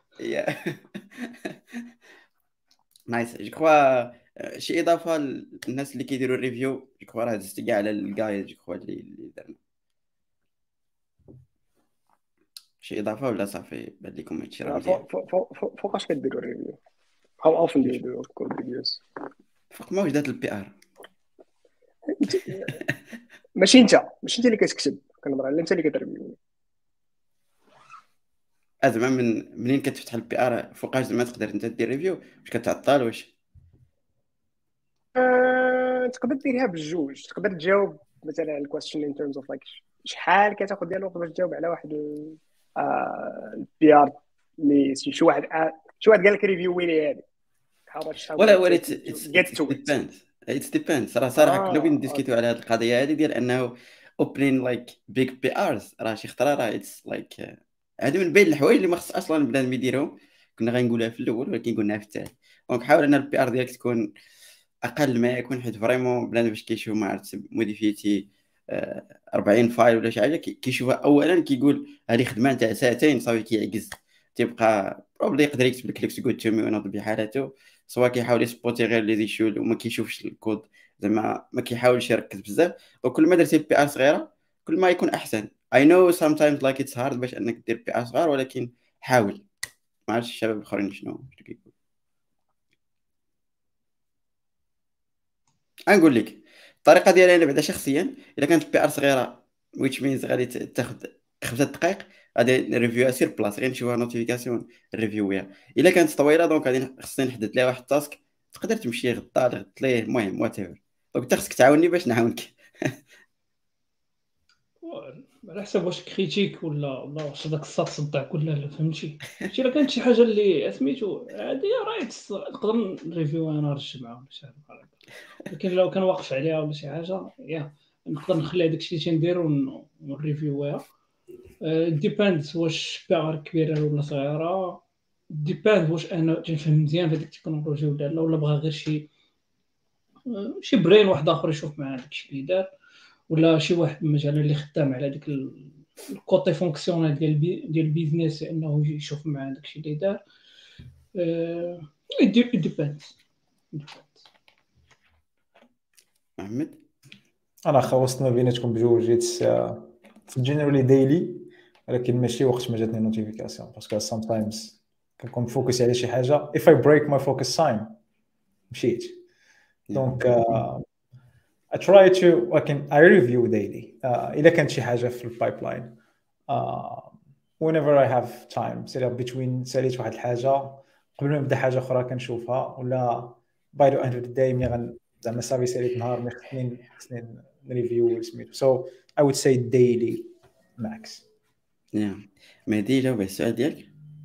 نايس جو كخوا شي اضافه للناس اللي كيديروا الريفيو جو كخوا راه دزت كاع على الجايد جو كخوا اللي اللي درنا شي اضافه ولا صافي بان لكم هادشي راه مزيان. فوقاش كديروا الريفيو؟ how often do you do code reviews؟ فوق ما وجدت البي ار ماشي انت ماشي انت اللي كتكتب كنهضر على انت اللي كتريفيو. زعما من منين كتفتح البي ار فوقاش زعما تقدر انت دير ريفيو واش كتعطل واش آه، تقدر ديرها بالجوج تقدر تجاوب مثلا على الكويستشن ان تيرمز اوف لايك شحال كتاخذ ديال الوقت باش تجاوب على واحد البي ار اللي شي واحد شي واحد قال لك ريفيو ويلي هذه ولا ولا ديبيند اتس ديبيند راه صراحه كنا بغينا نديسكوتيو على هذه القضيه هذه ديال انه اوبنين لايك بيج بي ارز راه شي خطره راه اتس لايك هذه من بين الحوايج اللي ما خص اصلا بنادم يديرهم. كنا غنقولها في الاول ولكن قلناها في الثاني. دونك حاول ان البي ار ديالك تكون اقل ما يكون حيت فريمون بنادم باش كيشوف ما عرفت موديفيتي أربعين فايل ولا شي حاجه كيشوفها اولا كيقول هذه خدمه تاع ساعتين صافي كيعجز تيبقى بروبلي يقدر يكتب لك ليكس جود تو مي ونوض بحالته سواء كيحاول يسبوتي غير لي ديشول وما كيشوفش الكود زعما ما كيحاولش يركز بزاف. وكل ما درتي بي ار صغيره كل ما يكون احسن. I know sometimes like it's hard باش انك دير بي ار صغير ولكن حاول. ما عرفتش الشباب الاخرين شنو كيقولوا. نقول لك الطريقه ديالي انا بعدا شخصيا الا كانت البي ار صغيره which means غادي تاخذ خمسة دقائق غادي نريفيوها سير بلاص غير نشوفها نوتيفيكاسيون ريفيوها. الا كانت طويله دونك غادي خصني نحدد لها واحد التاسك تقدر تمشي غدا غد ليه المهم وات ايفر. دونك انت خصك تعاوني باش نعاونك. على حسب واش كريتيك ولا ولا واش داك الساط صدعك ولا لا فهمتي. شي الا كانت شي حاجه اللي سميتو عادي رايت نقدر نريفيو انا نرجع معاهم شي حاجه بحال هكا. لكن لو كان واقف عليها ولا شي حاجه يا نقدر نخلي هذاك الشيء اللي تنديرو ونريفيوها. ديباند واش بيغار كبيره ولا صغيره. ديباند واش انا تنفهم مزيان في هذيك التكنولوجيا ولا لا ولا بغا غير شي شي برين واحد اخر يشوف مع داك الشيء اللي دار ولا شي واحد مثلا اللي خدام على ديك الكوتي فونكسيونال ديال البي ديال البيزنس انه يشوف مع داك الشيء اللي دار. ا ديباند. محمد انا خلصنا بيناتكم بجوج جيت جينيرالي ديلي ولكن ماشي وقت ما جاتني نوتيفيكاسيون باسكو سام تايمز كنكون فوكس على شي حاجه if I break my focus sign مشيت دونك uh, I try to I can I review daily uh, إذا كانت شي حاجه في البايبلاين uh, whenever I have time سير between ساليت واحد الحاجه قبل ما نبدا حاجه اخرى كنشوفها ولا by the end of the day مي غن زعما صافي ساليت نهار مي خصني خصني نريفيو سميتو so I would say daily max. نعم مهدي جاوب على السؤال ديالك.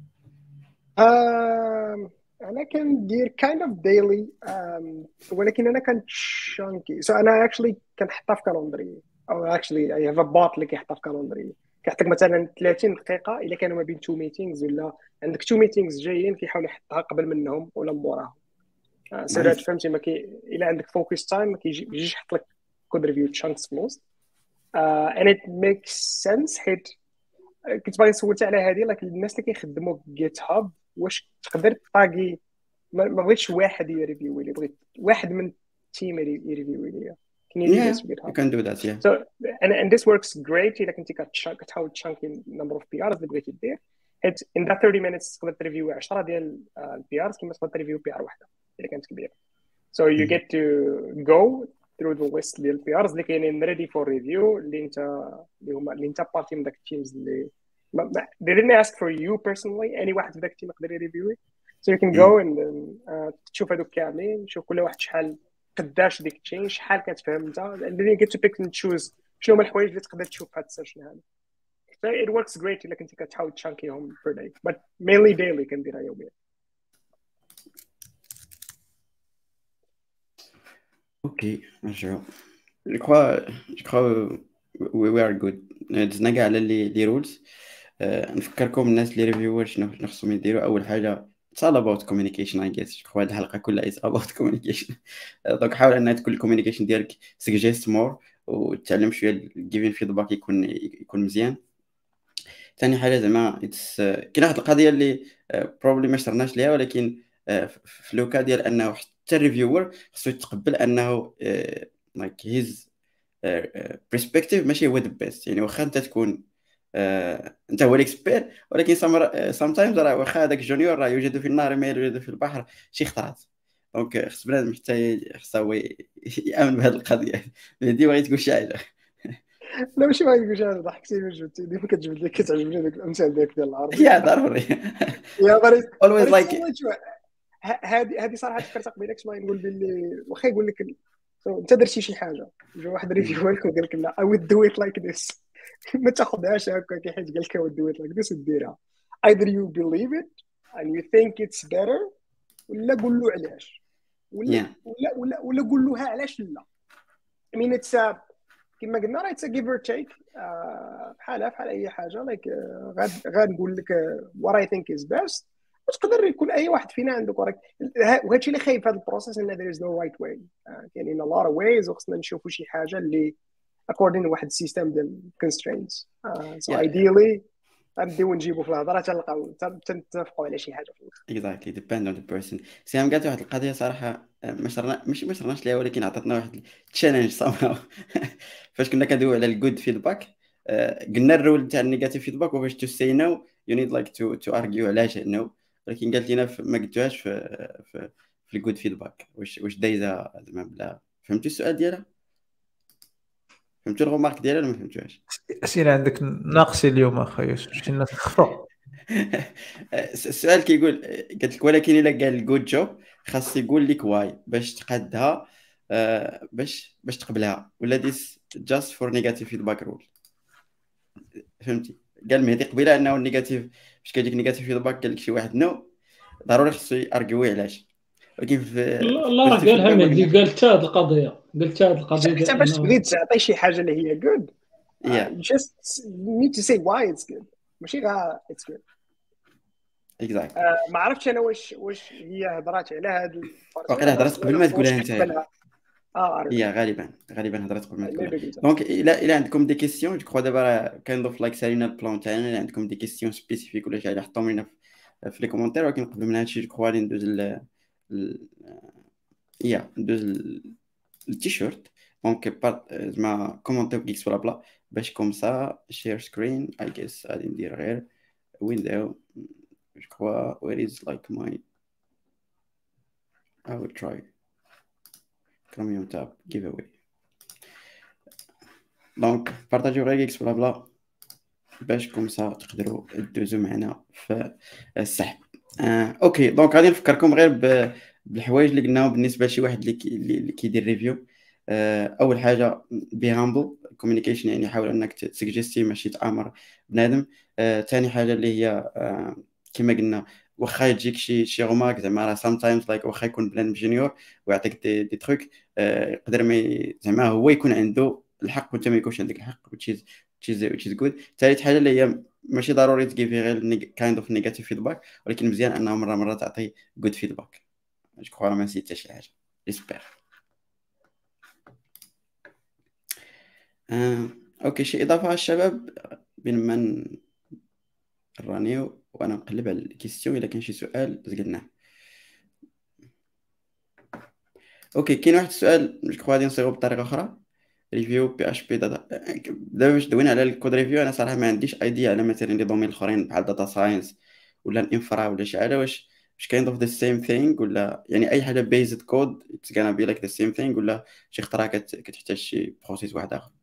Um, أنا كندير kind of daily um, ولكن أنا كان chunky so أنا actually كنحطها في كالندري أو actually I have a bot اللي كيحطها في كالندري كيحطك مثلا ثلاثين دقيقة إلا كانوا ما بين two meetings ولا عندك two meetings جايين كيحاول يحطها قبل منهم ولا موراهم سيرات فهمتي ما كي إلا عندك focus time ما كيجيش يحط لك code review chunks في الوسط uh, and it makes sense حيت كنت باغي سولت على هذه لكن الناس اللي كيخدموا جيت هاب واش تقدر طاقي ما بغيتش واحد يريفيو لي بغيت واحد من التيم يريفيو لي can you do Yeah, this with you GitHub? can do that, yeah. So and, and this works great إذا كنتي كتحاول تشانكي number of P Rs اللي بغيتي دير حيت in that thirty minutes تقدر تريفيو عشرة ديال البي ارز كما تقدر تريفيو بي ار واحده اللي كانت كبيره so you get to go through the list ديال البي ارز اللي كاينين ready for review اللي انت اللي هما اللي انت بارتي من داك التيمز اللي they didn't ask for you personally any واحد في داك التيم يقدر يريفيوي so you can go and then, uh, تشوف هذوك كاملين تشوف كل واحد شحال قداش ديك التشين شحال كتفهم انت and then you get to pick and choose شنو هما الحوايج اللي تقدر تشوف في هذا السيشن هذا so it works great الا كنتي كتحاول تشانكيهم per day but mainly daily كنديرها يوميا. اوكي نرجعوا جو كخوا جو كخوا we are good دزنا كاع على لي لي رولز. نفكركم الناس اللي ريفيور شنو خصهم يديروا. اول حاجه it's all about communication I guess. جو هاد الحلقه كلها is about communication. دونك حاول ان تكون الكوميونيكيشن ديالك suggest more وتعلم شويه giving feedback يكون يكون مزيان. ثاني حاجه زعما اتس كاين واحد القضيه اللي بروبلي ما شرناش ليها ولكن في لوكا ديال انه حتى الريفيور خصو يتقبل انه لايك هيز برسبكتيف ماشي هو ذا بيست. يعني واخا انت تكون انت هو الاكسبير ولكن سام تايمز راه واخا هذاك جونيور راه يوجد في النار ما يوجد في البحر شي خطرات. دونك خص بنادم حتى خصو يامن بهذه القضيه. مهدي بغيت تقول شي حاجه؟ لا ماشي بغيت نقول شي حاجه ضحكتي من جبتي ديما كتجبد لي كتعجبني داك الامثال ديالك ديال العربي يا ضروري يا غريب always like هذه هذه صراحه فكرت قبيله كنت باغي نقول باللي واخا يقول لك انت درتي شي حاجه جا واحد ريفيو لك وقال لك لا I would do it like this ما تاخذهاش هكا حيت قال لك I would do it like this وديرها either you believe it and you think it's better ولا قول له علاش ولا yeah. ولا ولا ولا قول له علاش لا. I mean it's a كما قلنا راه it's a give or take بحالها بحال اي حاجه like غاد غاد نقول لك what I think is best وتقدر يكون اي واحد فينا عنده وراك. وهذا الشيء اللي خايب في هذا البروسيس ان there is no right way يعني in a lot of ways وخصنا نشوفوا شي حاجه اللي according to واحد السيستم ديال constraints uh, so yeah, ideally غنديو نجيبوا في الهضره تلقاو تنتفقوا على شي حاجه في الاخر. exactly depend on the person. سيام قالت واحد القضيه صراحه ما شرنا ماشي ما شرناش ليها ولكن عطاتنا واحد تشالنج somehow. فاش كنا كندويو على الجود فيدباك قلنا الرول تاع النيجاتيف فيدباك وفاش تو سي نو يو نيد لايك تو تو ارغيو علاش نو ولكن قالت لنا ما قلتوهاش في في, في الجود فيدباك واش واش دايزه زعما بلا. فهمتوا السؤال ديالها؟ فهمتوا الغومارك ديالها ولا ما فهمتوهاش؟ اسئله عندك ناقصي اليوم اخويا شي الناس خفروا. السؤال كيقول قالت لك ولكن الا قال الجود جوب خاص يقول لك واي باش تقادها uh, باش باش تقبلها ولا ديس جاست فور نيجاتيف فيدباك رول. فهمتي؟ قال مهدي قبيله انه النيجاتيف باش كيجيك نيجاتيف فيدباك قال لك شي واحد نو ضروري خصو يارغيوي علاش. ولكن في لا راه قالها مهدي قال حتى هذه القضيه قلت هذه القضيه حتى باش بغيت تعطي شي حاجه اللي هي good yeah. uh, you just need to say why it's good ماشي غير it's good exactly. uh, ما عرفتش انا واش واش هي هضرات على هذا واقيلا هضرات قبل ما تقولها انت. اه هي غالبا غالبا هضرات قبل ما تقولها. دونك الا الا عندكم دي كيسيون جو كخوا دابا كنضيف لايك سالينا البلان تاعنا. الا عندكم دي كيسيون سبيسيفيك ولا شي حاجه حطوهم لنا في لي كومونتير. ولكن قبل من هادشي جو كخوا غادي ندوز ل يا ندوز التيشيرت. دونك زعما كومونتير كيكس ولا بلا باش كوم سا شير سكرين اي جيس غادي ندير غير ويندو je crois where is like my I will try Chromium tab giveaway. دونك بارطاجيو غير اكس بلا بلا باش كومسا تقدروا تدوزوا معنا في السحب. آه، اوكي دونك غادي نفكركم غير بالحوايج اللي قلناهم بالنسبه لشي واحد اللي كي- اللي كيدير ريفيو. آه، اول حاجه بي هامبل كوميونيكيشن، يعني حاول انك تسجستي ماشي تامر بنادم. ثاني حاجه اللي هي آه، كما قلنا واخا يجيك شي شي غومارك زعما راه سام تايمز لايك واخا يكون بلان جونيور ويعطيك دي, دي تروك يقدر ما ي- زعما هو يكون عنده الحق وانت ما يكونش عندك الحق which is which is which is good. ثالث حاجه اللي هي ماشي ضروري تجيفي غير كايند اوف نيجاتيف فيدباك، ولكن مزيان انه مره مره تعطي جود فيدباك. جو كخوا ما نسيت حتى شي حاجه جيسبر. آه، اوكي شي اضافه على الشباب بين ما نرانيو وانا نقلب على الكيستيون الا كان شي سؤال زقلناه. اوكي كاين واحد السؤال جو كخوا غادي نصيغو بطريقه اخرى. ريفيو بي اش بي داتا. دابا باش دوينا على الكود ريفيو انا صراحه ما عنديش ايديا على مثلا لي دومين الاخرين بحال داتا ساينس ولا الانفرا ولا شي حاجه، واش واش كاين اوف ذا سيم ثينغ ولا يعني اي حاجه بيزد كود اتس غانا بي لايك ذا سيم ثينغ، ولا شي خطره كت- كتحتاج شي بروسيس واحد اخر.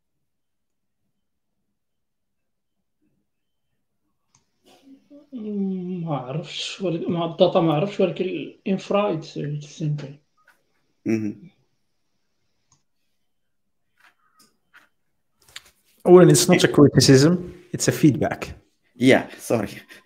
مم، ما عرفتش ولكن مع الداتا ما عرفتش، ولكن الانفرا سيمبل. مهم. اولا it's not a criticism, it's a feedback. يا سوري.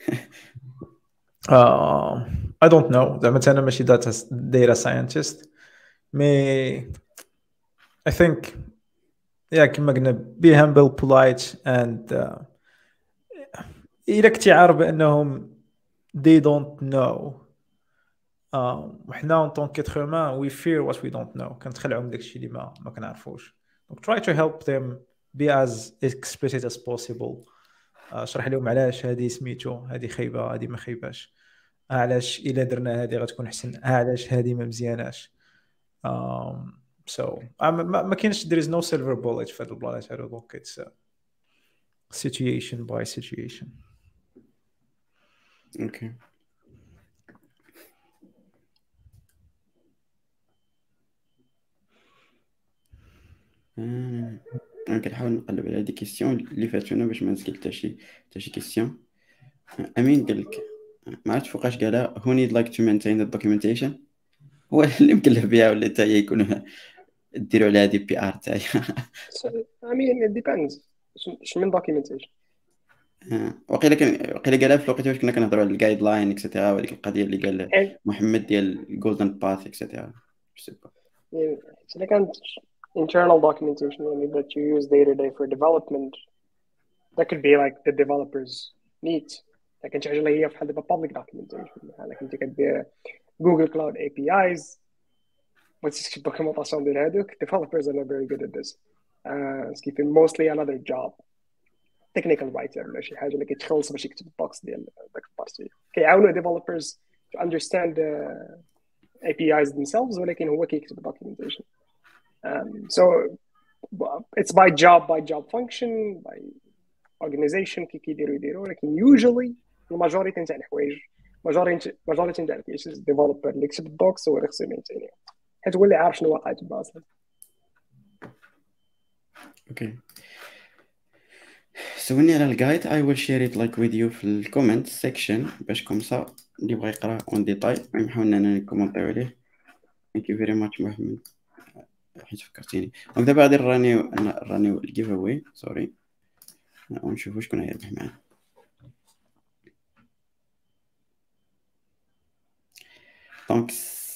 uh, I don't know زعما انا ماشي data data scientist مي I think yeah كما قلنا be humble polite and uh, إذا كنتي عارف بأنهم they don't know uh, وحنا en tant qu'être humain we fear what we don't know كنتخلعوا من داكشي اللي ما ما كنعرفوش. donc try to help them be as explicit as possible. uh, شرح لهم علاش هذه سميتو هذه خايبه هذه ما خايباش، علاش الا درنا هذه غتكون احسن، علاش هذه ما مزياناش. um, so ما, ما كاينش there is no silver bullet في هذا البلانيت هذا. donc it's a situation by situation. اوكي آه، انا كنحاول نقلب على هذه كيستيون اللي فاتونا باش ما نسقل حتى شي حتى شي كيستيون. امين قال لك ما عرفتش فوقاش قالها who need like to maintain the documentation. هو اللي مكلف بها ولا حتى هي يكون ديروا على هذه بي ار تاعي. So, I mean it depends. اش من documentation. وقيلا كان وقيلا قالها في الوقت واش كنا كنهضروا على الجايد لاين اكسيتيرا، وديك القضيه اللي قال And محمد ديال الجولدن باث اكسيتيرا. يعني اذا كانت internal documentation يعني that you use day to day for development, that could be like the developers needs. لكن شي حاجه اللي هي بحال دابا public documentation بحال كنتي كدير Google Cloud A P Is وتكتب دوكيومونطاسيون ديال هذوك. developers are not very good at this. uh, skipping mostly another job technical writer ولا شي حاجه اللي كيتخلص باش يكتب البوكس ديال داك البارتي. كيعاونوا developers to understand the A P Is themselves ولكن هو كيكتب documentation. um, so it's by job by job function by organization كي كيديروا يديروا. ولكن usually الماجوريتي تاع الحوايج ماجوريتي ماجوريتي تاع الكيسز ديفلوبر اللي يكتب الدوكس هو اللي خصو يمينتيني حيت هو اللي عارف شنو واقع تما اصلا. اوكي سولني على الجايد I will share it like with you في الكومنت سيكشن باش كومسا اللي بغى يقرا اون ديتاي نحاول اننا نكومونطيو عليه. ثانك يو فيري ماتش محمد حيت فكرتيني. دونك دابا غادي نرانيو نرانيو الجيف اواي سوري ونشوفوا شكون هيربح معنا. دونك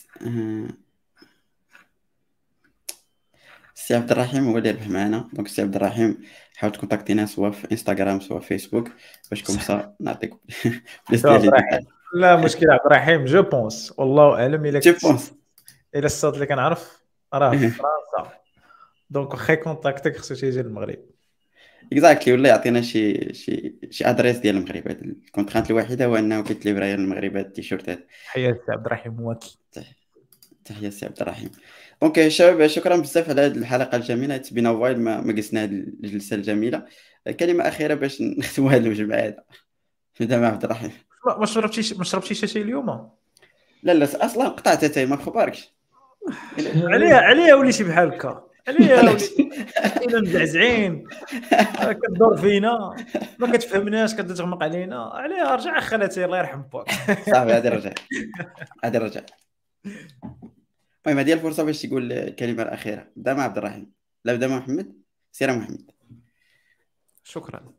سي عبد الرحيم هو اللي يربح معنا. دونك سي عبد الرحيم حاول تكونتاكتينا سواء في انستغرام سواء في فيسبوك باش كومسا نعطيك بليس ديال الديتاي. لا مشكل عبد الرحيم جو بونس والله اعلم الا جو كنت بونس الا الصاد اللي كنعرف راه في فرنسا دونك واخا كونتاكتك خصو تيجي للمغرب. اكزاكتلي ولا يعطينا شي شي شي ادريس ديال المغرب. هاد الكونترانت الوحيده هو انه كيتليفرا للمغرب هاد التيشيرتات. حياتي عبد الرحيم واكي. تحيه سي عبد الرحيم. دونك شباب شكرا بزاف على هذه الحلقه الجميله. تبينا وايد ما ما قسنا هذه الجلسه الجميله. كلمه اخيره باش نختموا هذه المجموعه هذا. نبدا مع عبد الرحيم. ما شربتيش ما شربتيش شي اليوم؟ لا لا اصلا قطعت حتى ما خبركش. عليا عليا وليتي بحال هكا، عليا وليتي الا مزعزعين كدور فينا ما كتفهمناش كتغمق علينا، عليها رجع خالتي الله يرحم باك. صافي هذه رجع هذه رجع. المهم هذه الفرصه باش تقول الكلمه الاخيره. بدا مع عبد الرحيم، لا بدا مع محمد. سير محمد. شكرا.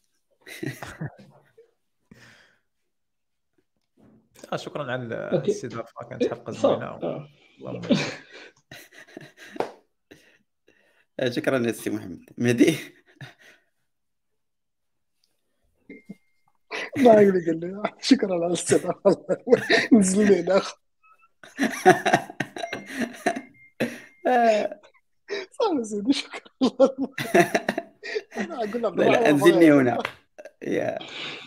آه شكرا على الاستضافه، كانت حلقه زوينه. اللهم شكرا يا سي محمد. مهدي. ما يقول قال لي شكرا على الاستضافه. نزل لي اخ صافي سيدي شكرا. انا اقول عبد لا انزلني هنا يا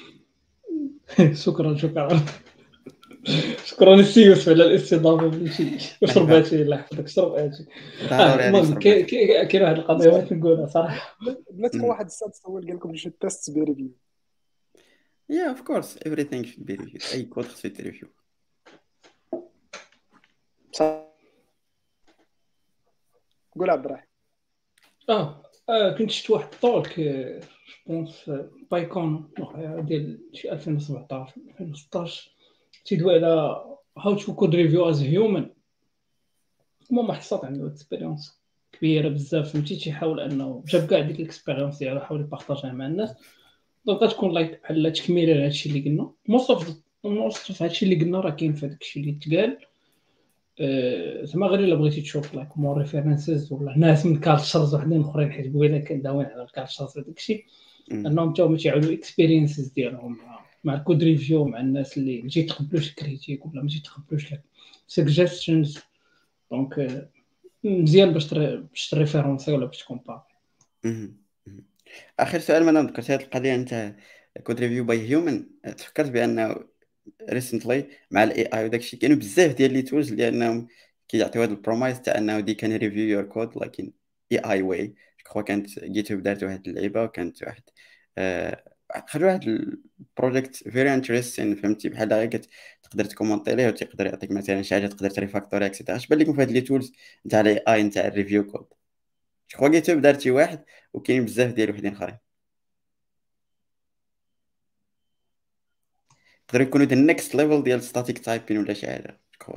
شكرا شكرا شكرا السي يوسف على الاستضافه. بلاتي شرب هادشي الله يحفظك، شرب هادشي. المهم كاين واحد القضيه بغيت نقولها صراحه. بلاتي واحد السادس هو اللي قال لكم شي تيست بي ريفيو. يا اوف كورس everything should be reviewed. اي كود خصو يتريفيو. قول عبد الرحيم. اه كنت شفت واحد الطولك جوبونس بايكون ديال شي ألفين وسبعطاش ألفين وستطاش تيدوي على هاو تو كود ريفيو از هيومن. المهم واحد الصوت عنده اكسبيريونس كبيره بزاف، فهمتي تيحاول انه جاب كاع ديك الاكسبيريونس ديالو حاول يبارطاجيها مع الناس. دونك غتكون لايك بحال تكميله لهادشي اللي قلنا. موصف موصف هادشي اللي قلنا راه كاين في داكشي اللي تقال. زعما غير الا بغيتي تشوف لايك مور ريفيرنسز ولا ناس من كالتشرز وحدين اخرين، حيت قبيله كان داوين على الكالتشرز وداكشي انهم حتى هما تيعاودوا اكسبيرينسز ديالهم مع الكود ريفيو مع الناس اللي ما تيتقبلوش الكريتيك ولا ما تيتقبلوش سجستشنز. دونك مزيان باش باش تريفيرونسي ولا باش تكومبار. اخر سؤال ما ذكرت هذه القضيه انت كود ريفيو باي هيومن. تفكرت بانه ريسنتلي مع الاي اي وداكشي كاينوا بزاف ديال لي تولز لانهم كيعطيو هذا البرومايس تاع انه دي كان ريفيو يور كود لكن اي اي واي. جو كانت جيت هوب دارت واحد اللعيبه وكانت واحد آه خرجوا واحد البروجيكت فيري انتريستين، فهمتي بحال غير تقدر تكومونتي ليه وتقدر يعطيك مثلا شي حاجه تقدر تريفاكتوري اكسيتيرا. اش بان لكم في هاد لي تولز نتاع الاي اي نتاع الريفيو كود؟ جو جيت هوب دارت شي واحد وكاين بزاف ديال وحدين اخرين يقدروا يكونوا ذا نيكست ليفل ديال ستاتيك تايبين ولا شي حاجه. جو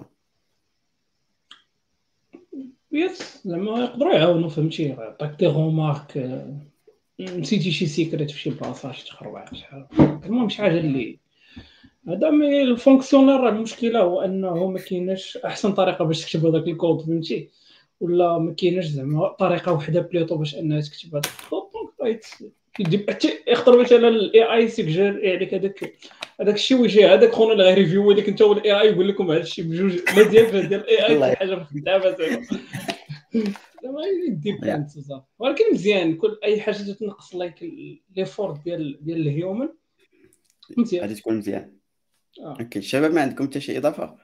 يس زعما يقدروا يعاونوا، فهمتي يعطيك دي رومارك نسيتي شي سيكريت في شي بلاصه شي تخربع شحال. المهم شي حاجه اللي هذا مي الفونكسيونير. راه المشكله هو انه ما كايناش احسن طريقه باش تكتب هذاك الكود، فهمتي، ولا ما كايناش زعما طريقه وحده بليطو باش انها تكتب هذاك الكود. دونك يدي حتى يقدر مثلا الاي اي سيجر عليك هذاك هذاك الشيء ويجي هذاك خونا اللي غير ريفيو هذاك انت والاي اي يقول لكم هذا الشيء بجوج مزيان في ديال الاي اي شي حاجه في الخدامه زعما زعما ديبانت بزاف. ولكن مزيان كل اي حاجه تنقص لايك لي فور ديال ديال الهيومن مزيان غادي تكون مزيان. آه. اوكي الشباب ما عندكم حتى شي اضافه؟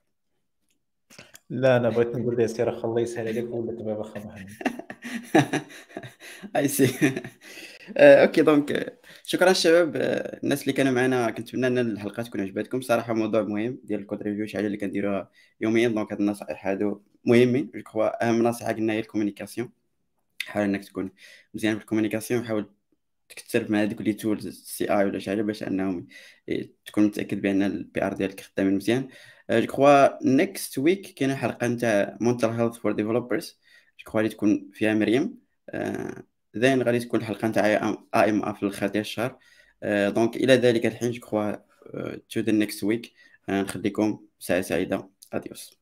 لا انا بغيت نقول ليه سير اخ الله يسهل عليك ولا تبع اخ محمد. اي سي. اوكي دونك شكرا الشباب الناس اللي كانوا معنا. كنتمنى ان الحلقه تكون عجبتكم صراحه. موضوع مهم ديال الكود ريفيو شي حاجه اللي كنديروها يوميا. دونك هاد النصائح هادو مهمين. جو كخوا اهم نصيحه قلنا هي الكومونيكاسيون. حاول انك تكون مزيان في الكومونيكاسيون. حاول تكتب مع هذوك لي تولز سي اي ولا شي حاجه باش انهم تكون متاكد بان البي ار ديالك خدامين مزيان. جو كخوا نيكست ويك كاينه حلقه نتاع مونتال هيلث فور ديفلوبرز. جو كخوا اللي تكون فيها مريم. زين غادي تكون الحلقه نتاع اي ام اف في الاخر ديال الشهر. دونك الى ذلك الحين جو كخوا تو ذا نيكست ويك. نخليكم ساعه سعيده. اديوس.